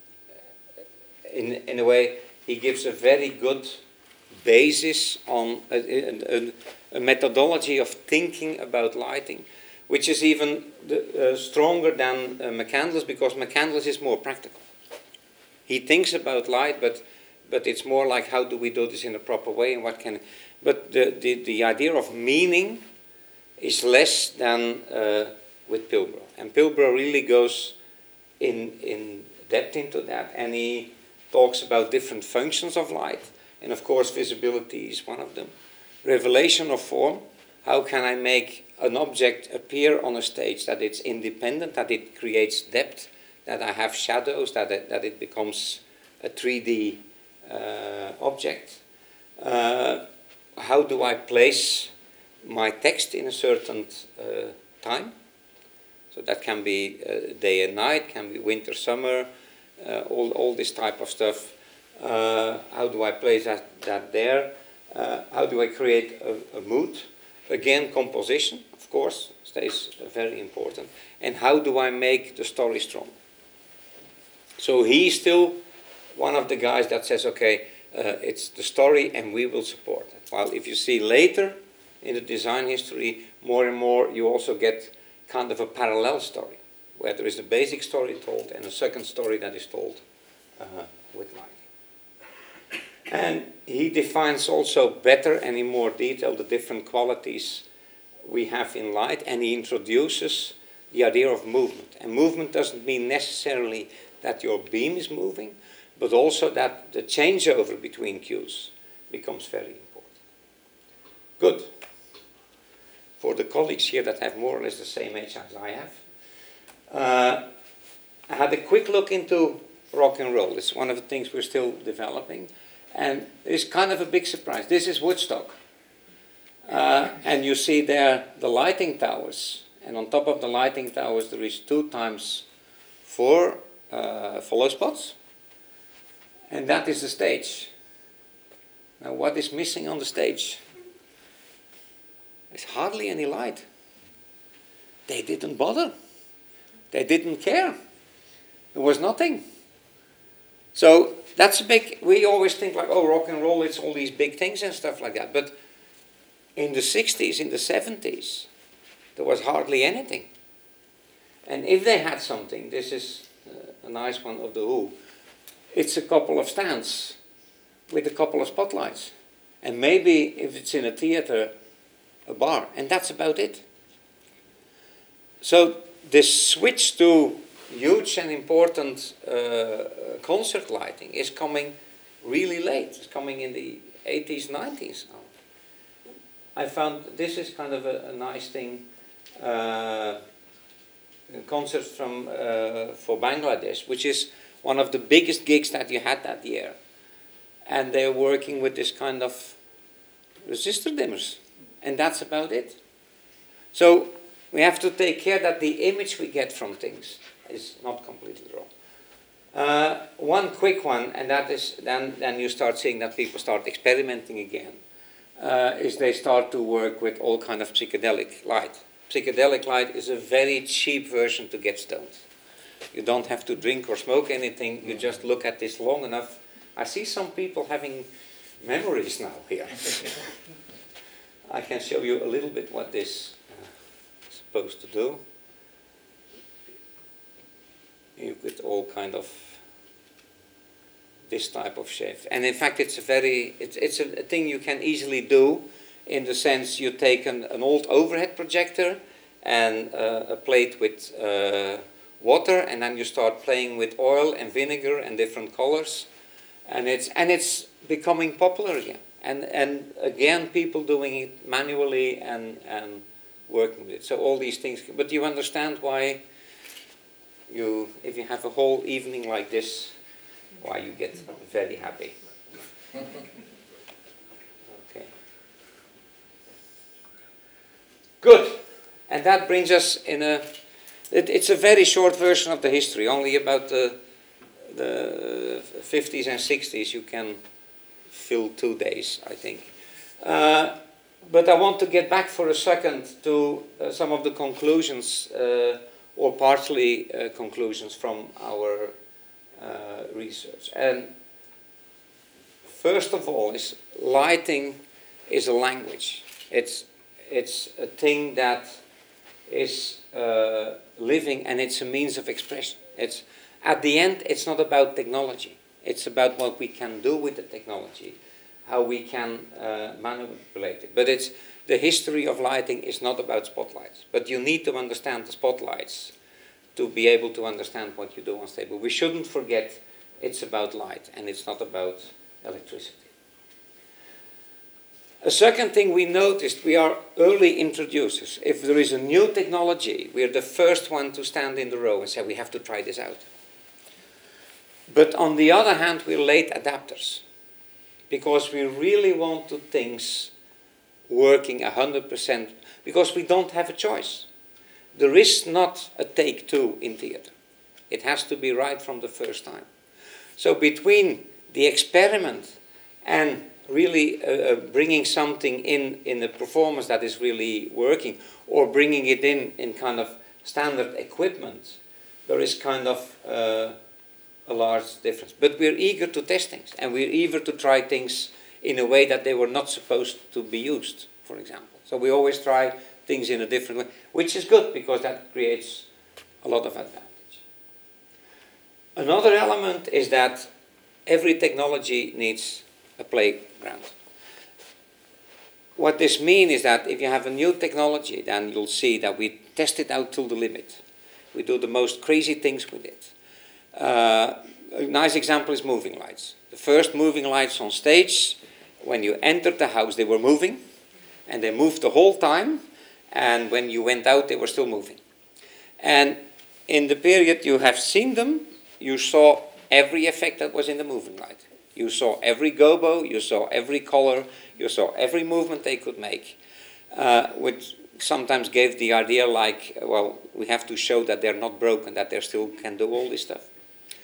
In a way, he gives a very good basis on a methodology of thinking about lighting, which is even stronger than McCandless, because McCandless is more practical. He thinks about light, but it's more like, how do we do this in a proper way, and what can... But the idea of meaning is less than with Pilbrow. And Pilbrow really goes in depth into that, and he talks about different functions of light, and of course visibility is one of them. Revelation of form, how can I make an object appear on a stage that it's independent, that it creates depth, that I have shadows, that it becomes a 3D object. How do I place my text in a certain time? So that can be day and night, can be winter, summer, all this type of stuff. How do I place that there? How do I create a mood? Again, composition, of course, stays very important. And how do I make the story strong? So he's still one of the guys that says, okay, it's the story and we will support it. While if you see later in the design history, more and more you also get kind of a parallel story, where there is a basic story told and a second story that is told with lighting. And he defines also better and in more detail the different qualities we have in light, and he introduces the idea of movement. And movement doesn't mean necessarily that your beam is moving, but also that the changeover between cues becomes very important. Good. For the colleagues here that have more or less the same age as I have, I had a quick look into rock and roll. It's one of the things we're still developing. And it's kind of a big surprise. This is Woodstock. And you see there the lighting towers. And on top of the lighting towers, there is 2 times 4 follow spots. And that is the stage. Now, what is missing on the stage? There's hardly any light. They didn't bother. They didn't care. There was nothing. So that's a big, we always think like, oh, rock and roll, it's all these big things and stuff like that. But in the 60s, in the 70s, there was hardly anything. And if they had something, this is a nice one of the Who, it's a couple of stands with a couple of spotlights. And maybe if it's in a theater, a bar. And that's about it. So this switch to huge and important concert lighting is coming really late. It's coming in the 80s, 90s. I found this is kind of a nice thing. Concerts from for Bangladesh, which is one of the biggest gigs that you had that year. And they're working with this kind of resistor dimmers. And that's about it. So we have to take care that the image we get from things is not completely wrong. One quick one, and that is then you start seeing that people start experimenting again, is they start to work with all kind of psychedelic light. Psychedelic light is a very cheap version to get stoned. You don't have to drink or smoke anything, you just look at this long enough. I see some people having memories now here. I can show you a little bit what this is supposed to do. You get all kind of this type of shape. And in fact, it's a thing you can easily do, in the sense you take an old overhead projector and a plate with water, and then you start playing with oil and vinegar and different colors, and it's becoming popular again. And again, people doing it manually and working with it. So all these things, but you understand why if you have a whole evening like this, why you get very happy. Okay. Good. And that brings us it's a very short version of the history, only about the 50s and 60s you can fill 2 days, I think. But I want to get back for a second to some of the conclusions, or partially conclusions from our research. And first of all, lighting is a language. It's a thing that is living, and it's a means of expression. At the end, it's not about technology. It's about what we can do with the technology, how we can manipulate it. But the history of lighting is not about spotlights. But you need to understand the spotlights to be able to understand what you do on stage. But we shouldn't forget it's about light, and it's not about electricity. A second thing we noticed, we are early introducers. If there is a new technology, we are the first one to stand in the row and say, we have to try this out. But on the other hand, we're late adapters, because we really want things working 100%, because we don't have a choice. There is not a take two in theater. It has to be right from the first time. So between the experiment and really bringing something in a performance that is really working, or bringing it in kind of standard equipment, there is kind of a large difference. But we're eager to test things, and we're eager to try things in a way that they were not supposed to be used, for example. So we always try things in a different way, which is good, because that creates a lot of advantage. Another element is that every technology needs a playground. What this means is that if you have a new technology, then you'll see that we test it out till the limit. We do the most crazy things with it. A nice example is moving lights. The first moving lights on stage, when you entered the house, they were moving, and they moved the whole time, and when you went out, they were still moving. And in the period you have seen them, you saw every effect that was in the moving light. You saw every gobo, you saw every color, you saw every movement they could make, which sometimes gave the idea like, well, we have to show that they're not broken, that they still can do all this stuff.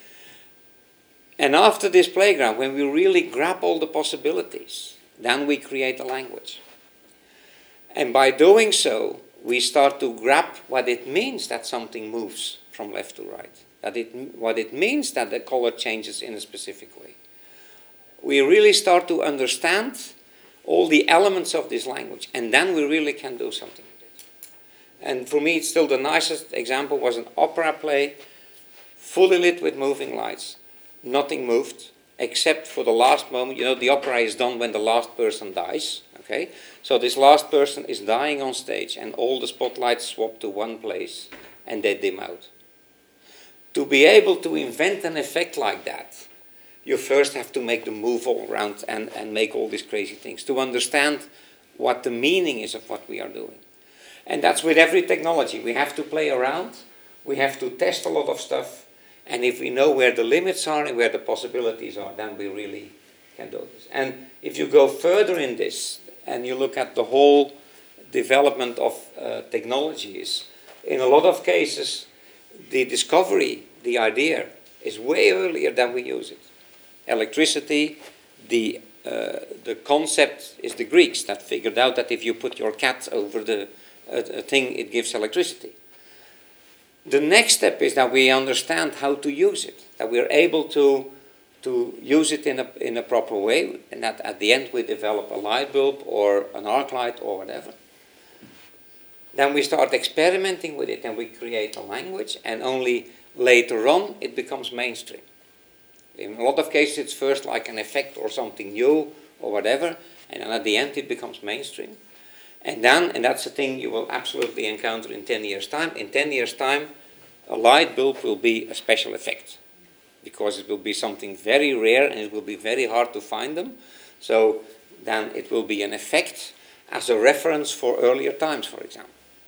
And after this playground, when we really grab all the possibilities, then we create a language. And by doing so, we start to grab what it means that something moves from left to right, what it means that the color changes in a specific way. We really start to understand all the elements of this language, and then we really can do something with it. And for me, it's still the nicest example was an opera play, fully lit with moving lights. Nothing moved, except for the last moment. You know, the opera is done when the last person dies. Okay, so this last person is dying on stage, and all the spotlights swap to one place, and they dim out. To be able to invent an effect like that, you first have to make them move all around and make all these crazy things, to understand what the meaning is of what we are doing. And that's with every technology. We have to play around, we have to test a lot of stuff, and if we know where the limits are and where the possibilities are, then we really can do this. And if you go further in this, and you look at the whole development of technologies, in a lot of cases, the discovery, the idea, is way earlier than we use it. Electricity, the concept is the Greeks that figured out that if you put your cat over the thing, it gives electricity. The next step is that we understand how to use it, that we're able to use it in a proper way, and that at the end we develop a light bulb or an arc light or whatever. Then we start experimenting with it, and we create a language, and only later on it becomes mainstream. In a lot of cases it's first like an effect or something new or whatever, and then at the end it becomes mainstream. And that's the thing you will absolutely encounter in 10 years' time. In 10 years' time, a light bulb will be a special effect, because it will be something very rare and it will be very hard to find them. So then it will be an effect as a reference for earlier times, for example.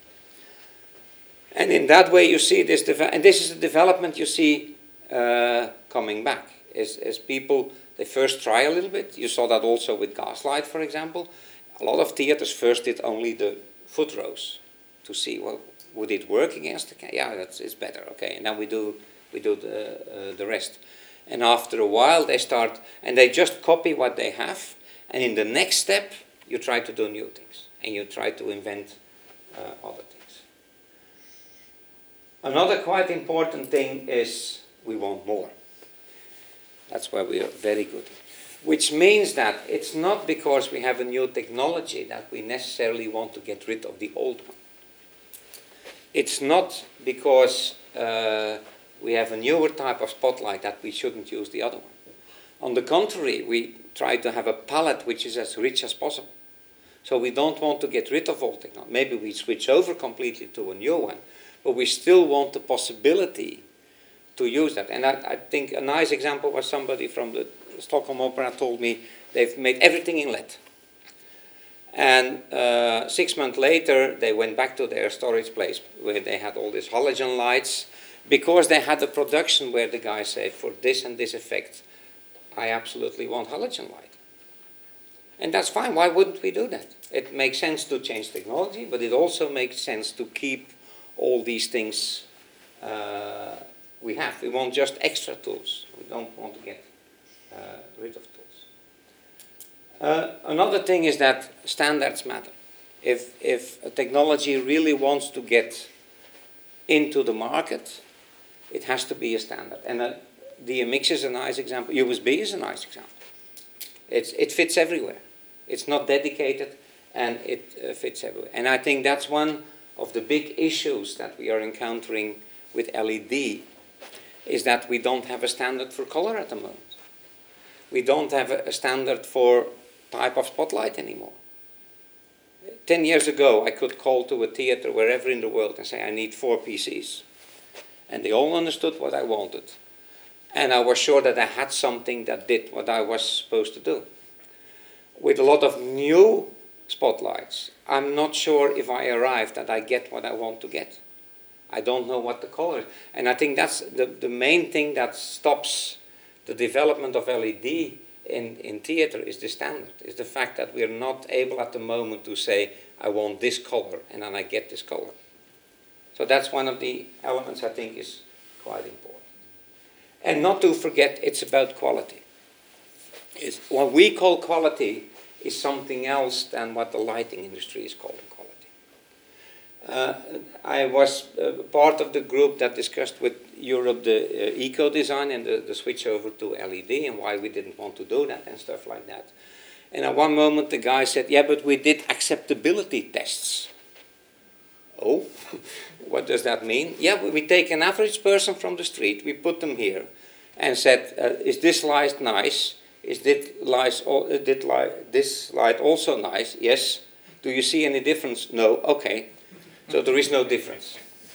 And in that way, you see this, and this is the development you see coming back. As people, they first try a little bit. You saw that also with Gaslight, for example. A lot of theaters first did only the foot rows to see, well, would it work against the cat? Yeah, it's better. Okay, and then we do the rest. And after a while, they start, and they just copy what they have. And in the next step, you try to do new things, and you try to invent other things. Another quite important thing is we want more. That's where we are very good. Which means that it's not because we have a new technology that we necessarily want to get rid of the old one. It's not because we have a newer type of spotlight that we shouldn't use the other one. On the contrary, we try to have a palette which is as rich as possible. So we don't want to get rid of old technology. Maybe we switch over completely to a new one, but we still want the possibility to use that. And I think a nice example was somebody from the Stockholm Opera told me they've made everything in LED. And 6 months later, they went back to their storage place where they had all these halogen lights because they had a production where the guy said, for this and this effect, I absolutely want halogen light. And that's fine. Why wouldn't we do that? It makes sense to change technology, but it also makes sense to keep all these things we have. We want just extra tools. We don't want to get rid of tools. Another thing is that standards matter. If a technology really wants to get into the market, it has to be a standard. And DMX is a nice example. USB is a nice example. It fits everywhere. It's not dedicated, and it fits everywhere. And I think that's one of the big issues that we are encountering with LED, is that we don't have a standard for color at the moment. We don't have a standard for type of spotlight anymore. 10 years ago, I could call to a theater wherever in the world and say, I need 4 PCs. And they all understood what I wanted. And I was sure that I had something that did what I was supposed to do. With a lot of new spotlights, I'm not sure if I arrive that I get what I want to get. I don't know what the color is. And I think that's the main thing that stops the development of LED in theater is the standard, is the fact that we're not able at the moment to say, I want this color, and then I get this color. So that's one of the elements I think is quite important. And not to forget, it's about quality. What we call quality is something else than what the lighting industry is calling quality. I was part of the group that discussed with Europe the eco-design and the switch over to LED and why we didn't want to do that and stuff like that. And at one moment the guy said, yeah, but we did acceptability tests. Oh, what does that mean? Yeah, we take an average person from the street, we put them here and said, is this light nice? Is this light also nice? Yes. Do you see any difference? No. Okay. So there is no difference.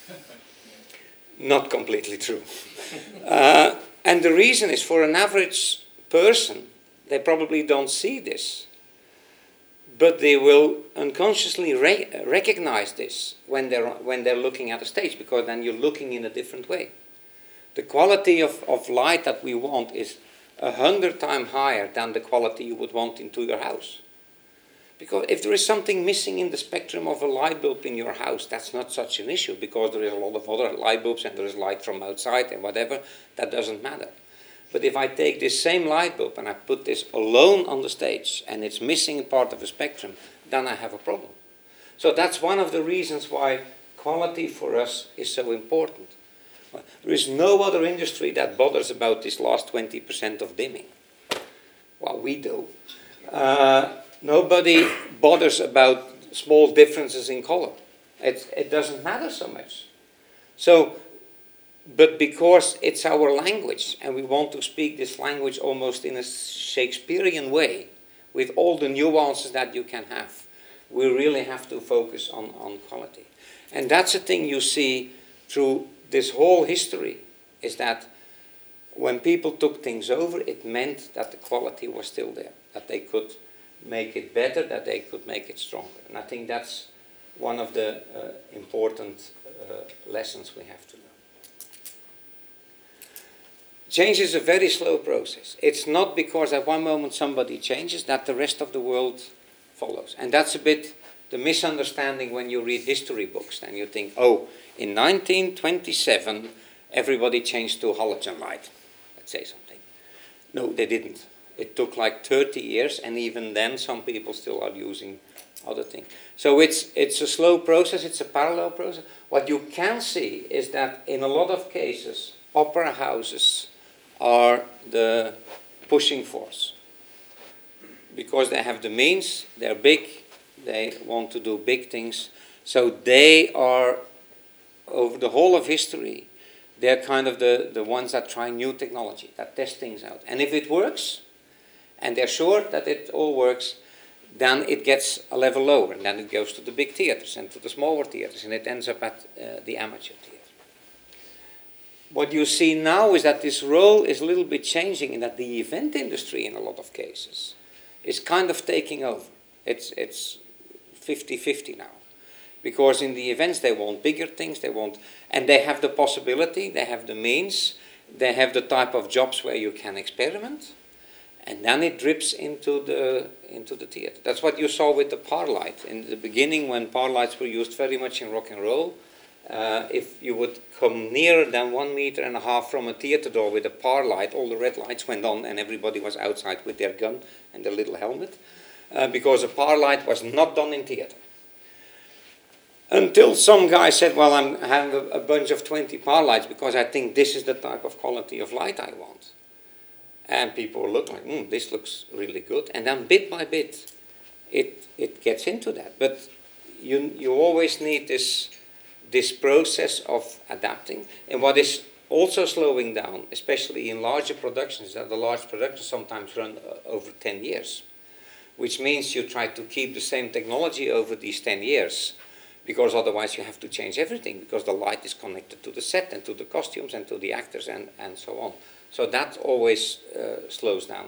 Not completely true. And the reason is for an average person, they probably don't see this. But they will unconsciously recognize this when they're looking at a stage, because then you're looking in a different way. The quality of light that we want is 100 times higher than the quality you would want into your house. Because if there is something missing in the spectrum of a light bulb in your house, that's not such an issue, because there is a lot of other light bulbs and there is light from outside and whatever, that doesn't matter. But if I take this same light bulb and I put this alone on the stage and it's missing a part of a spectrum, then I have a problem. So that's one of the reasons why quality for us is so important. There is no other industry that bothers about this last 20% of dimming. Well, we do. Nobody bothers about small differences in color. It doesn't matter so much. So, but because it's our language and we want to speak this language almost in a Shakespearean way, with all the nuances that you can have, we really have to focus on quality. And that's the thing you see through this whole history, is that when people took things over, it meant that the quality was still there, that they could make it better, that they could make it stronger. And I think that's one of the important lessons we have to learn. Change is a very slow process. It's not because at one moment somebody changes that the rest of the world follows. And that's a bit the misunderstanding when you read history books. And you think, oh, in 1927, everybody changed to halogen light. Let's say something. No, they didn't. It took like 30 years, and even then some people still are using other things. So it's a slow process, it's a parallel process. What you can see is that in a lot of cases, opera houses are the pushing force. Because they have the means, they're big, they want to do big things. So they are, over the whole of history, they're kind of the ones that try new technology, that test things out. And if it works, and they're sure that it all works, then it gets a level lower, and then it goes to the big theaters and to the smaller theaters, and it ends up at the amateur theater. What you see now is that this role is a little bit changing, in that the event industry, in a lot of cases, is kind of taking over. It's 50-50 now. Because in the events they want bigger things, and they have the possibility, they have the means, they have the type of jobs where you can experiment, and then it drips into the theater. That's what you saw with the par light. In the beginning, when par lights were used very much in rock and roll, if you would come nearer than 1.5 meters from a theater door with a par light, all the red lights went on and everybody was outside with their gun and their little helmet, because a par light was not done in theater. Until some guy said, well, I'm having a bunch of 20 par lights because I think this is the type of quality of light I want. And people look like, this looks really good. And then bit by bit, it gets into that. But you always need this process of adapting. And what is also slowing down, especially in larger productions, that the large productions sometimes run over 10 years. Which means you try to keep the same technology over these 10 years. Because otherwise you have to change everything, because the light is connected to the set and to the costumes and to the actors and so on. So that always slows down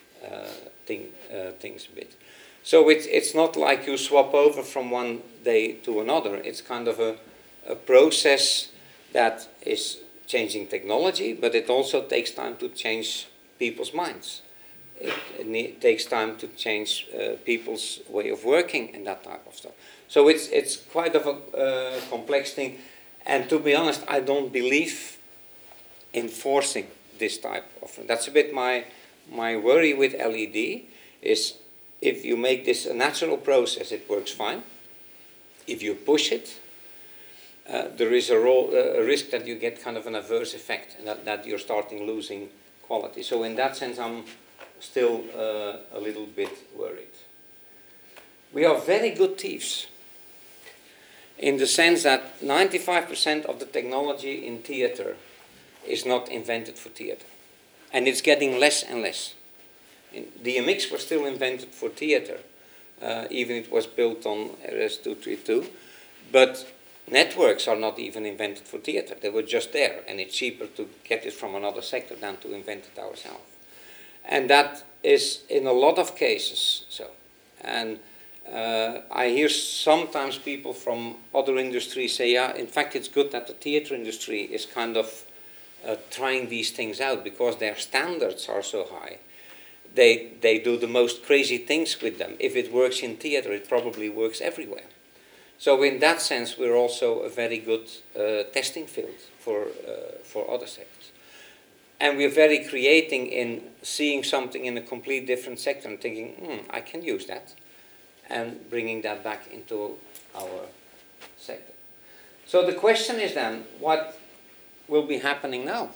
things a bit. So it's not like you swap over from one day to another. It's kind of a process that is changing technology, but it also takes time to change people's minds. It takes time to change people's way of working and that type of stuff. So it's quite of a complex thing. And to be honest, I don't believe in forcing this type of... That's a bit my worry with LED, is if you make this a natural process, it works fine. If you push it, there is a risk that you get kind of an adverse effect, and that you're starting losing quality. So in that sense, I'm still a little bit worried. We are very good thieves, in the sense that 95% of the technology in theater is not invented for theater. And it's getting less and less. DMX was still invented for theater, even it was built on RS-232. But networks are not even invented for theater. They were just there, and it's cheaper to get it from another sector than to invent it ourselves. And that is in a lot of cases so. And I hear sometimes people from other industries say, yeah, in fact it's good that the theater industry is kind of trying these things out because their standards are so high. They do the most crazy things with them. If it works in theater, it probably works everywhere. So in that sense, we're also a very good testing field for other sectors. And we're very creating in seeing something in a complete different sector and thinking, I can use that, and bringing that back into our sector. So the question is then, what will be happening now?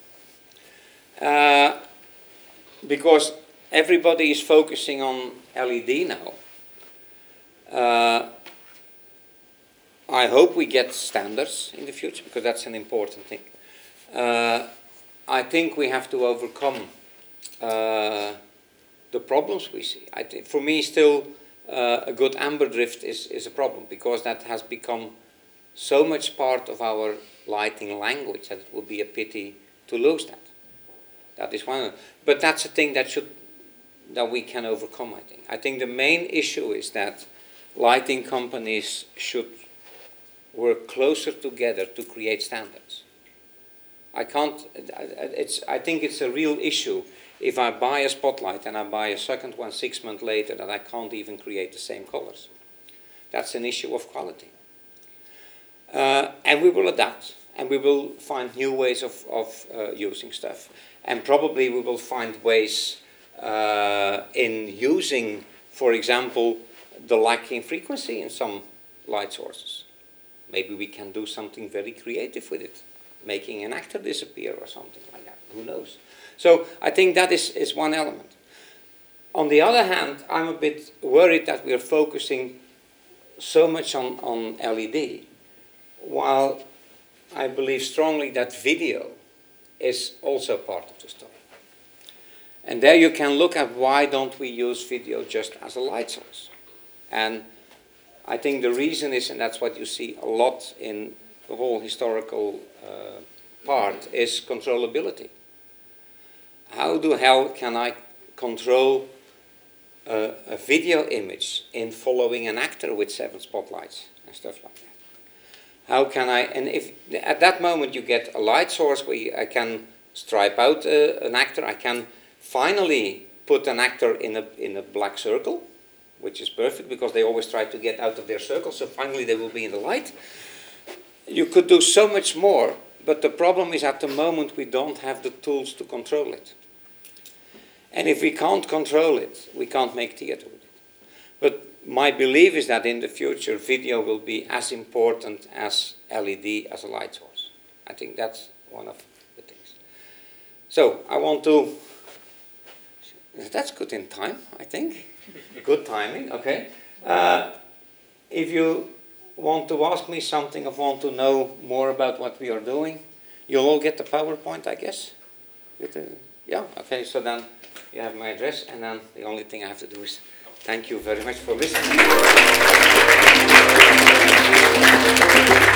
Because everybody is focusing on LED now. I hope we get standards in the future, because that's an important thing. I think we have to overcome the problems we see. I think for me still a good amber drift is a problem, because that has become so much part of our lighting language that it would be a pity to lose that. That is one. But that's a thing that we can overcome, I think. I think the main issue is that lighting companies should work closer together to create standards. I think it's a real issue if I buy a spotlight and I buy a second one 6 months later that I can't even create the same colors. That's an issue of quality. And we will adapt, and we will find new ways of using stuff. And probably we will find ways in using, for example, the lacking frequency in some light sources. Maybe we can do something very creative with it, making an actor disappear or something like that. Who knows? So I think that is one element. On the other hand, I'm a bit worried that we are focusing so much on LED, while I believe strongly that video is also part of the story. And there you can look at why don't we use video just as a light source. And I think the reason is, and that's what you see a lot in the whole historical part, is controllability. How the hell can I control a video image in following an actor with 7 spotlights and stuff like that? How can I, and if at that moment you get a light source where I can stripe out an actor, I can finally put an actor in a black circle, which is perfect because they always try to get out of their circle, so finally they will be in the light. You could do so much more, but the problem is at the moment we don't have the tools to control it. And if we can't control it, we can't make theater with it. But my belief is that in the future, video will be as important as LED as a light source. I think that's one of the things. So I want to, that's good in time, I think. Good timing, okay. If you want to ask me something or want to know more about what we are doing, you'll all get the PowerPoint, I guess? Yeah, okay, so then you have my address, and then the only thing I have to do is thank you very much for listening.